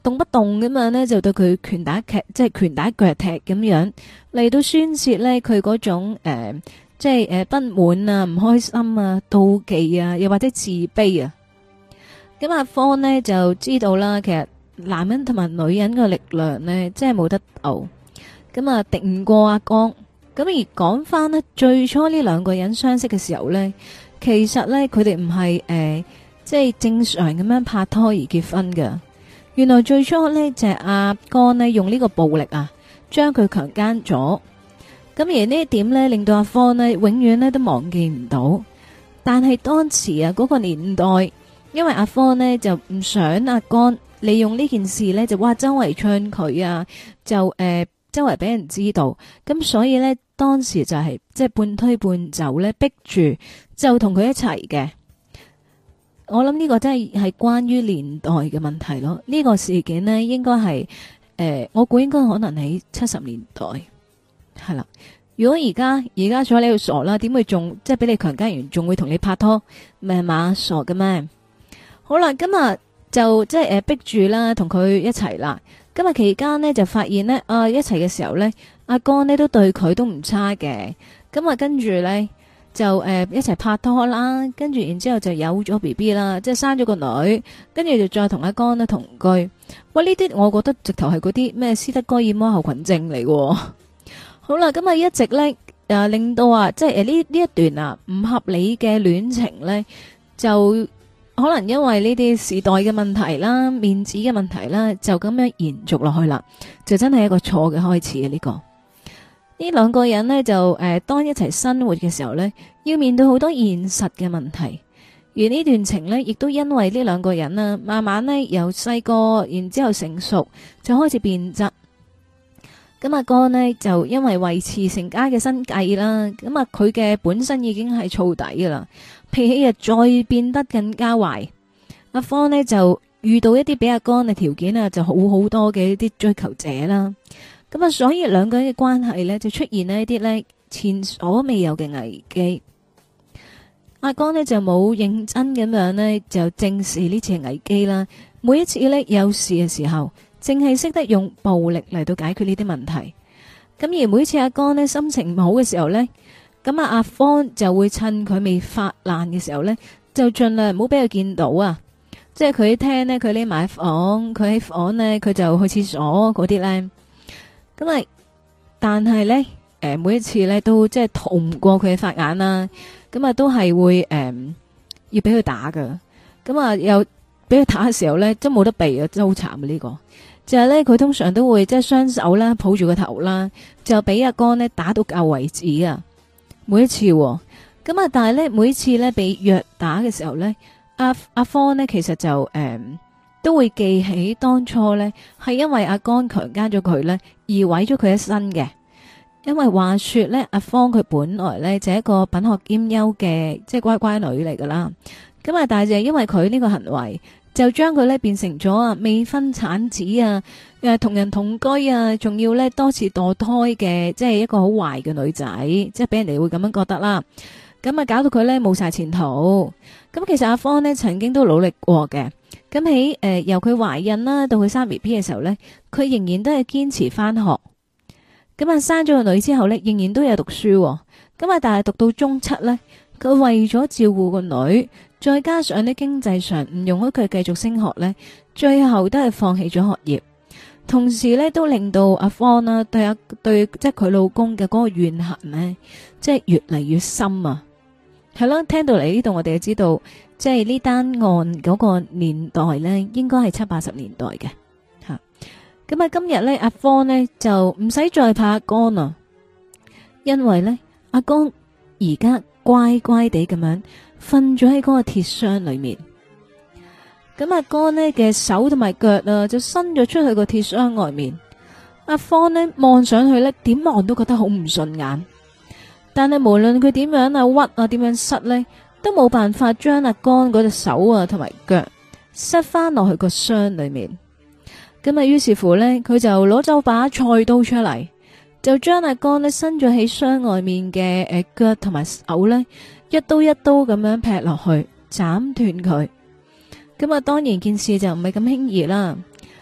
Speaker 1: 動不動咁樣呢，就對佢拳打腳，即係拳打腳踢咁樣嚟到宣洩呢佢嗰種誒、呃，即係誒、呃、不滿啊、唔開心啊、妒忌啊，又或者自卑啊。咁阿方呢就知道啦，其實男人同埋女人嘅力量呢，真係冇得鬥。咁啊，敵唔過阿江。咁而講翻呢，最初呢兩個人相識嘅時候呢，其實呢，佢哋唔係誒，即係正常咁樣拍拖而結婚㗎。原來最初呢，就係阿江呢用呢個暴力啊，將佢強姦咗。咁而呢一點呢，令到阿方呢永遠呢都忘記唔到。但係當時啊，嗰個年代，因為阿方呢就唔想阿江利用呢件事呢，就哇周圍唱佢啊，就誒。呃周圍俾人知道，咁所以呢，當時就係即係半推半就呢，逼住就同佢一齊嘅。我諗呢個真係係關於年代嘅問題咯。呢、呢個事件呢，應該係誒，我估應該可能喺七十年代係啦。如果而家而家坐喺度傻啦，點會仲即係俾你強姦完，仲會同你拍拖咩嘛？傻嘅咩？好啦，今日就即係誒逼住啦，同佢一齊啦。今日期間呢，就發現呢，啊一齊嘅時候呢，阿江呢都對佢都唔差嘅。咁啊跟住呢，就誒、呃、一齊拍拖啦，跟住然之後就有咗 B B 啦，即係生咗個女，跟住就再同阿江呢同居。喂，呢啲我覺得直頭係嗰啲咩斯德哥爾摩候群症嚟嘅。好啦，咁啊一直呢，誒令到啊即係誒呢呢一段啊唔合理嘅戀情呢，就。可能因為呢啲時代嘅問題啦、面子嘅問題啦，就咁樣延續落去啦，就真係一個錯嘅開始啊！呢、這個呢兩個人呢，就誒、呃，當一齊生活嘅時候呢，要面對好多現實嘅問題，而呢段情呢，亦都因為呢兩個人啊，慢慢呢，由細個，然之後成熟，就開始變質。咁阿哥呢，就因為維持成家嘅生計啦，咁啊佢嘅本身已經係燥底噶啦。脾氣啊，再變得更加壞。阿方呢就遇到一啲比阿江嘅條件啊，就好好多嘅一啲追求者啦。咁啊，所以兩個人嘅關係呢，就出現呢一啲呢前所未有嘅危機。阿江呢就冇認真咁樣呢，就正視呢次危機啦。每一次呢，有事嘅時候，淨係識得用暴力嚟到解決呢啲問題。咁而每次阿江呢心情唔好嘅時候呢。咁啊，阿方就會趁佢未發爛嘅時候呢，就盡量唔好俾佢見到啊！即係佢喺廳呢，佢匿埋房；佢喺房呢，佢就去廁所嗰啲呢。咁啊，但係呢，誒，每一次呢都即係逃唔過佢嘅法眼啦。咁啊，都係會誒、呃、要俾佢打噶。咁啊，又俾佢打嘅時候呢，真冇得避啊！真係好慘啊！呢、這個就係呢，佢通常都會即係雙手啦，抱住個頭啦，就俾阿江呢打到夠為止啊！每一次咁、哦、啊，但係咧，每一次咧被虐打嘅時候咧，阿阿方呢其實就誒、嗯、都會記起當初咧係因為阿江強姦咗佢咧而毀咗佢一身嘅。因為話說咧，阿方佢本來咧就係一個品學兼優嘅即係乖乖女嚟噶啦。咁啊，但係就係因為佢呢個行為，就將佢咧變成咗啊未婚產子啊，誒同人同居啊，仲要咧多次墮胎嘅，即係一個好壞嘅女仔，即係俾人哋會咁樣覺得啦。咁啊，搞到佢咧冇晒前途。咁其實阿方呢曾經都努力過嘅。咁喺誒由佢懷孕啦到佢生 B B 嘅時候咧，佢仍然都係堅持翻學。咁啊，生咗個女之後咧，仍然都有讀書。咁啊，但係讀到中七咧，佢為咗照顧個女，再加上呢經濟上唔容許佢繼續升學呢，最後都係放棄咗學業。同時呢，都令到阿方啦對阿對即係佢老公嘅嗰個怨恨呢，即係越嚟越深啊。係咯，聽到嚟呢度，我哋就知道，即係呢單案嗰個年代呢，應該係七八十年代嘅吓。咁啊，今日呢，阿方呢就唔使再怕阿江啊，因為呢，阿江而家乖乖地咁樣瞓咗喺嗰個鐵箱裏面。咁阿江呢嘅手同埋腳啊，就伸咗出去個鐵箱外面。阿方呢望上去呢，點望都覺得好唔順眼。但係無論佢點樣啊屈啊，點樣塞呢，都冇辦法將阿江嗰隻手啊同埋腳塞翻落去個箱裏面。咁啊，於是乎呢，佢就攞咗把菜刀出嚟，就將阿江呢伸咗喺箱外面嘅誒腳同埋手呢，一刀一刀咁樣劈落去，斬斷佢。咁啊，當然件事就唔係咁輕易啦。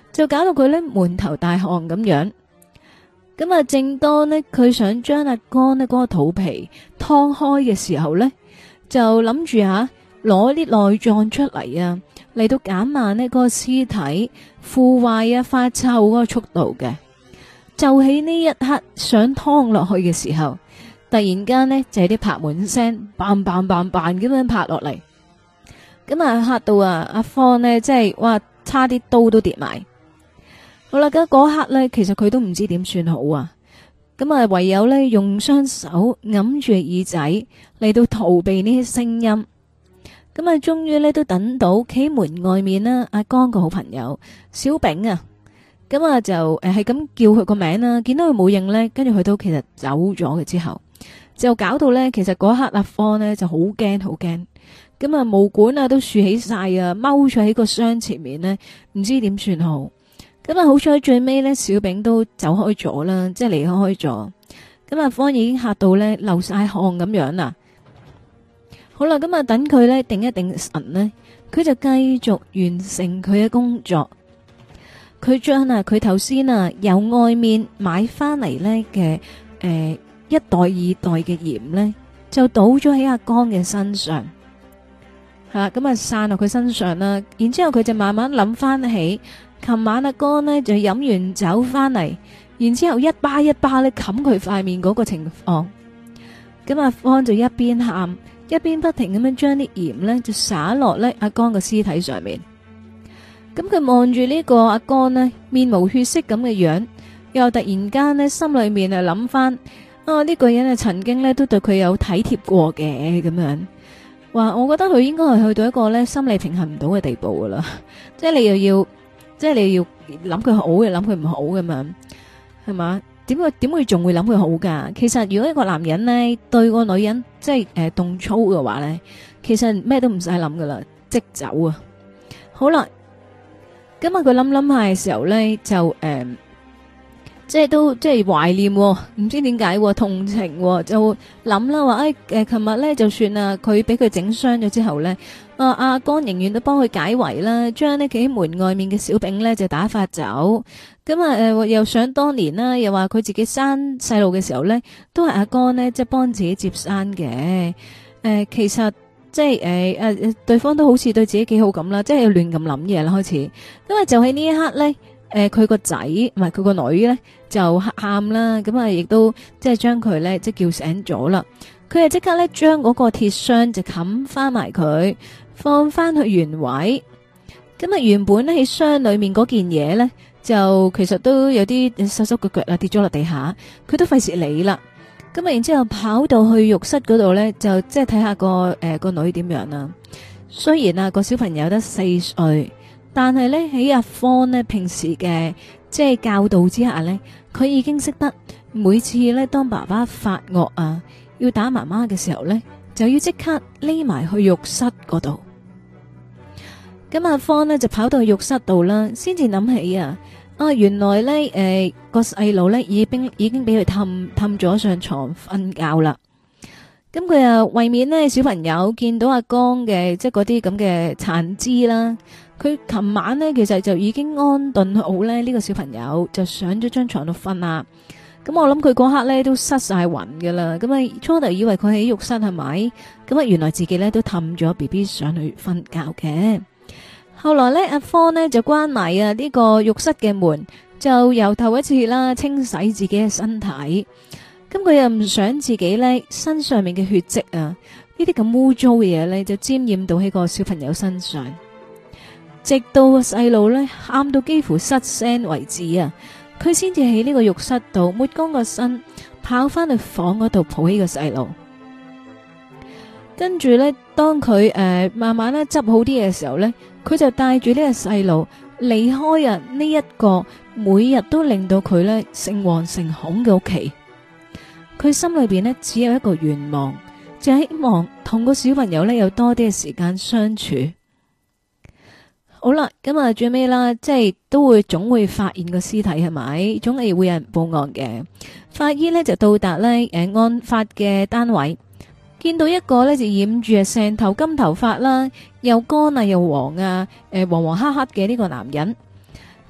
Speaker 1: 就搞到佢呢滿頭大汗咁樣。咁啊，正當呢，佢想將阿江呢嗰個肚皮劏開嘅時候呢，就諗住吓攞啲內臟出嚟啊，嚟到減慢呢嗰個屍體腐壞啊發臭嗰個速度嘅。就喺呢一刻想劏落去嘅時候，突然間呢，就係啲拍門聲，bang bang bang bang咁樣拍落嚟。咁啊嚇到啊阿方呢，即係哇差啲刀都跌埋。好啦，咁嗰刻呢，其實佢都唔知點算好啊。咁啊，唯有呢，用雙手揞住耳仔嚟到逃避呢啲聲音。咁啊，終於呢，都等到企門外面啦，阿江個好朋友小炳啊。咁啊就誒係咁叫佢個名啦，見到佢冇應呢，跟住佢都其實走咗嘅之後，就搞到呢，其實嗰刻阿方呢就好驚好驚。咁啊毛管啊都豎起晒啊，踎咗喺個箱前面呢，唔知點算好。咁啊，好彩最尾呢，小炳都走開咗啦，即係離開咗。咁阿方已經嚇到呢，流晒汗咁樣啦。好啦，咁啊等佢呢定一定神呢，佢就繼續完成佢嘅工作。佢將啊佢頭先啊由外面買翻嚟呢嘅誒一袋二袋嘅鹽呢，就倒咗喺阿江嘅身上。係啦，咁啊散落佢身上啦。然之後佢就慢慢諗翻起。琴晚阿哥呢就飲完酒翻嚟，然之後一巴一巴咧冚佢塊面嗰個情況，咁阿方就一邊喊一邊不停咁樣將啲鹽呢就灑落咧阿江嘅屍體上面。咁佢望住呢個阿江呢面無血色咁嘅樣，又突然間呢心裏面啊諗翻啊呢個人啊曾經呢都對佢有體貼過嘅咁樣。話我覺得佢應該係去到一個呢心理平衡唔到嘅地步噶啦，即係你又要。即係你要諗佢好嘅，諗佢唔好咁樣，係嘛？點會點會仲會諗佢好噶？其實如果一個男人呢對個女人即係誒動粗嘅話呢，其實咩都唔使諗噶啦，即走啊！好啦，今日佢諗諗下嘅時候呢，就誒、呃，即係都即係懷念、哦，唔知點解、哦、同情、哦，就諗啦話誒誒，琴、呃、日呢就算啊，佢俾佢整傷咗之後呢。啊！阿江仍然都幫佢解圍啦，將呢企喺門外面嘅小炳呢就打發走。咁啊誒，又想當年啦，又話佢自己生細路嘅時候呢，都係阿江呢即係幫自己接生嘅。誒、呃，其實即係誒誒，對方都好似對自己幾好咁啦，即係亂咁諗嘢啦開始。咁啊，就喺呢一刻呢，誒佢個仔唔係佢個女呢，就喊啦，咁啊亦都即係將佢呢，即係叫醒咗啦。佢就即刻呢，將嗰個鐵箱就冚翻埋佢。放翻去原位，咁啊原本咧喺箱裏面嗰件嘢呢，就其實都有啲手手腳腳啊跌咗落地下，佢都費事理啦。咁啊然之後跑到去浴室嗰度呢，就即係睇下個誒、呃、個女點樣啦。雖然啊個小朋友得四歲，但係呢，喺阿方呢平時嘅即係教導之下呢，佢已經識得每次呢，當爸爸發惡啊要打媽媽嘅時候呢，就要即刻匿埋去浴室嗰度。咁阿方呢就跑到去浴室度啦，先至諗起啊，啊原來呢誒、呃、個細路呢已經已經俾佢氹氹咗上床瞓覺啦。咁佢啊為免呢小朋友見到阿江嘅即係嗰啲咁嘅殘肢啦，佢琴晚呢其實就已經安頓好呢呢、這個小朋友就上咗張床度瞓啦。咁我諗佢嗰刻呢都失晒魂噶啦。咁啊初頭以為佢喺浴室係咪？咁啊原來自己呢都氹咗 B B 上去瞓覺嘅。後來呢，阿方呢就關埋啊呢個浴室嘅門，就由頭一次啦清洗自己嘅身體。咁佢又唔想自己呢身上面嘅血跡啊，呢啲咁污糟嘅嘢呢就沾染到喺個小朋友身上，直到個細路呢喊到幾乎失聲為止啊，佢先至喺呢個浴室度抹乾個身，跑翻去房嗰度抱起個細路。跟住呢，當佢誒、呃、慢慢咧執好啲嘅時候呢，佢就帶住呢個細路離開啊呢一個每日都令到佢呢誠惶誠恐嘅屋企。佢心裏邊呢只有一個願望，就係希望同個小朋友呢有多啲嘅時間相處。好啦，咁啊最尾啦，即係都會總會發現個屍體係咪？總係會有人報案嘅。法醫呢就到達呢誒案發嘅單位。見到一個呢就染住成頭金頭髮啦，又乾啊又黃啊，誒黃黃黑黑嘅呢個男人。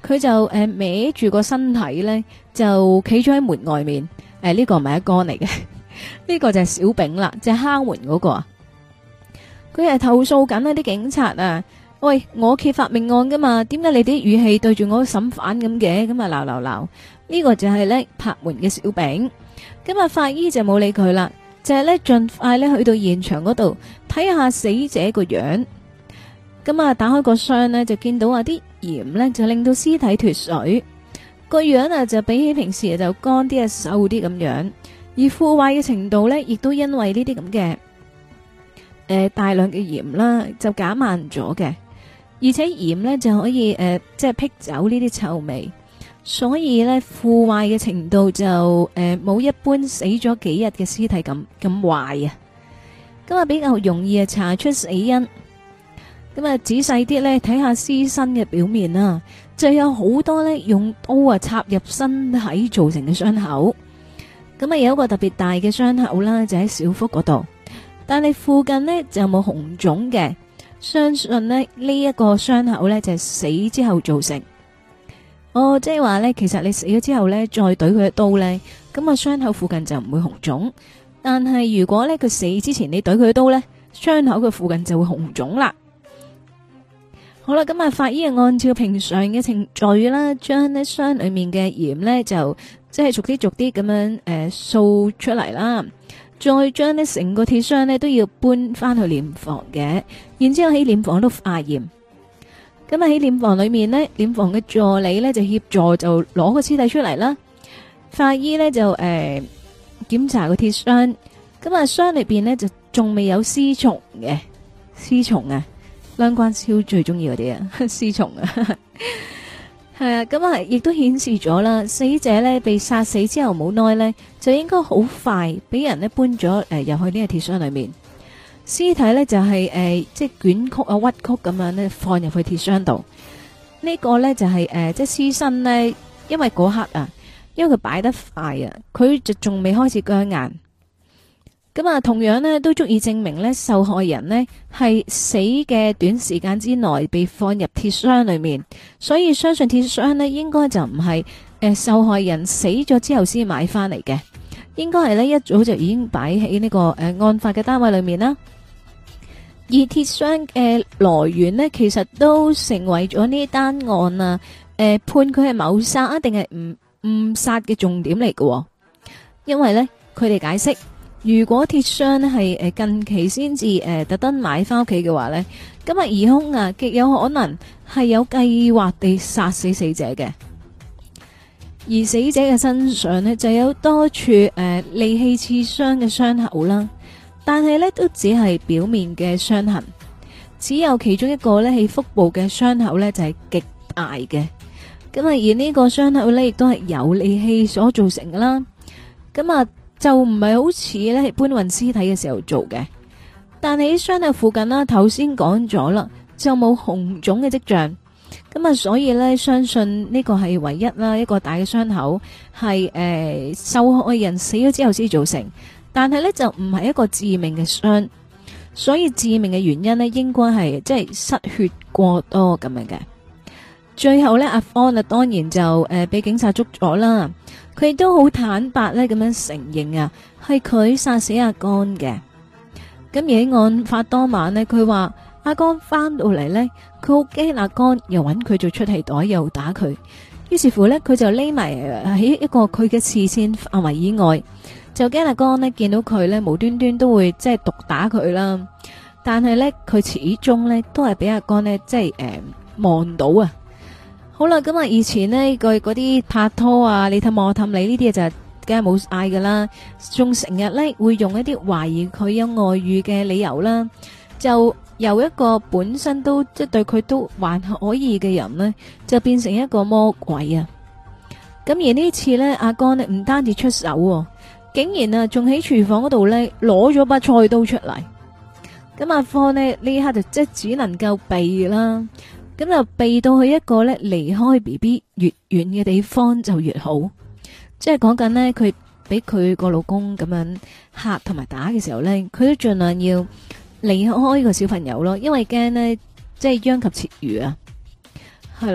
Speaker 1: 佢就誒、呃、歪住個身體咧，就企咗喺門外面。誒、呃、呢、這個唔係一哥嚟嘅，呢個就係小丙啦，就係、是、敲門嗰個啊。佢係投訴緊啊啲警察啊，喂，我揭發命案噶嘛，點解你啲語氣對住我審犯咁嘅？咁啊鬧鬧鬧，呢個就係咧拍門嘅小丙。咁啊法醫就冇理佢啦，就係咧盡快咧去到現場嗰度睇下死者個樣。咁啊打開個箱呢，就見到啊啲鹽呢，就令到屍體脫水，個樣啊就比起平時就乾啲啊瘦啲咁樣，而腐壞嘅程度呢，亦都因為呢啲咁嘅誒大量嘅鹽啦就減慢咗嘅，而且鹽呢，就可以誒、呃、即係辟走呢啲臭味，所以呢，腐壞嘅程度就誒冇、呃、一般死咗幾日嘅屍體咁咁壞啊，咁啊比較容易啊查出死因。咁啊，仔細啲咧睇下屍身嘅表面啊，就有好多咧用刀啊插入身體造成嘅傷口。咁啊，有一個特別大嘅傷口啦，就喺小腹嗰度，但係附近呢就冇紅腫嘅。相信呢呢一個傷口咧就係死之後造成。哦，即係話咧，其實你死咗之後咧再懟佢一刀咧，咁啊傷口附近就唔會紅腫。但係如果咧佢死之前你懟佢一刀咧，傷口嘅附近就會紅腫啦。好啦，咁啊，法醫按照平常嘅程序啦，將呢箱裏面嘅鹽呢，就即係逐啲逐啲咁樣誒掃出嚟啦，再將呢成個鐵箱呢都要搬翻去殮房嘅，然之後喺殮房度化驗。咁啊喺殮房裏面呢，殮房嘅助理呢就協助就攞個屍體出嚟啦。法醫呢就誒檢、呃、查個鐵箱，咁啊箱裏邊呢就仲未有屍蟲嘅屍蟲啊。梁關超最中意嗰啲啊，屍蟲啊，係啊，咁啊，亦都顯示咗啦，死者呢被殺死之後冇耐呢，就應該好快俾人呢搬咗誒入去呢個鐵箱裏面，屍體呢就係、是、誒、呃、即係捲曲啊屈曲咁樣呢放入去鐵箱度，呢、這個呢就係、是、誒、呃、即係屍身呢，因為嗰刻啊，因為佢擺得快啊，佢就仲未開始僵硬。咁啊，同樣呢都足以證明呢受害人呢係死嘅短時間之內被放入鐵箱裏面，所以相信鐵箱呢應該就唔係誒受害人死咗之後先買翻嚟嘅，應該係呢一早就已經擺喺呢個誒、呃、案發嘅單位裏面啦。而鐵箱嘅來源呢，其實都成為咗呢單案啊，誒、呃、判佢係謀殺啊定係誤誤殺嘅重點嚟嘅，因為呢，佢哋解釋。如果鐵箱呢係誒近期先至誒特登買翻屋企嘅話呢，咁啊疑兇啊極有可能係有計劃地殺死死者嘅，而死者嘅身上呢就有多處誒利器刺傷嘅傷口啦，但係呢都只係表面嘅傷痕，只有其中一個呢係腹部嘅傷口呢就係極大嘅，咁啊而呢個傷口呢亦都係有利器所造成噶啦，咁啊。就唔係好似咧係搬運屍體嘅時候做嘅，但係喺傷口附近啦，頭先講咗啦，就冇紅腫嘅跡象，咁啊，所以咧相信呢個係唯一啦一個大嘅傷口係誒、呃、受害人死咗之後先造成，但係咧就唔係一個致命嘅傷，所以致命嘅原因呢應該係即係失血過多咁樣嘅。最後咧阿方啊當然就誒俾、呃、警察捉咗啦。佢亦都好坦白咧，咁樣承認啊，係佢殺死阿江嘅。咁而喺案發當晚呢，佢話阿江翻到嚟呢，佢好驚阿江又揾佢做出氣袋，又打佢。於是乎呢，佢就匿埋喺一個佢嘅視線範圍以外，就驚阿江呢見到佢呢，無端端都會即係毒打佢啦。但係呢，佢始終呢都係俾阿江呢，即係誒望到啊。好啦，咁啊，以前呢，佢嗰啲拍拖啊，你氹我氹你呢啲嘢就梗係冇嗌噶啦，仲成日呢會用一啲懷疑佢有外遇嘅理由啦，就由一個本身都即係對佢都還可以嘅人呢，就變成一個魔鬼啊！咁而呢次呢，阿江呢唔單止出手，竟然啊仲喺廚房嗰度呢攞咗把菜刀出嚟。咁阿方呢呢刻就即係只能夠避啦。咁就避到去一個咧離開 B B 越遠嘅地方就越好，即係講緊呢，佢俾佢個老公咁樣嚇同埋打嘅時候呢，佢都盡量要離開個小朋友咯，因為驚呢，即係殃及池魚啊。係啦，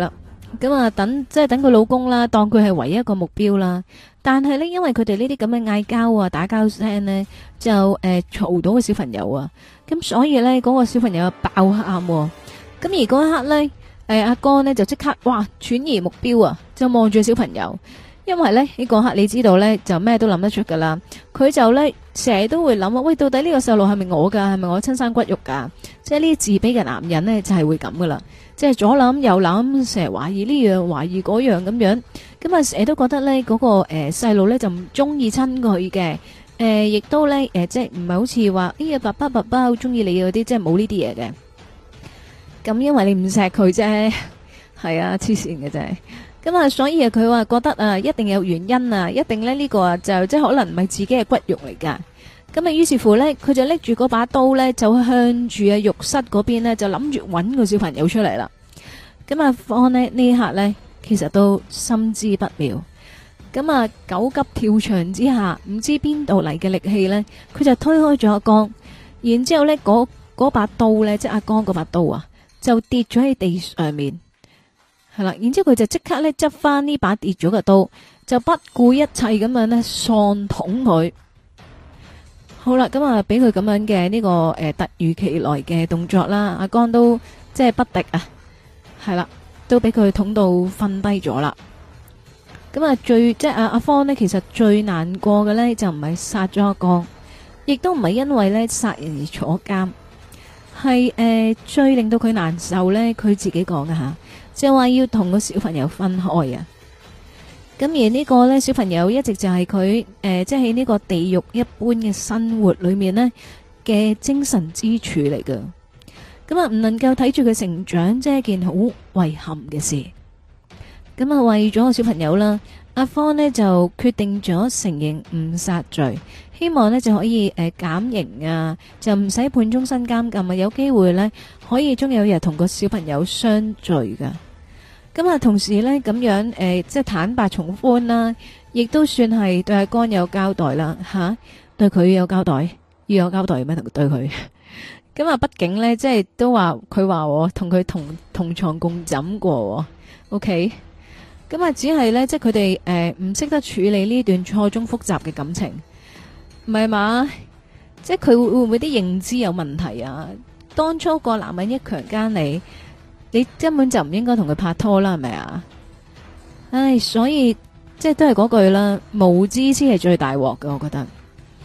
Speaker 1: 咁啊，等即係等佢老公啦，當佢係唯一一個目標啦。但係呢，因為佢哋呢啲咁嘅嗌交啊、打交聲呢，就誒嘈到個小朋友啊。咁所以呢，嗰個小朋友爆喊。咁而嗰一刻呢，誒阿哥呢就即刻哇轉移目標啊，就望住小朋友。因為呢，呢嗰刻你知道呢，就咩都諗得出噶啦。佢就呢，成日都會諗啊，喂，到底呢個細路係咪我噶？係咪我親生骨肉噶？即係呢啲自卑嘅男人呢，就係會咁噶啦。即係左諗右諗，成日懷疑呢樣懷疑嗰樣咁樣，咁啊成日都覺得咧嗰個誒細路咧就唔中意親佢嘅，誒亦都咧誒即係唔係好似話哎呀爸爸爸爸好中意你嗰啲，即係冇呢啲嘢嘅。咁因為你唔錫佢啫，係啊黐線嘅啫。咁啊所以啊佢話覺得啊一定有原因啊，一定咧呢個啊就即係可能唔係自己嘅骨肉嚟噶。咁啊，於是乎咧，佢就拎住嗰把刀咧，就向住啊浴室嗰邊咧，就諗住搵個小朋友出嚟啦。咁阿方呢，呢一刻咧，其實都心知不妙。咁啊，狗急跳牆之下，唔知邊度嚟嘅力氣咧，佢就推開咗阿江，然之後咧，嗰嗰把刀咧，即係阿江嗰把刀啊，就跌咗喺地上面。係啦，然之後佢就即刻咧執翻呢把跌咗嘅刀，就不顧一切咁樣咧喪捅佢。好啦，咁啊，俾佢咁樣嘅呢個誒突如其來嘅動作啦，阿江都即係不敵啊，係啦，都俾佢捅到瞓低咗啦。咁啊，最即係阿阿方呢，其實最難過嘅呢，就唔係殺咗阿江，亦都唔係因為呢殺人而坐監，係誒、呃、最令到佢難受呢，佢自己講嘅吓，就話要同個小朋友分開啊。咁而呢個呢，小朋友一直就係佢誒，即係喺呢個地獄一般嘅生活裏面呢嘅精神支柱嚟㗎。咁啊，唔能夠睇住佢成長，即係一件好遺憾嘅事。咁啊，為咗個小朋友啦，阿方呢就決定咗承認誤殺罪，希望呢就可以誒減刑啊，就唔使判終身監禁啊，有機會呢可以終有日同個小朋友相聚㗎。咁啊，同時呢，咁樣誒、呃，即係坦白從寬啦，亦都算係對阿江有交代啦，吓、啊、對佢有交代，要有交代咩？同對佢咁啊，畢竟呢，即係都話佢話我同佢同同床共枕過 ，OK？ 咁啊，只係呢，即係佢哋誒唔識得處理呢段錯綜複雜嘅感情，唔係嘛？即係佢會會唔會啲認知有問題啊？當初個男人一強姦你。你根本就唔應該同佢拍拖啦，係咪啊？唉，所以即係都係嗰句啦，無知先係最大鑊㗎，我覺得。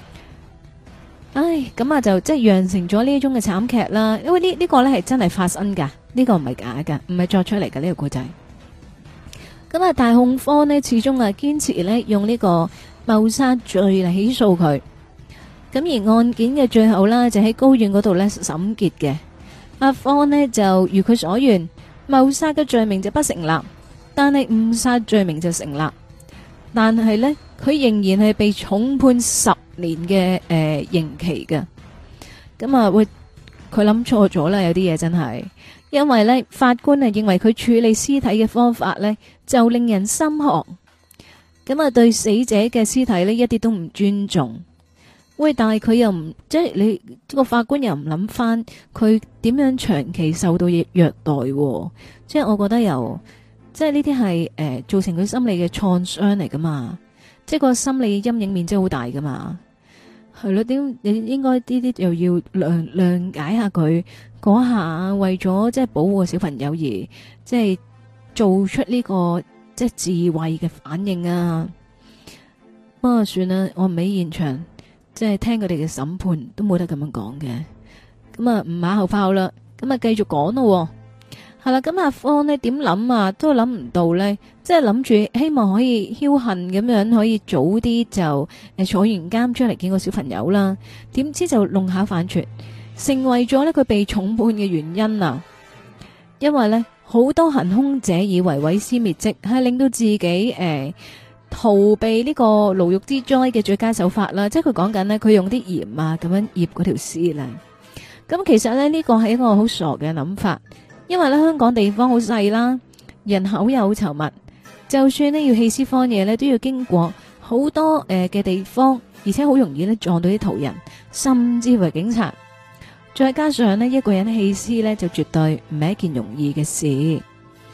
Speaker 1: 唉，咁啊就即係釀成咗呢種嘅慘劇啦。因為呢呢個呢係真係發生噶，呢個唔係假噶，唔係作出嚟噶呢個故仔。咁啊，大控方呢始終啊堅持呢用呢個謀殺罪嚟起訴佢。咁而案件嘅最後啦，就喺高院嗰度呢審結嘅。阿方呢就如佢所願，謀殺嘅罪名就不成立，但係誤殺罪名就成立。但係呢，佢仍然係被重判十年嘅誒、呃、刑期嘅。咁啊，會佢諗錯咗啦，有啲嘢真係，因為呢，法官啊認為佢處理屍體嘅方法呢就令人心寒。咁啊，對死者嘅屍體呢一啲都唔尊重。喂，但係佢又唔即係你個法官又唔諗翻佢點樣長期受到虐待，即係我覺得又即係呢啲係誒造成佢心理嘅創傷嚟噶嘛，即係個心理陰影面真係好大噶嘛，係咯？點你應該呢啲又要諒諒解下佢嗰下為咗即係保護個小朋友而即係做出呢個即係自衛嘅反應啊？不過算啦，我唔喺現場。即係聽佢哋嘅審判都冇得咁樣講嘅，咁啊唔馬後炮啦，咁啊繼續講咯，係啦，咁阿方呢點諗啊，都諗唔到呢，即係諗住希望可以僥倖咁樣可以早啲就誒坐完監出嚟見個小朋友啦，點知就弄巧反拙，成為咗呢佢被重判嘅原因啊！因為呢，好多行兇者以為毀屍滅跡係令到自己誒。呃逃避呢個牢獄之災嘅最佳手法啦，即係佢講緊呢，佢用啲鹽啊咁樣醃嗰條屍啦。咁其實呢，呢個係一個好傻嘅諗法，因為呢，香港地方好細啦，人口又好稠密，就算呢要棄屍荒野呢，都要經過好多誒嘅、呃、地方，而且好容易呢撞到啲途人，甚至乎係警察。再加上呢，一個人棄屍呢，就絕對唔係一件容易嘅事。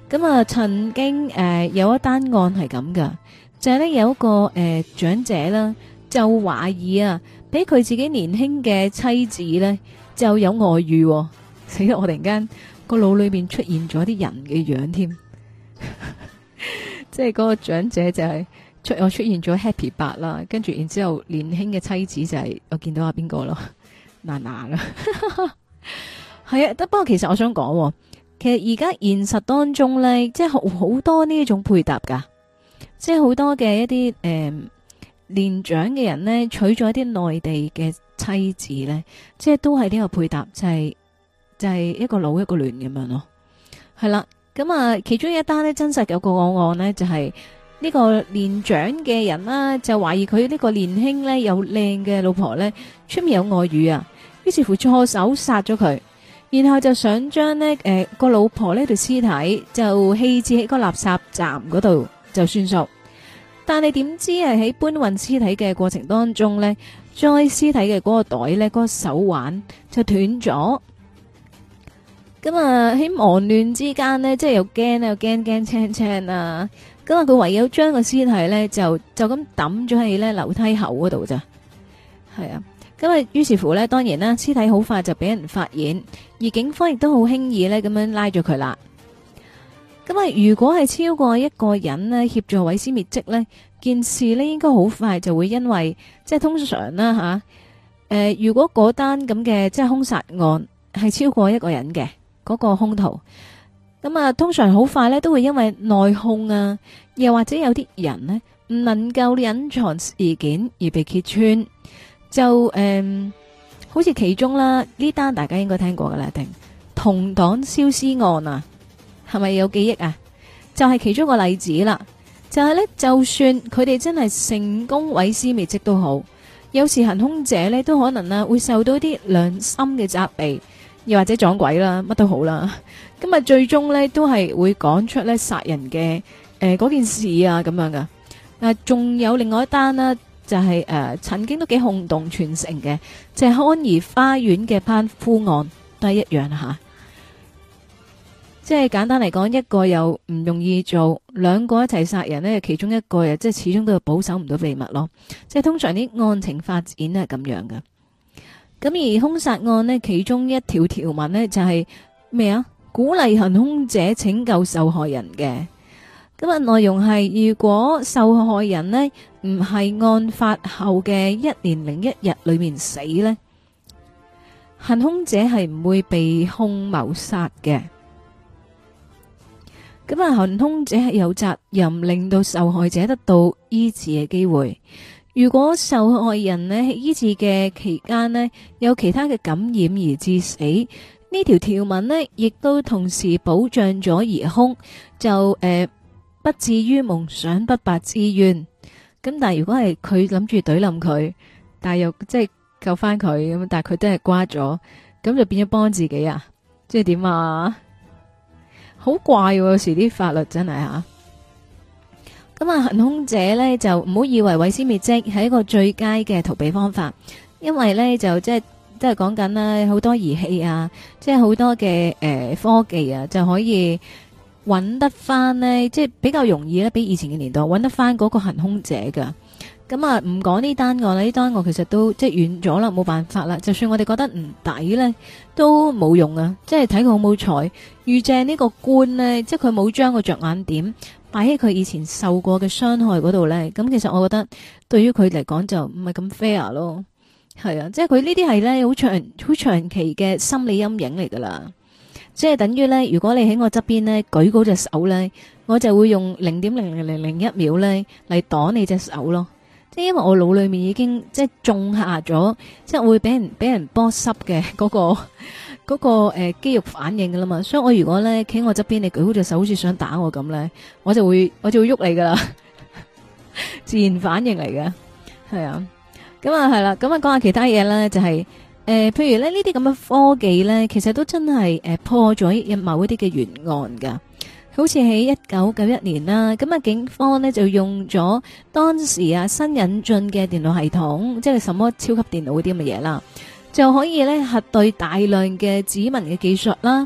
Speaker 1: 咁啊，曾經誒、呃、有一單案係咁噶，就係、是、咧有一個誒、呃、長者啦，就懷疑啊，俾佢自己年輕嘅妻子咧就有外遇、哦，死啦！我突然間個腦裏邊出現咗啲人嘅樣添，即係嗰個長者就係出我出現咗 Happy 八啦，跟住然之後年輕嘅妻子就係、是、我見到阿邊個咯，娜娜啦，係啊，得不過其實我想講、哦。其實而家現實當中咧，即係好好多呢一種配搭噶，即係好多嘅一啲誒、呃、年長嘅人咧，娶咗一啲內地嘅妻子咧，即係都係呢個配搭，就係、是、就係、是、一個老一個嫩咁樣咯。係啦，咁啊，其中一單咧真實有個案案咧，就係、是、呢個年長嘅人啦，就懷疑佢呢個年輕咧有靚嘅老婆咧出面有外遇啊，於是乎錯手殺咗佢。然後就想將呢誒個老婆呢條屍體就棄置喺個垃圾站嗰度就算數，但係點知係喺搬運屍體嘅過程當中呢，裝屍體嘅嗰個袋呢，嗰、嗰個手環就斷咗。咁啊喺忙亂之間呢，即係又驚又驚驚青青啊！咁啊佢唯有將個屍體呢，就就咁抌咗喺呢樓梯口嗰度咋，係啊。咁啊，於是乎呢，當然啦，屍體好快就俾人發現，而警方亦都好輕易呢咁樣拉咗佢啦。咁啊，如果係超過一個人呢協助毀屍滅跡呢，件事呢應該好快就會因為即係通常啦吓，誒、啊呃，如果嗰單咁嘅即係兇殺案係超過一個人嘅嗰、嗰個兇徒，咁啊，通常好快呢都會因為內訌啊，又或者有啲人呢唔能夠隱藏事件而被揭穿。就誒、嗯，好似其中啦，呢單大家應該聽過噶啦，定同黨燒屍案啊，係咪有記憶啊？就係、是、其中一個例子啦。就係、是、呢，就算佢哋真係成功毀屍滅跡都好，有時行兇者呢都可能啊會受到啲良心嘅責備，又或者撞鬼啦，乜都好啦。咁啊，最終呢都係會講出呢殺人嘅誒嗰件事啊咁樣噶。嗱，仲有另外一單啦。就係、是、誒、呃，曾經都幾轟動全城嘅，就係、是、康怡花園嘅攀夫案，都係一樣吓。即係簡單嚟講，一個又唔容易做，兩個一齊殺人呢，其中一個又即係始終都係保守唔到秘密咯。即係通常啲案情發展係咁樣嘅。咁而兇殺案呢，其中一條條文呢，就係咩啊？鼓勵行兇者拯救受害人嘅。咁啊，內容係如果受害人呢唔係案發後嘅一年零一日裏面死呢，行兇者係唔會被控謀殺嘅。咁啊，行兇者係有責任令到受害者得到醫治嘅機會。如果受害人呢喺醫治嘅期間呢有其他嘅感染而致死，呢條條文呢亦都同時保障咗疑兇就誒。呃不至於夢想不白之冤，咁但係如果係佢諗住懟冧佢，但係又即係救翻佢咁，但係佢都係瓜咗，咁就變咗幫自己啊？即係點啊？好怪喎，有時啲法律真係吓。咁啊，行兇者呢，就唔好以為毀屍滅跡係一個最佳嘅逃避方法，因為呢，就即係即係講緊啦，好多儀器啊，即係好多嘅誒、呃、科技啊，就可以。揾得翻呢，即係比較容易咧，比以前嘅年代揾得翻嗰個行兇者噶。咁啊，唔講呢單案啦，呢單案其實都即係遠咗啦，冇辦法啦。就算我哋覺得唔抵呢，都冇用啊。即係睇佢好冇彩，遇正呢個官呢，即係佢冇將個着眼點擺喺佢以前受過嘅傷害嗰度呢。咁其實我覺得對於佢嚟講就唔係咁 fair 咯。係啊，即係佢呢啲係呢好長好長期嘅心理陰影嚟噶啦。即係等於咧，如果你喺我側邊咧舉嗰隻手咧，我就會用零點零零零零一秒咧嚟擋你隻手咯。即係因為我腦裏面已經即係種下咗，即係會俾人俾人波濕嘅嗰個嗰個誒肌肉反應噶啦嘛。所以我如果咧企喺我側邊，你舉嗰隻手好似想打我咁咧，我就會我就會喐你噶啦，自然反應嚟嘅。係啊，咁啊係啦，咁啊講下其他嘢啦，就係。誒、呃，譬如咧呢啲咁嘅科技咧，其實都真係誒、呃、破咗某一啲嘅懸案噶。好似喺一九九一年啦，咁啊警方呢就用咗當時啊新引進嘅電腦系統，即係什麼超級電腦嗰啲咁嘅嘢啦，就可以咧核對大量嘅指紋嘅技術啦，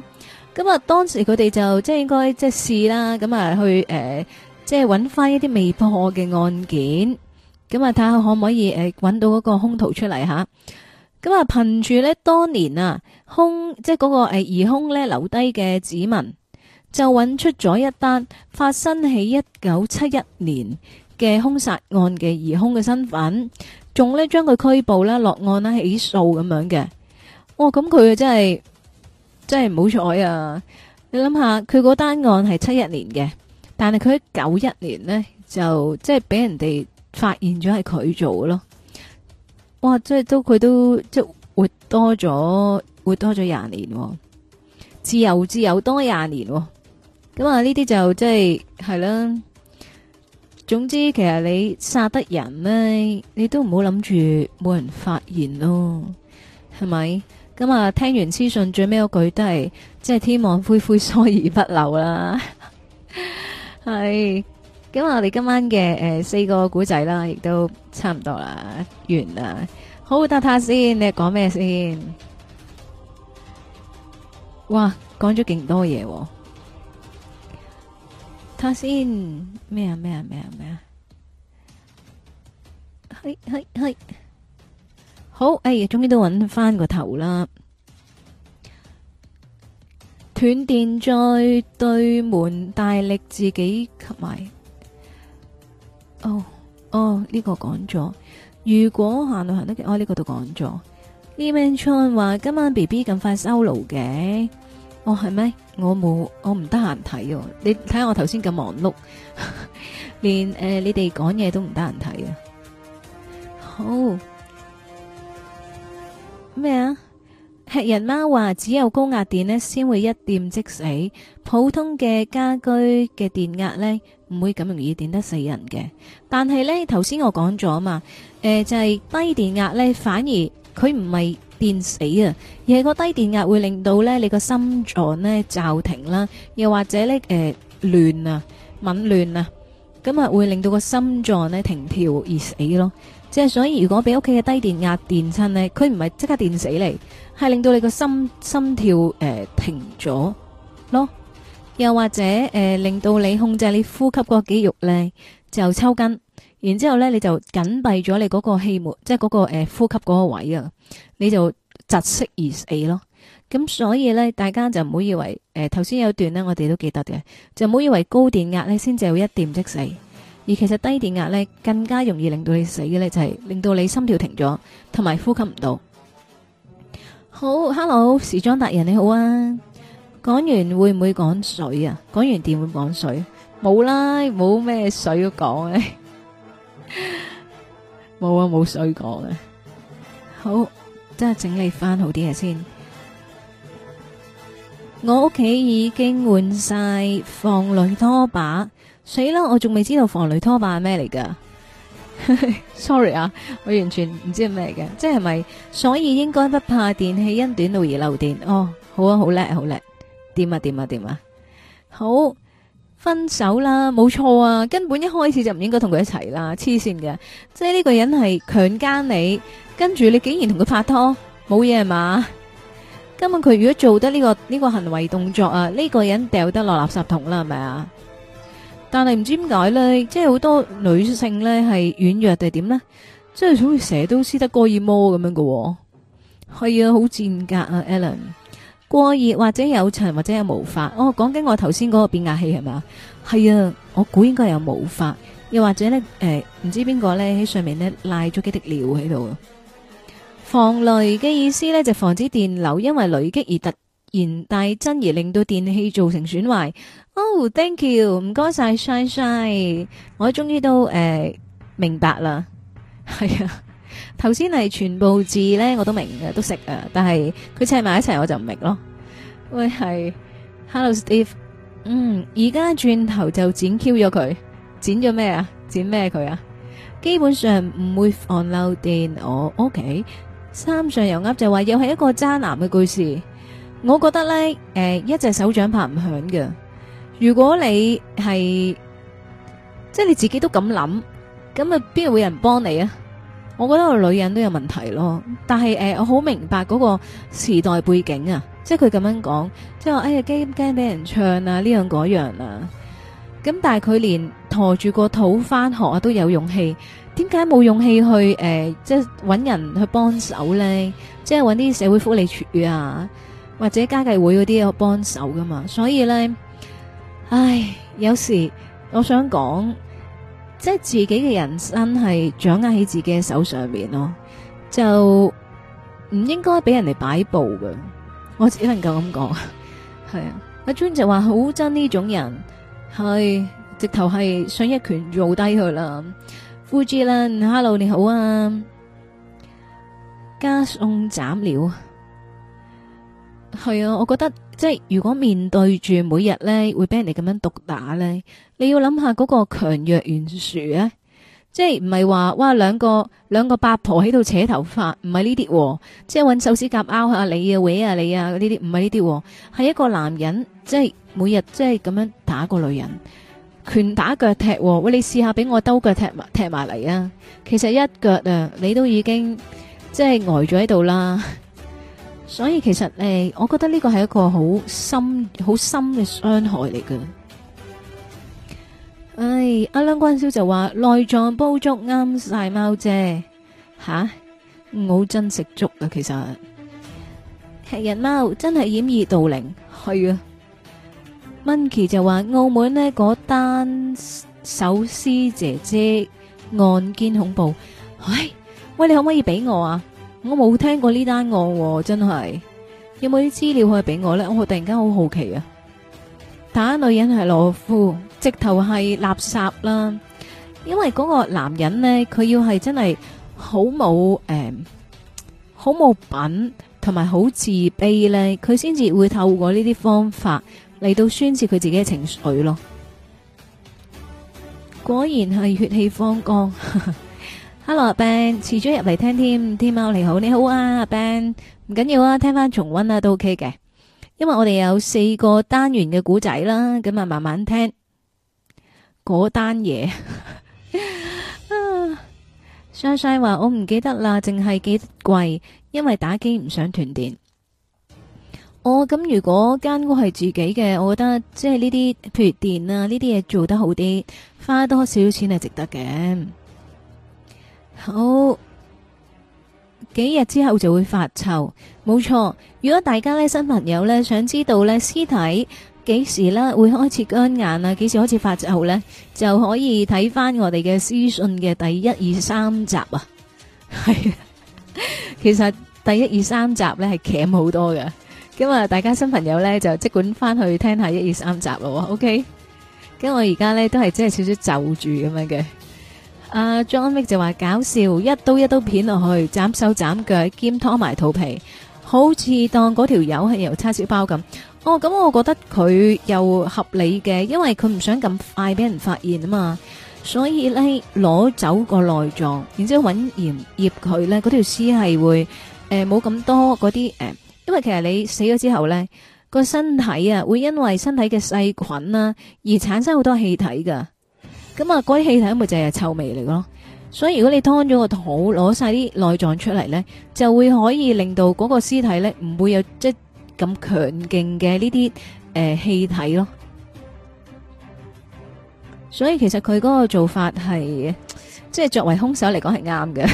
Speaker 1: 咁啊，當時佢哋就即係應該即係試啦，咁啊去誒，即係揾翻一啲未破嘅案件，咁啊睇下可唔可以誒揾到嗰個兇徒出嚟吓。咁啊，憑住咧當年啊兇即係嗰個誒疑兇咧留低嘅指紋，就揾出咗一單發生喺一九七一年嘅兇殺案嘅疑兇嘅身份，仲咧將佢拘捕啦、落案啦、起訴咁樣嘅。哇！咁佢真係真係唔好彩啊！你諗下，佢嗰單案係七一年嘅，但係佢喺九一年呢，就即係俾人哋發現咗係佢做嘅咯。哇！即係都佢都即係活多咗，活多咗廿年，自由自由多廿年。咁啊，呢啲就即係係啦。總之，其實你殺得人呢，你都唔好諗住冇人發現咯，係咪？咁啊，聽完屍訊最尾嗰句都係，即係天網恢恢，疏而不漏啦。係。咁我哋今晚嘅誒四個古仔啦，亦都差唔多啦，完啦。好，答下先，你講咩先？哇，講咗勁多嘢。睇下先，咩啊咩啊咩啊咩啊？係係係。好，哎呀，終於都揾翻個頭啦。斷電再對門大力自己吸埋。哦哦，呢個講咗。如果行路行得，我呢個都講咗。Evan Chan 話今晚 B B 咁快收爐嘅。哦，係咩？我冇，我唔得閒睇哦。你睇下我頭先咁忙碌，連誒、呃、你哋講嘢都唔得閒睇啊。好咩啊？吃人貓話只有高壓電呢先會一掂即死，普通嘅家居嘅電壓呢唔會咁容易電得死人嘅。但係呢頭先我講咗嘛，誒、呃、就係、是、低電壓呢反而佢唔係電死啊，而係個低電壓會令到呢你個心臟呢驟停啦，又或者呢誒亂啊紊亂啊，咁啊會令到個心臟呢停跳而死咯。即係所以如果俾屋企嘅低電壓電親呢，佢唔係即刻電死你，係令到你個心心跳誒、呃、停咗咯，又或者誒、呃、令到你控制你呼吸嗰個肌肉呢就抽筋，然之後呢你就緊閉咗你嗰個氣門，即係嗰、嗰個誒、呃、呼吸嗰個位啊，你就窒息而死咯。咁所以呢，大家就唔好以為誒頭先有段呢，我哋都記得嘅，就唔好以為高電壓呢先至會一掂即死。而其實低電壓咧更加容易令到你死嘅咧，就係令到你心跳停咗，同埋呼吸唔到。好 ，Hello，時裝達人你好啊！講完會唔會講水啊？講完電會唔會講水？冇啦，冇咩水都講嘅，冇啊，冇水講嘅。好，即係整理翻好啲嘢先。我屋企已經換晒防雷拖把。死啦！我仲未知道防雷拖把係咩嚟噶，sorry 啊，我完全唔知係咩嘅，即係咪？所以應該不怕電器因短路而漏電。哦，好啊，好叻，好叻，掂啊，掂啊，掂啊！好，分手啦，冇錯啊，根本一開始就唔應該同佢一齊啦，黐線嘅，即係呢個人係強姦你，跟住你竟然同佢拍拖，冇嘢係嘛？根本佢如果做得呢個呢個行為動作啊，呢個人掉得落垃圾桶啦，係咪啊？但係唔知點解咧，即係好多女性咧係軟弱定係點咧？即係好似成日都斯德哥爾摩咁樣嘅，係啊，好賤格啊 Alan。過熱或者有塵或者有毛髮，哦，講緊我頭先嗰個變壓器係咪啊？係啊，我估應該有毛髮，又或者咧誒，唔知邊個咧喺上面咧賴咗幾滴尿喺度。防雷嘅意思咧就防止電流因為雷擊而突然大增而令到電器造成損壞。哦、oh，thank you，唔該晒，Shine Shine，我終於都誒、呃、明白啦。係啊，頭先係全部字咧我都明嘅，都識啊，但係佢砌埋一齊我就唔明咯。喂，係 ，Hello Steve，嗯，而家轉頭就剪 Q 咗佢，剪咗咩啊？剪咩佢啊？基本上唔會防漏電。我 OK，三上油鴨就話又係一個渣男嘅故事。我覺得咧，誒、呃，一隻手掌拍唔響嘅。如果你係即係你自己都咁諗，咁啊邊度會有人幫你啊？ 我覺得個女人都有問題咯。但係誒、呃，我好明白嗰個時代背景啊，即係佢咁樣講，即係話哎呀驚唔驚俾人唱啊呢樣嗰樣啊。咁但係佢連陀住個肚翻學啊都有勇氣，點解冇勇氣去誒、呃，即係搵人去幫手咧？即係搵啲社會福利署啊，或者家計會嗰啲有幫手噶嘛？所以咧，唉，有時我想講，即係自己嘅人生係掌握喺自己嘅手上面咯，就唔應該俾人哋擺布㗎。我只能夠咁講，係啊。阿 Jun 就話好憎呢種人。係，直頭係想一拳做低佢啦。富志啦 ，Hello 你好啊，加餸斬料。係啊，我覺得即係如果面對住每日咧會俾人哋咁樣毒打咧，你要諗下嗰個強弱懸殊啊，即係唔係話哇兩個兩個八婆喺度扯頭髮，唔係呢啲，即係搵手指甲拗下你啊，搲下你啊，呢啲唔係呢啲，係一個男人即係。每日即係咁樣打個女人，拳打腳踢，喂，你試下俾我兜腳踢埋踢埋嚟啊！其實一腳啊，你都已經即係呆咗喺度啦。所以其實誒、呃，我覺得呢個係一個好深、好深嘅傷害嚟嘅。唉，阿梁關少就話內臟煲粥啱晒貓姐吓，我好憎食粥啊！其實吃人貓真係掩耳盜鈴，係啊。Monkey 就話澳門呢嗰單手撕姐姐案件恐怖，唉，喂，你可唔可以俾我啊？我冇聽過呢單案喎，真係有冇啲資料可以俾我呢？我突然間好好奇啊！打女人係懦夫，直頭係垃圾啦！因為嗰個男人呢，佢要係真係好冇誒，好冇品同埋好自卑呢，佢先至會透過呢啲方法嚟到宣泄佢自己嘅情緒咯，果然係血氣方剛。Hello 阿 Ben，遲咗入嚟聽添，天喵你好，你好啊阿 Ben，唔緊要啊，聽翻重溫啊都 OK 嘅，因為我哋有四個單元嘅古仔啦，咁啊慢慢聽嗰單嘢。雙雙話我唔記得啦，淨係記得貴，因為打機唔想斷電。哦，咁如果間屋係自己嘅，我覺得即係呢啲，譬如電啊呢啲嘢做得好啲，花多少少錢係值得嘅。好，幾日之後就會發臭，冇錯。如果大家呢新朋友呢想知道呢屍體幾時呢會開始乾硬啊，幾時開始發臭呢，就可以睇翻我哋嘅屍訊嘅第一二三集啊。係，其實第一二三集呢係鉗好多嘅。咁啊，大家新朋友咧就即管翻去聽下一二三集咯 ，OK？咁我而家咧都係即係少少就住咁樣嘅。阿 John Wick 就話搞笑，一刀一刀片落去，斬手斬腳兼拖埋肚皮，好似當嗰條友係由叉燒包咁。哦，咁我覺得佢又合理嘅，因為佢唔想咁快俾人發現啊嘛，所以咧攞走個內臟，然之後揾鹽醃佢咧，嗰條屍係會誒冇咁多嗰啲誒。呃因為其實你死咗之後呢，個身體啊會因為身體嘅細菌啦而產生好多氣體噶，咁啊嗰啲氣體咪就係臭味嚟咯。所以如果你劏咗個肚，攞晒啲內臟出嚟呢，就會可以令到嗰個屍體呢唔會有即係咁強勁嘅呢啲誒氣體咯。所以其實佢嗰個做法係即係作為兇手嚟講係啱嘅，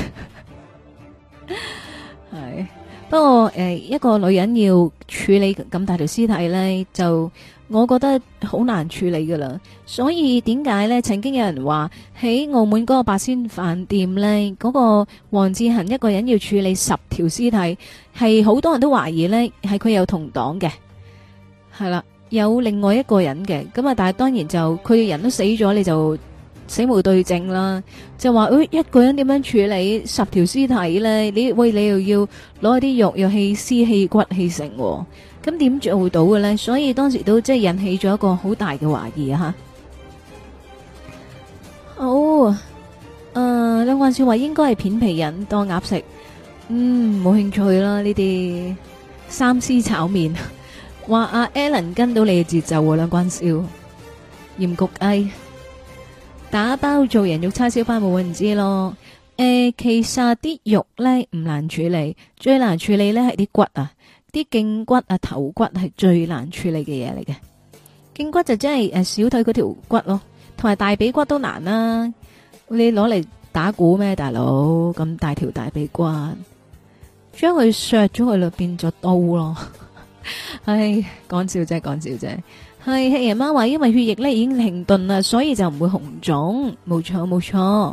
Speaker 1: 係。不過誒、呃，一個女人要處理咁大條屍體呢，就我覺得好難處理噶啦。所以點解呢？曾經有人話喺澳門嗰個八仙飯店呢，嗰、嗰個黃志恒一個人要處理十條屍體，係好多人都懷疑呢係佢有同黨嘅，係啦，有另外一個人嘅。咁啊，但係當然就佢嘅人都死咗，你就死無對證啦，就話誒、哎、一個人點樣處理十條屍體咧？你喂你又要攞啲肉又棄屍棄骨棄成，咁點做到嘅咧？所以當時都即係引起咗一個好大嘅懷疑啊！吓，好誒，梁冠少話應該係片皮人當鴨食，嗯，冇興趣啦呢啲三絲炒麵。話阿 Alan 跟到你嘅節奏，梁冠少鹽焗雞。打包做人肉叉燒包冇人知咯， 誒，其實啲肉咧唔難處理，最難處理咧係啲骨啊，啲頸骨啊、頭骨係最難處理嘅嘢嚟嘅。頸骨就真係誒小腿嗰條骨咯，同埋大髀骨都難啦。你攞嚟打鼓咩，大佬？咁大條大髀骨，將佢削咗佢咯，變咗刀咯。唉，講笑啫，講笑啫。係黑人媽話，因為血液咧已經停頓啦，所以就唔會紅腫。冇錯，冇錯。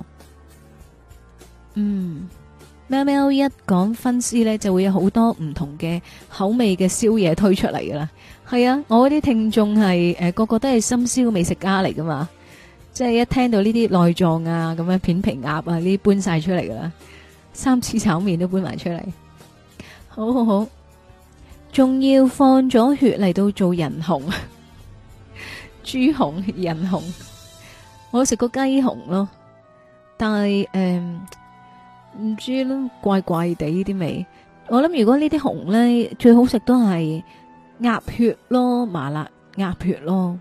Speaker 1: 嗯，喵喵一講分屍咧，就會有好多唔同嘅口味嘅宵夜推出嚟噶啦。係啊，我啲聽眾係誒個個都係深宵美食家嚟噶嘛，即係一聽到呢啲內臟啊，咁樣片皮鴨啊，呢啲搬晒出嚟噶啦，三次炒麵都搬埋出嚟。好好好，仲要放咗血嚟到做人紅、豬紅、人紅。我食過雞紅咯，但係誒。嗯唔知啦，怪怪地啲味。我諗如果呢啲紅咧，最好食都係鴨血咯，麻辣鴨血咯。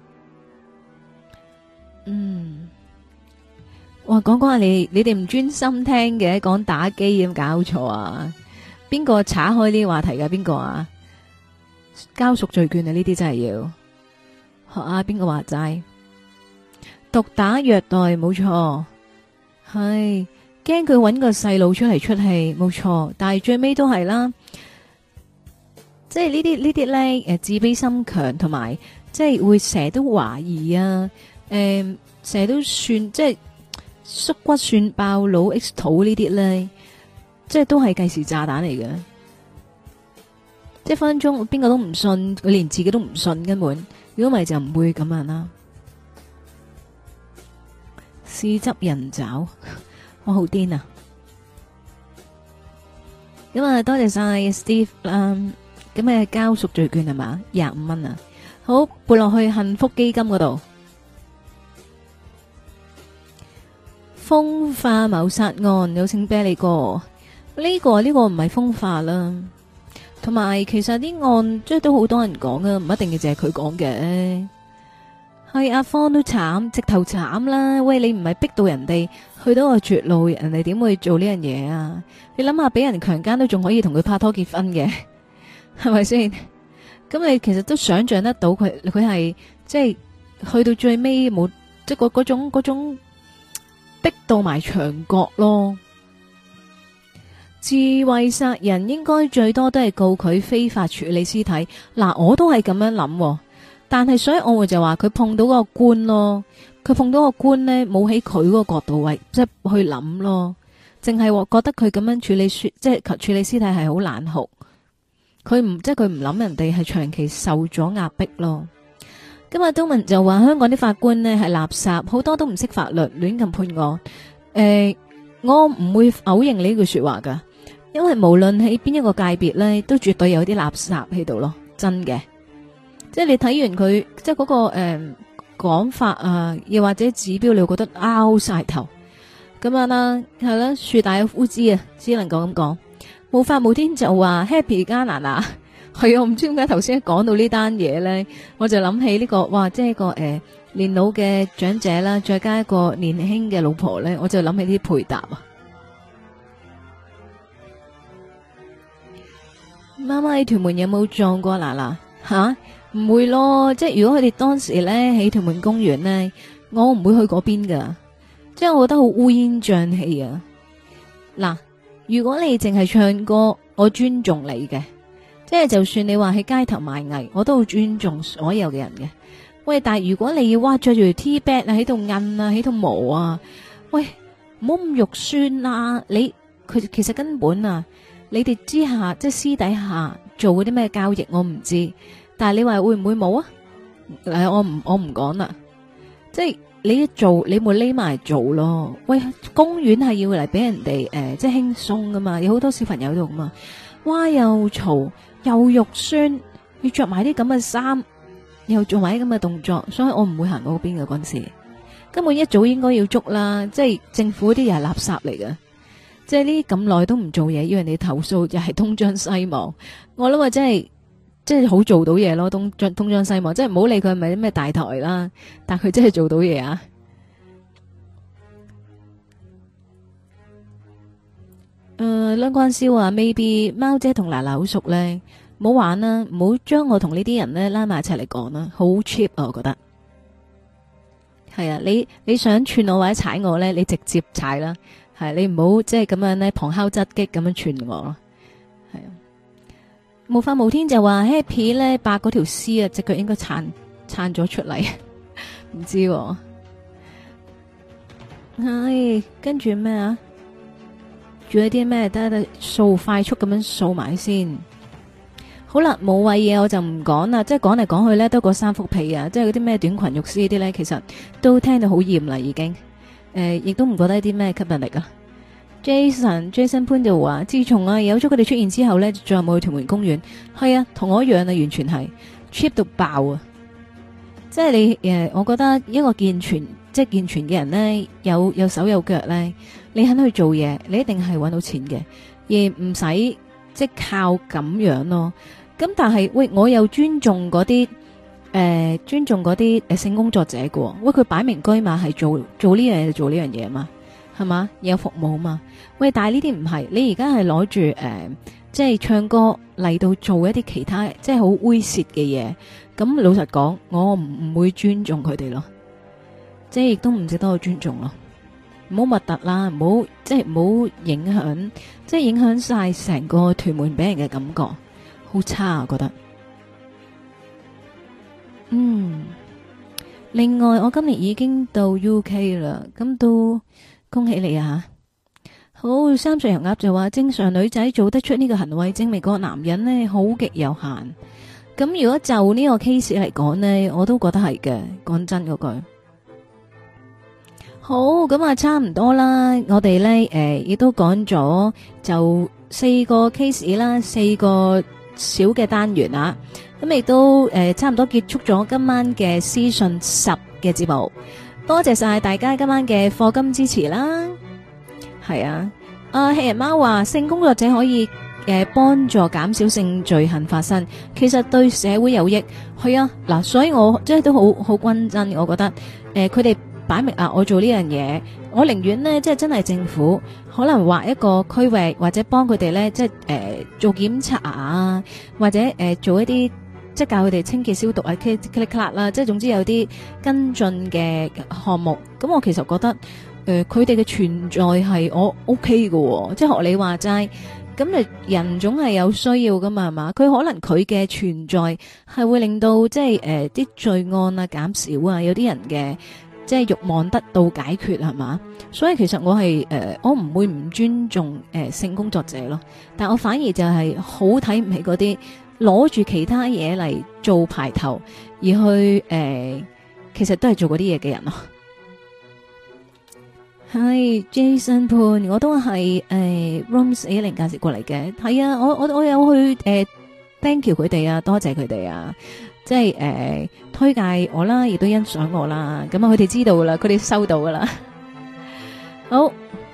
Speaker 1: 嗯，哇，講講下你，你哋唔專心聽嘅，講打機有冇搞錯啊？邊個岔開呢個話題噶？邊個啊？交贖罪券啊？呢啲真係要學下邊個話齋？毒打虐待冇錯，係。驚佢搵個細路出嚟出氣，冇錯，但係最尾都係啦，即係呢啲呢啲咧，誒自卑心強，同埋即係會成日都懷疑啊，誒成日都算即係縮骨算爆老 X 肚呢啲咧，即係都係計時炸彈嚟嘅，即係分分鐘邊個都唔信，佢連自己都唔信根本，如果唔係就唔會咁樣啦，豉汁人爪。我好癲啊！咁啊，多謝晒 Steve 啦。咁啊，交贖罪券係嘛？廿五蚊啊！好，撥落去幸福基金嗰度。風化謀殺案有請啤梨哥。呢個呢個唔係風化啦，同埋其實啲案即係都好多人講啊，唔一定嘅淨係佢講嘅。係阿方都慘，直頭慘啦！喂，你唔係逼到人哋去到個絕路，人哋點會做呢樣嘢啊？你諗下，俾人強姦都仲可以同佢拍拖結婚嘅，係咪先？咁你其實都想象得到佢，佢係即係去到最尾冇，即係嗰嗰種嗰種逼到埋牆角咯。自衛殺人應該最多都係告佢非法處理屍體。嗱，我都係咁樣諗。但係所以我會就話佢碰到嗰個官咯，佢碰到個官呢，冇喺佢嗰個角度位，即係去諗咯，淨係覺得佢咁樣處理即係處理屍體係好難酷，佢唔即係佢唔諗人哋係長期受咗壓迫咯。今日都文就話香港啲法官呢係垃圾，好多都唔識法律，亂咁判案。誒、呃，我唔會否認呢句說話噶，因為無論喺邊一個界別呢，都絕對有啲垃圾喺度咯，真嘅。即係你睇完佢，即係嗰、那個誒講、呃、法啊，又或者指標，你會覺得拗晒頭咁樣啦，係啦，樹大有枯枝啊，只能夠咁講。無法無天就話 Happy 加拿大，係啊，唔知點解頭先講到呢單嘢咧，我就諗起呢、這個，哇，即係一個誒、呃、年老嘅長者啦，再加一個年輕嘅老婆咧，我就諗起啲配搭啊。媽媽喺屯門有冇撞過嗱嗱吓？唔會咯，即係如果佢哋當時咧喺屯門公園咧，我唔會去嗰邊噶，即係我覺得好烏煙瘴氣啊！嗱，如果你淨係唱歌，我尊重你嘅，即係就算你話喺街頭賣藝，我都好尊重所有嘅人嘅。喂，但係如果你要哇着住 T 恤啊喺度印啊喺度磨啊，喂，唔好咁肉酸啊！你佢其實根本啊，你哋之下即係私底下做嗰啲咩交易，我唔知。但係你話會唔會冇啊？誒，我唔我唔講啦。即係你一做，你冇匿埋做咯。喂，公園係要嚟俾人哋誒、呃，即係輕鬆噶嘛，有好多小朋友喺度噶嘛。哇，又嘈又肉酸，要着埋啲咁嘅衫，又做埋啲咁嘅動作，所以我唔會行嗰邊嘅嗰陣時。根本一早應該要捉啦，即係政府啲又係垃圾嚟嘅。即係呢咁耐都唔做嘢，要人哋投訴，又係東張西望。我諗話真係。即係好做到嘢咯，東張東張西望，即係唔好理佢係咪啲咩大台啦，但佢真係做到嘢啊！ 誒，兩關燒啊，maybe 貓姐同奶奶好熟咧，唔好玩啦，唔好將我同呢啲人咧拉埋一齊嚟講啦，好 cheap 啊，我覺得。係啊，你你想串我或者踩我咧，你直接踩啦，係你唔好即係咁樣咧旁敲側擊咁樣串我咯，係啊。無法無天就話 Happy 咧，白嗰條絲啊，隻腳應該撐撐咗出嚟，唔知喎。唉，跟住咩啊？仲有啲咩？得得掃快速咁樣掃埋先。好啦，冇謂嘢我就唔講啦，即係講嚟講去咧都嗰三幅被啊，即係嗰啲咩短裙肉絲呢啲咧，其實都聽到好厭啦已經。誒、呃，亦都唔覺得啲咩吸引力啊。Jason Jason 潘就話，自從啊有咗佢哋出現之後咧，再冇去屯門公園。係啊，同我一樣啊，完全係 cheap 到爆啊！即係你誒，我覺得一個健全即係健全嘅人咧，有有手有腳咧，你肯去做嘢，你一定係搵到錢嘅，而唔使即係靠咁樣咯。咁但係喂，我又尊重嗰啲誒，尊重嗰啲誒性工作者嘅。喂，佢擺明居馬係做做呢樣嘢就做呢樣嘢嘛，係嘛，有服務嘛。喂，但係呢啲唔係，你而家係攞住誒，即係唱歌嚟到做一啲其他即係好猥褻嘅嘢。咁老實講，我唔唔會尊重佢哋咯，即係亦都唔值得我尊重咯。唔好核突啦，唔好即係唔好影響，即係影響晒成個屯門俾人嘅感覺。好差啊，覺得。嗯，另外我今年已經到 U K 啦，咁都恭喜你啊！好，三歲油鴨就話，正常女仔做得出呢個行為，證明個男人呢好極有限。咁如果就呢個 case 嚟講呢，我都覺得係嘅。講真嗰句，好，咁啊，差唔多啦。我哋呢誒，亦、呃、都講咗就四個 case 啦，四個。小嘅單元啊，咁亦都誒、呃、差唔多結束咗今晚嘅屍訊十嘅節目，多謝晒大家今晚嘅課金支持啦。係啊，啊黑人貓話性工作者可以誒幫、呃、助減少性罪行發生，其實對社會有益。係啊，嗱，所以我即係都好好均真，我覺得誒佢哋擺明啊，我做呢樣嘢，我寧願呢，即係真係政府可能劃一個區域，或者幫佢哋呢，即係誒、呃、做檢查啊，或者誒、呃、做一啲即係教佢哋清潔消毒啊 click click clack 啦，即係總之有啲跟進嘅項目。咁我其實覺得誒佢哋嘅存在係我 OK 嘅、哦，即係學你話齋，咁誒人總係有需要噶嘛，係嘛？佢可能佢嘅存在係會令到即係誒啲罪案啊減少啊，有啲人嘅。即係慾望得到解決係嘛，所以其實我係誒、呃、我唔會唔尊重誒、呃、性工作者咯，但我反而就係好睇唔起嗰啲攞住其他嘢嚟做排頭，而去誒、呃、其實都係做嗰啲嘢嘅人咯。係 Jason 潘，我都係誒 Rooms 一零介紹過嚟嘅，係啊，我我我有去誒、呃、thank you 佢哋啊，多謝佢哋啊。即係誒、呃、推介我啦，亦都欣賞我啦，咁啊佢哋知道噶啦，佢哋收到噶啦。好，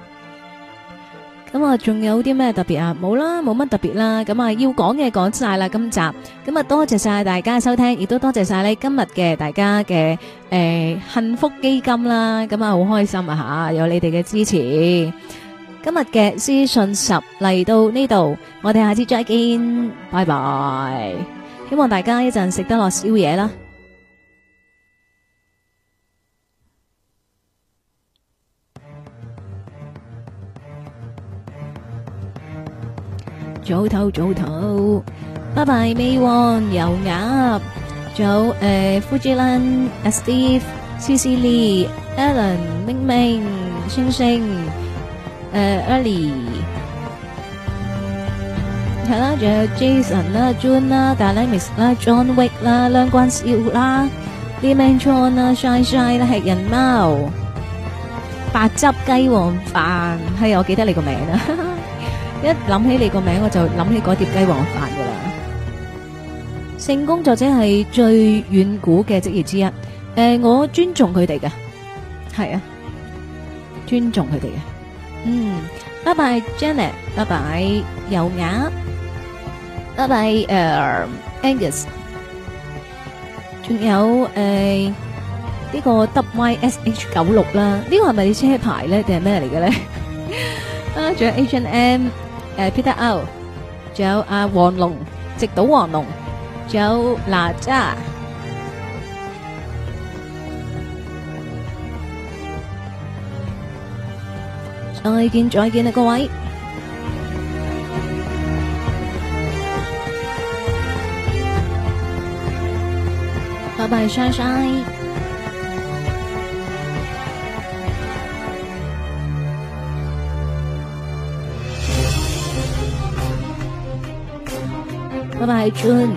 Speaker 1: 咁啊仲有啲咩特別啊？冇啦，冇乜特別啦。咁啊要講嘅講晒啦，今集咁啊多謝晒大家收聽，亦都多謝晒你今日嘅大家嘅誒、呃、幸福基金啦。咁啊好開心啊吓，有你哋嘅支持。今日嘅屍訊十嚟到呢度，我哋下次再見，拜拜。希望大家一陣食得落宵夜啦。早唞早唞，拜拜。美旺油鴨，仲有誒，Fujilan、Steve、C C Lee、Alan、明明、星星、誒，Ellie。係啦，仲有 Jason 啦、June 啦、Dynamics 啦、John Wick 啦、梁關少啦、Lee Man Chon 啦、Shine Shine 啦、吃人貓、白汁雞皇飯，係我記得你個名啦。一諗起你個名，我就諗起嗰碟雞皇飯噶啦。性工作者係最遠古嘅職業之一，誒、呃，我尊重佢哋嘅，係啊，尊重佢哋嘅。嗯，拜拜 Janet， 拜拜油鴨。拜拜，誒、uh, Angus， 仲有誒呢、uh, 個 W Y S H 九六啦，呢個係咪你車牌咧，定係咩嚟嘅咧？ 啊，仲有 H and M， 誒 Peter O， 仲有阿黃龍，直島黃龍，仲有哪吒。再見再見啦，各位，拜拜，晒晒，拜拜，June。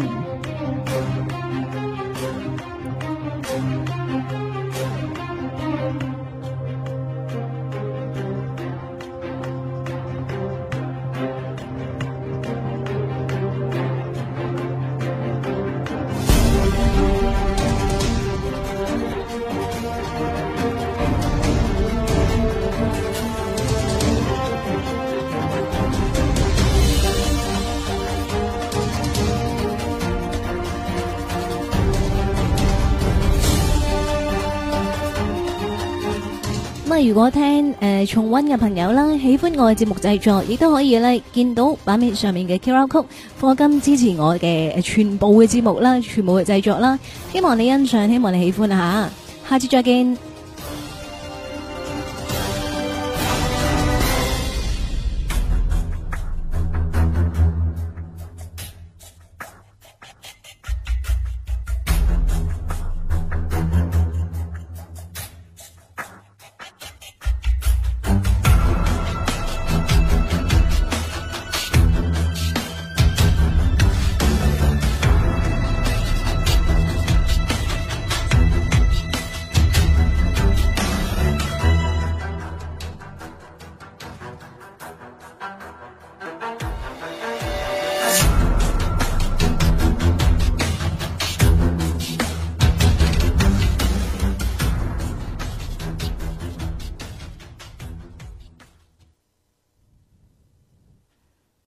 Speaker 1: 如果聽誒、呃、重溫嘅朋友啦，喜歡我嘅節目製作，亦都可以咧見到版面上面嘅 Q R code，課金支持我嘅全部嘅節目啦，全部嘅製作啦。希望你欣賞，希望你喜歡啊吓，下次再見。